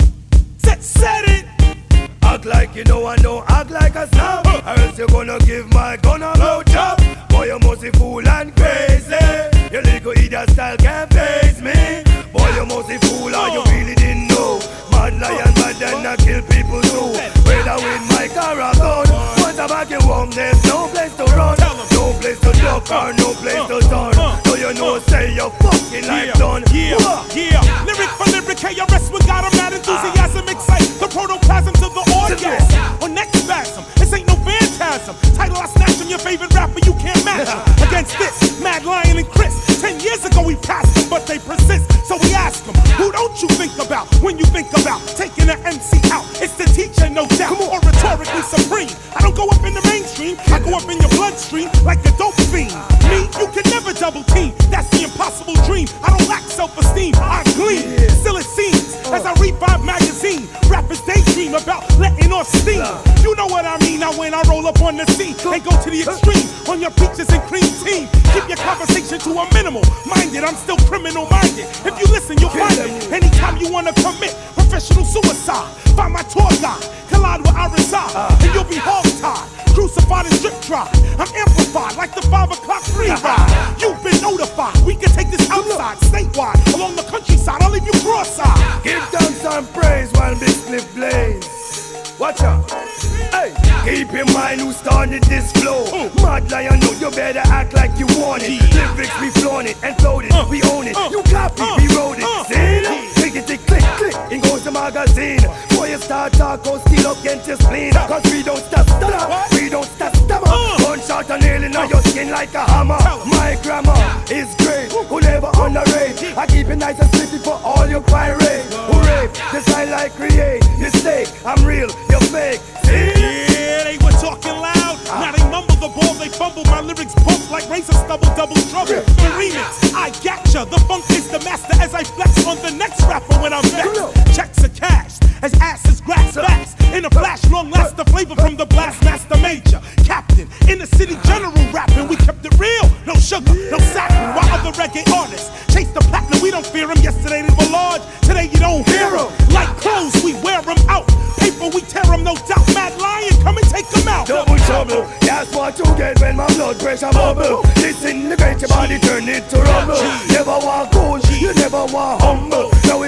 Set it. Act like you know I know, act like a snob. Or else you're gonna give my gun a blow job. Boy, you must be fool and crazy. Your little idiot style can't face me. Boy, you must be fool or you really didn't know. Mad Lion, bad then I kill people too. Whether with my car or gun. Once I'm back in home, there's no place to run. No place to duck or no place to turn. So you know, say you're fucking like done. Yeah, lyric for lyric, KRS, we got 'em mad enthusiasm, excite the protoplasm to the orgasm. Or next spasm, this ain't no phantasm. Title I snatch him, your favorite rapper, you can't match him. Against this, Mad Lion and Chris. 10 years ago we passed them, but they persist. So we ask them, who don't you think about when you think about taking an MC out? It's the teacher, no doubt, or rhetorically supreme. I don't go up in the mainstream, I go up in your bloodstream like a dope fiend. Me, you can never double team, that's the impossible dream. I don't lack self-esteem, I gleam. Still it seems, as I read Vibe magazine, rappers daydream about letting off steam. You know what I mean, now when I roll up on the scene and go to the extreme on your peaches and cream team. Keep your conversation to a minimal. Minded, I'm still criminal minded. If you listen, you'll find it. Anytime you wanna commit professional suicide, find my tour guide, collide where I reside, and you'll be hog-tied, crucified and drip-dried. I'm amplified like the 5 o'clock free ride. You've been notified. We can take this outside, statewide, along the countryside. I'll leave you cross-eyed. Give thanks and praise while Big Cliff blaze. Watch out. Hey, keep in mind who started this flow. Mad Lion, know you better act like you want it. Lyrics, we flown it and flowed it. We own it. You copy, we wrote it. See? Click, click, click. In goes the magazine. Boy, you start talk, go steal up against your spleen. Cause we don't stop, we don't stop, One shot and nail in your skin like a hammer. My grammar is great, who never underrate. I keep it nice and slippy for all your pirate. Who rape, the style I create. Mistake, I'm real, you're fake. See? Yeah, they were talking loud. Now they mumble the ball, they fumble. My lyrics bump like razor stubble, double trouble. The remix, I gotcha. The funk is the master as I flex on the next rapper when I'm vexed. Checks are cashed as asses grass fast. In a flash, long last the flavor from the blast master major. Captain, in the city general rapping, we kept it real. No sugar, no saccharine. While other reggae artists chase the platinum, we don't fear them. Yesterday they were large, today you don't hear them. Like clothes, we wear them out. Paper, we tear them, no doubt. Mad Lion, come and take them out. Double trouble, that's what you get when my blood pressure bubble. Disintegrate your body, turn it to rubble. Never want cool, you never want humble. Now it's time for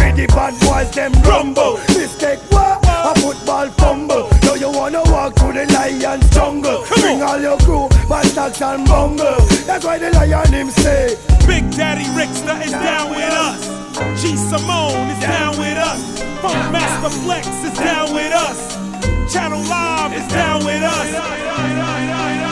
see the bad boys them rumble. Mistake what? A football fumble. Now you wanna walk through the lion's jungle. Bring all your crew, Bastax and Bungle. That's why the lion him say Big Daddy Rickster is down with us. G Simone is down with us. Funk Master Flex is down with us. Channel Live is down with us.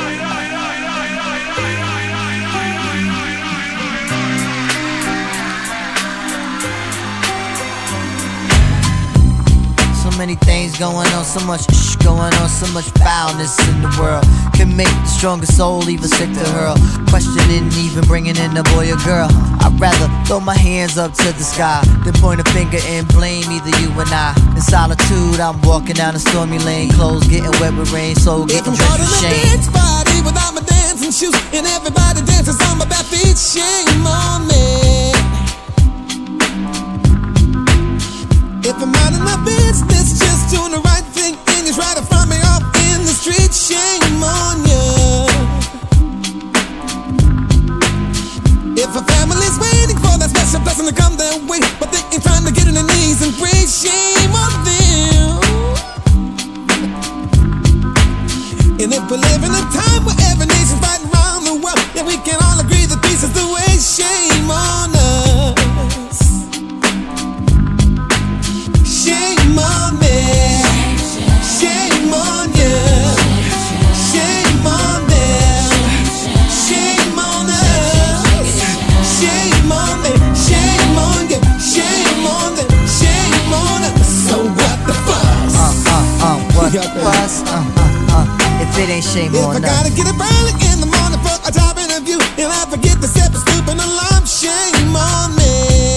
So many things going on, so much going on, so much foulness in the world. Can make the strongest soul even sick to hurl. Questioning even bringing in a boy or girl. I'd rather throw my hands up to the sky than point a finger and blame either you or I. In solitude, I'm walking down a stormy lane. Clothes getting wet with rain, soul getting drenched with shame. If I'm caught in a dance party without my dancing shoes and everybody dances on my bare feet, shame on me. If I'm out of my business, just doing the right thing, and you try to find me off in the street, shame on you. If a family's waiting for that special blessing to come their way, but they ain't trying to get on their knees and pray, shame on them. And if we live in a time where every nation's fighting around the world, yeah, we can all agree that peace is the way, shame on us. Shame on me, shame on you, shame on them, shame on us, shame on me, shame on you, shame on them, shame on us. So what the fuss? What the fuss? If it ain't shame on us. If I gotta get up early in the morning for a job interview, and I forget to step a stoop in alarm, shame on me.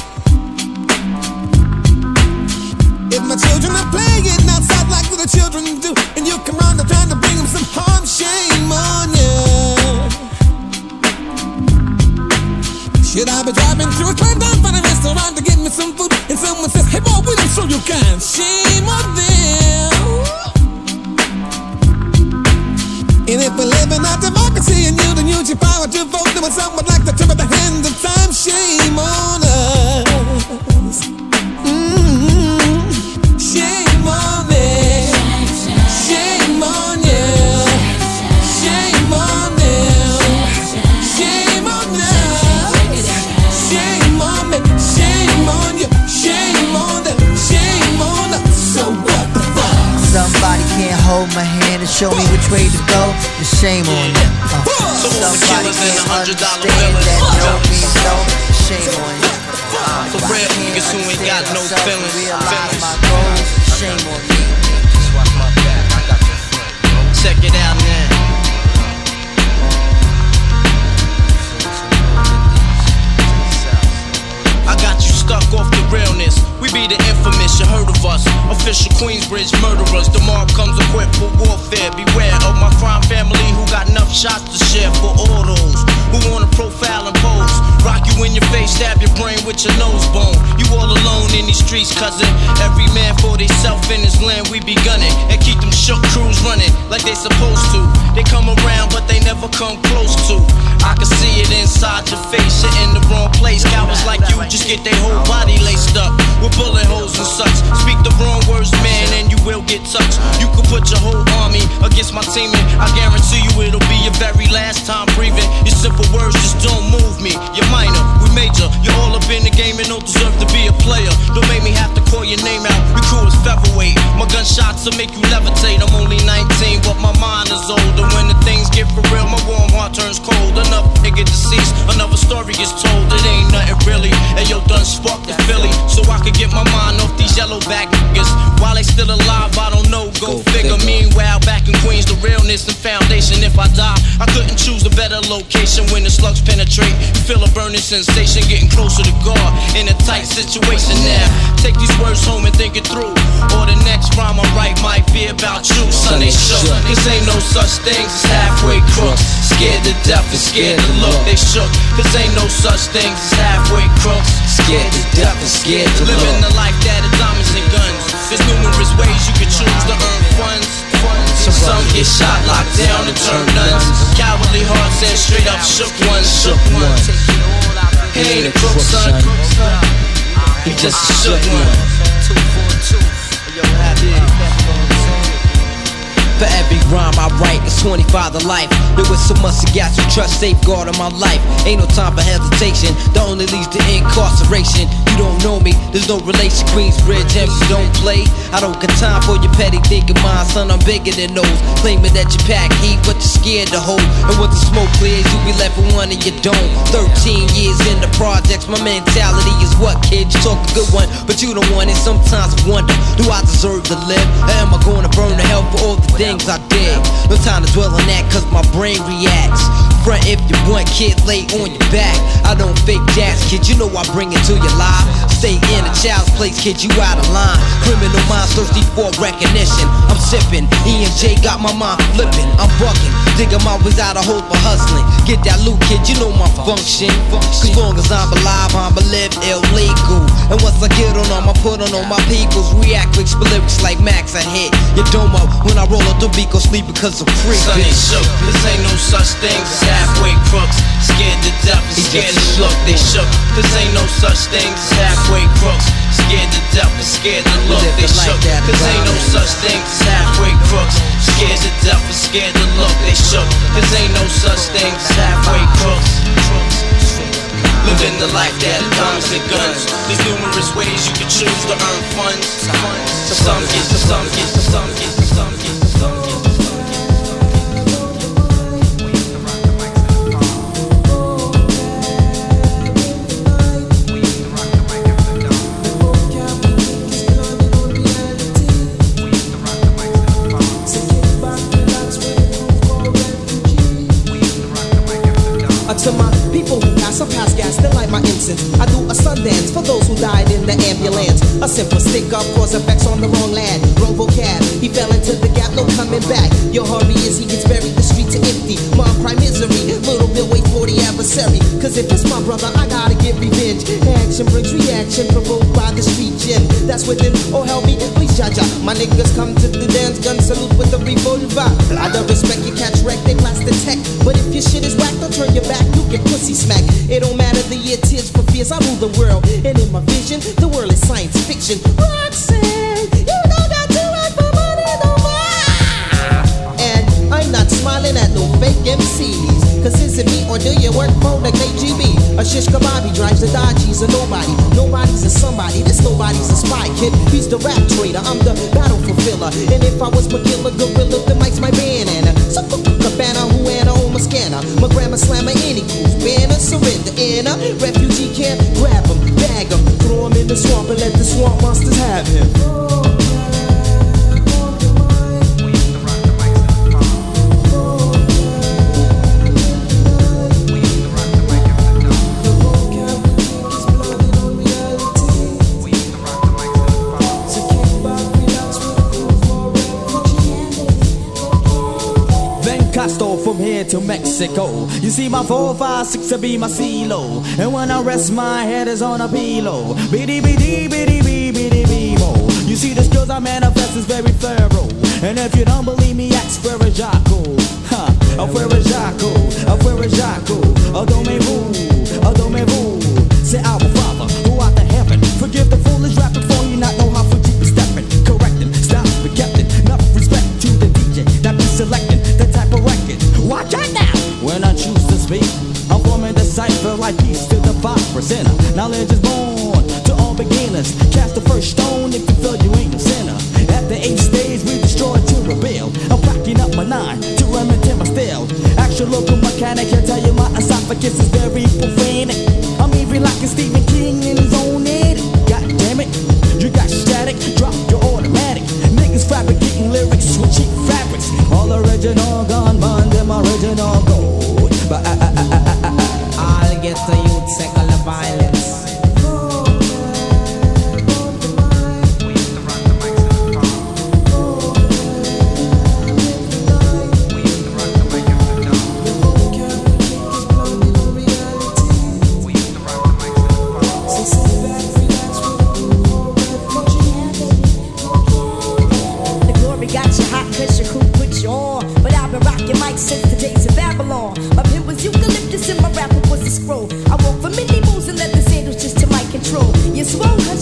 If my children are playing outside like the children do, and you come round and trying to bring them some harm, shame on you. Should I be driving through a climb down for the restaurant to get me some food, and someone says, hey boy, we don't show you kind, shame on them. And if we live in our democracy and you don't use your power to vote, then someone would like to turn the hand of time, shame on us. Shame on me, shame on you, shame on them, shame on us, shame on me, shame on you, shame on them, shame on us. So what the fuck? Somebody can't hold my hand and show me which way to go, and shame on them. Somebody can't understand that no means no, shame on you. For real niggas who ain't got no feelings. Shame on me. Just watch my back, I got your front. Check it out now. I got you stuck off the realness. We be the infamous, you heard of us. Official Queensbridge murderers. The mob comes equipped for warfare. Beware of my crime family who got enough shots to share for all those who wanna profile and pose. Rock you in your face, stab your brain with your nose bone. You all alone in these streets, cousin. Every man for theyself in his land, we be gunning. And keep them shook crews running like they supposed to. They come around, but they never come close to. I can see it inside your face, you're in the wrong place. Cowards like you just get their whole body laced up with bullet holes and such. Speak the wrong words, man, and you will get touched. You could put your whole army against my team, and I guarantee you it'll be your very last time breathing. Your simple words just don't move me. You're minor, we major. You're all up in the game and don't deserve to be a player. Don't make me have to call your name out. Your crew is featherweight. My gunshots will make you levitate. I'm only 19, but my mind is older. When the things get for real, my warm heart turns cold. Another nigga deceased, another story gets told. It ain't nothing really. And yo, done sparked the Philly, so I could get my mind off these yellowback niggas. While they still alive, I don't know, go figure. Meanwhile, back in Queens, the realness and foundation. If I die, I couldn't choose a better location. When the slugs penetrate, you feel a burning sensation, getting closer to God in a tight situation now. Take these words home and think it through, or the next rhyme I write might be about you. Son, they shook, cause ain't no such things as halfway crooks. Scared to death and scared to look, they shook, cause ain't no such things as halfway crooks. Scared to death and scared to look. Living the life that is diamonds and guns. There's numerous ways you can choose to earn funds. Some get shot, locked down, and turn nuns. Cowardly hearts and straight up shook ones. He ain't a crook, son. He just a shook one. 242. Yo, happy. For every rhyme I write, it's 25 to life. There was so much I got to trust, safeguard in my life. Ain't no time for hesitation, that only leads to incarceration. You don't know me, there's no relation. Queensbridge, and you don't play. I don't got time for your petty thinking mind, son, I'm bigger than those. Claiming that you pack heat, but you're scared to hold. And when the smoke clears, you be left with one and you don't. 13 years in the projects, my mentality is what, kid? You talk a good one, but you don't want it. Sometimes I wonder, do I deserve to live? Or am I gonna burn to hell for all the things I did? No time to dwell on that, cause my brain reacts. Front if you want, kid, lay on your back. I don't fake jazz, kid, you know I bring it to your life. Stay in a child's place, kid, you out of line. Criminal minds thirsty for recognition. I'm sipping, EMJ got my mind flipping. I'm bucking, digging my ways out of hope for hustling. Get that loot, kid, you know my function. Cause long as I'm alive, I'ma live illegal. And once I get on them, I put on all my peoples. React quick, spit lyrics like Max, I hit your dome up. When I roll up the beat, go sleep because I'm free. Son ain't shook, this ain't no such thing as halfway crooks. Scared to death and scared to look, they shook. This ain't no such thing as halfway crooks. Scared to death and scared to look, they shook. This ain't no such thing as halfway crooks. Scared to death and scared to look, they shook. This ain't no such thing as halfway crooks. Living the life that comes with guns. There's numerous ways you can choose to earn funds. Some get, some get, some get, some get, some get. To my people who pass, I pass gas, they light my incense. I do a Sundance for those who died in the ambulance. A simple stick up cause effects on the wrong lad. Wrong vocab, he fell into the gap, no coming back. Your hurry is he gets buried, the streets are empty. Mom cry misery, little Bill wait for the adversary. Cause if it's my brother, I gotta get revenge. Action brings reaction, provoked by the street gin. That's within, oh help me, please Jaja. My niggas come to the dance, gun salute with the revolver. I don't respect you, catch wreck, they blast the tech. But if your shit is whack, don't turn your back. You get pussy smack. It don't matter the year, tears for fears. I rule the world, and in my vision, the world is science fiction. Roxanne, you know that you work for money, no more. And I'm not smiling at no fake MCs. Cause is it me or do you work for the KGB? A shish kebabi drives a Dodge, he's a nobody. Nobody's a somebody, this nobody's a spy kid. He's the rap trader, I'm the battle fulfiller. And if I was McGilla Gorilla, the mic's my bandana. So Cabana, Huana, Oma Scanner. My grandma slammer, any cruise, banner, surrender. In a refugee camp, grab him, bag him, throw him in the swamp and let the swamp monsters have him. I stole from here to Mexico. You see my 4, 5, 6 to be my CeeLo. And when I rest, my head is on a pillow. Biddy biddy biddy biddy biddy biddy mo. You see the skills I manifest is very thorough. And if you don't believe me, ask for a Jaco. Ha, for a Jaco, for a Jaco. Adomez-vous. Say our Father, who art in heaven. Forgive the foolish rapping for you not know how for deep stepping. Correcting, stop, but kept it. Enough respect to the DJ that be selecting the type of record. Watch out now! When I choose to speak, I'm forming the cipher like peace to the 5%. Knowledge is born to all beginners. Cast the first stone if you feel you ain't a sinner. At the 8th stage, we destroy to rebel. I'm packing up my 9 to remedy my style. Actual local mechanic can tell you my esophagus is very profane. I'm even like a Stephen King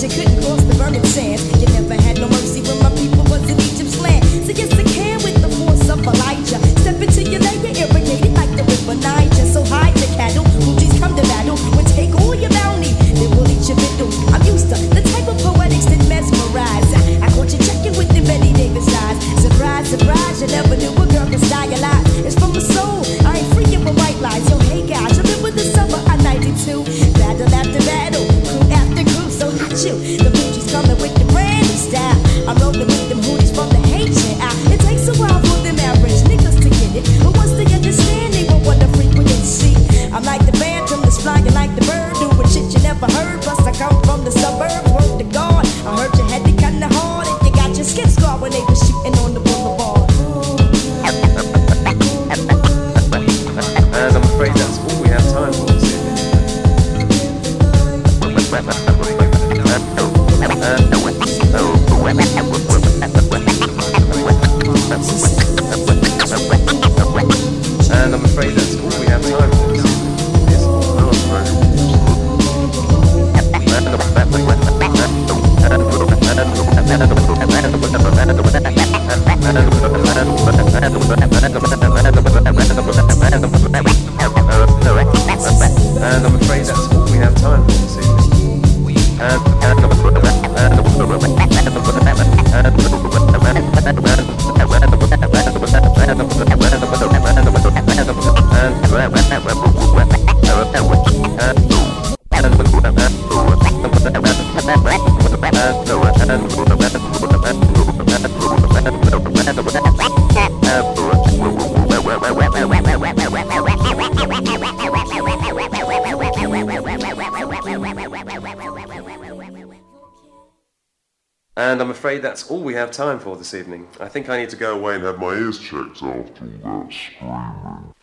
you couldn't cross the burning sands. You never had no mercy when my people was in Egypt's land. So yes, I can with the force of Elijah. Step into your layer, irrigated like the river Niger. So hide your cattle, Fuji's come to battle. When take all your bounty, they will eat your victuals. I'm used to the type of poetics that mesmerize. I caught you checking with the Betty Davis eyes. Surprise, surprise, you never knew a girl could stylize. It's from the soul, I ain't freaking with white lies. Yo, hey guys, remember the summer of '92? Battle after battle, crew after crew, so hot you. The Fuji's coming with the brand new style. I'm rolling with them hoodies from the Haitian out. It takes a while for them average niggas to get it, but once they understand, they won't want to frequency. I'm like the phantom that's flying like the bird, doing shit you never heard. Plus I come from the suburbs, word to God. I heard you had it kinda hard, and you got your skin scarred when they were shooting on the boulevard. And I'm afraid that's all we have time for this evening. And I'm afraid that's all we have time for this evening. And I'm afraid that's all we have time for this evening. And I'm afraid that's all we have time for this evening. I think I need to go away and have my ears checked after all that screaming.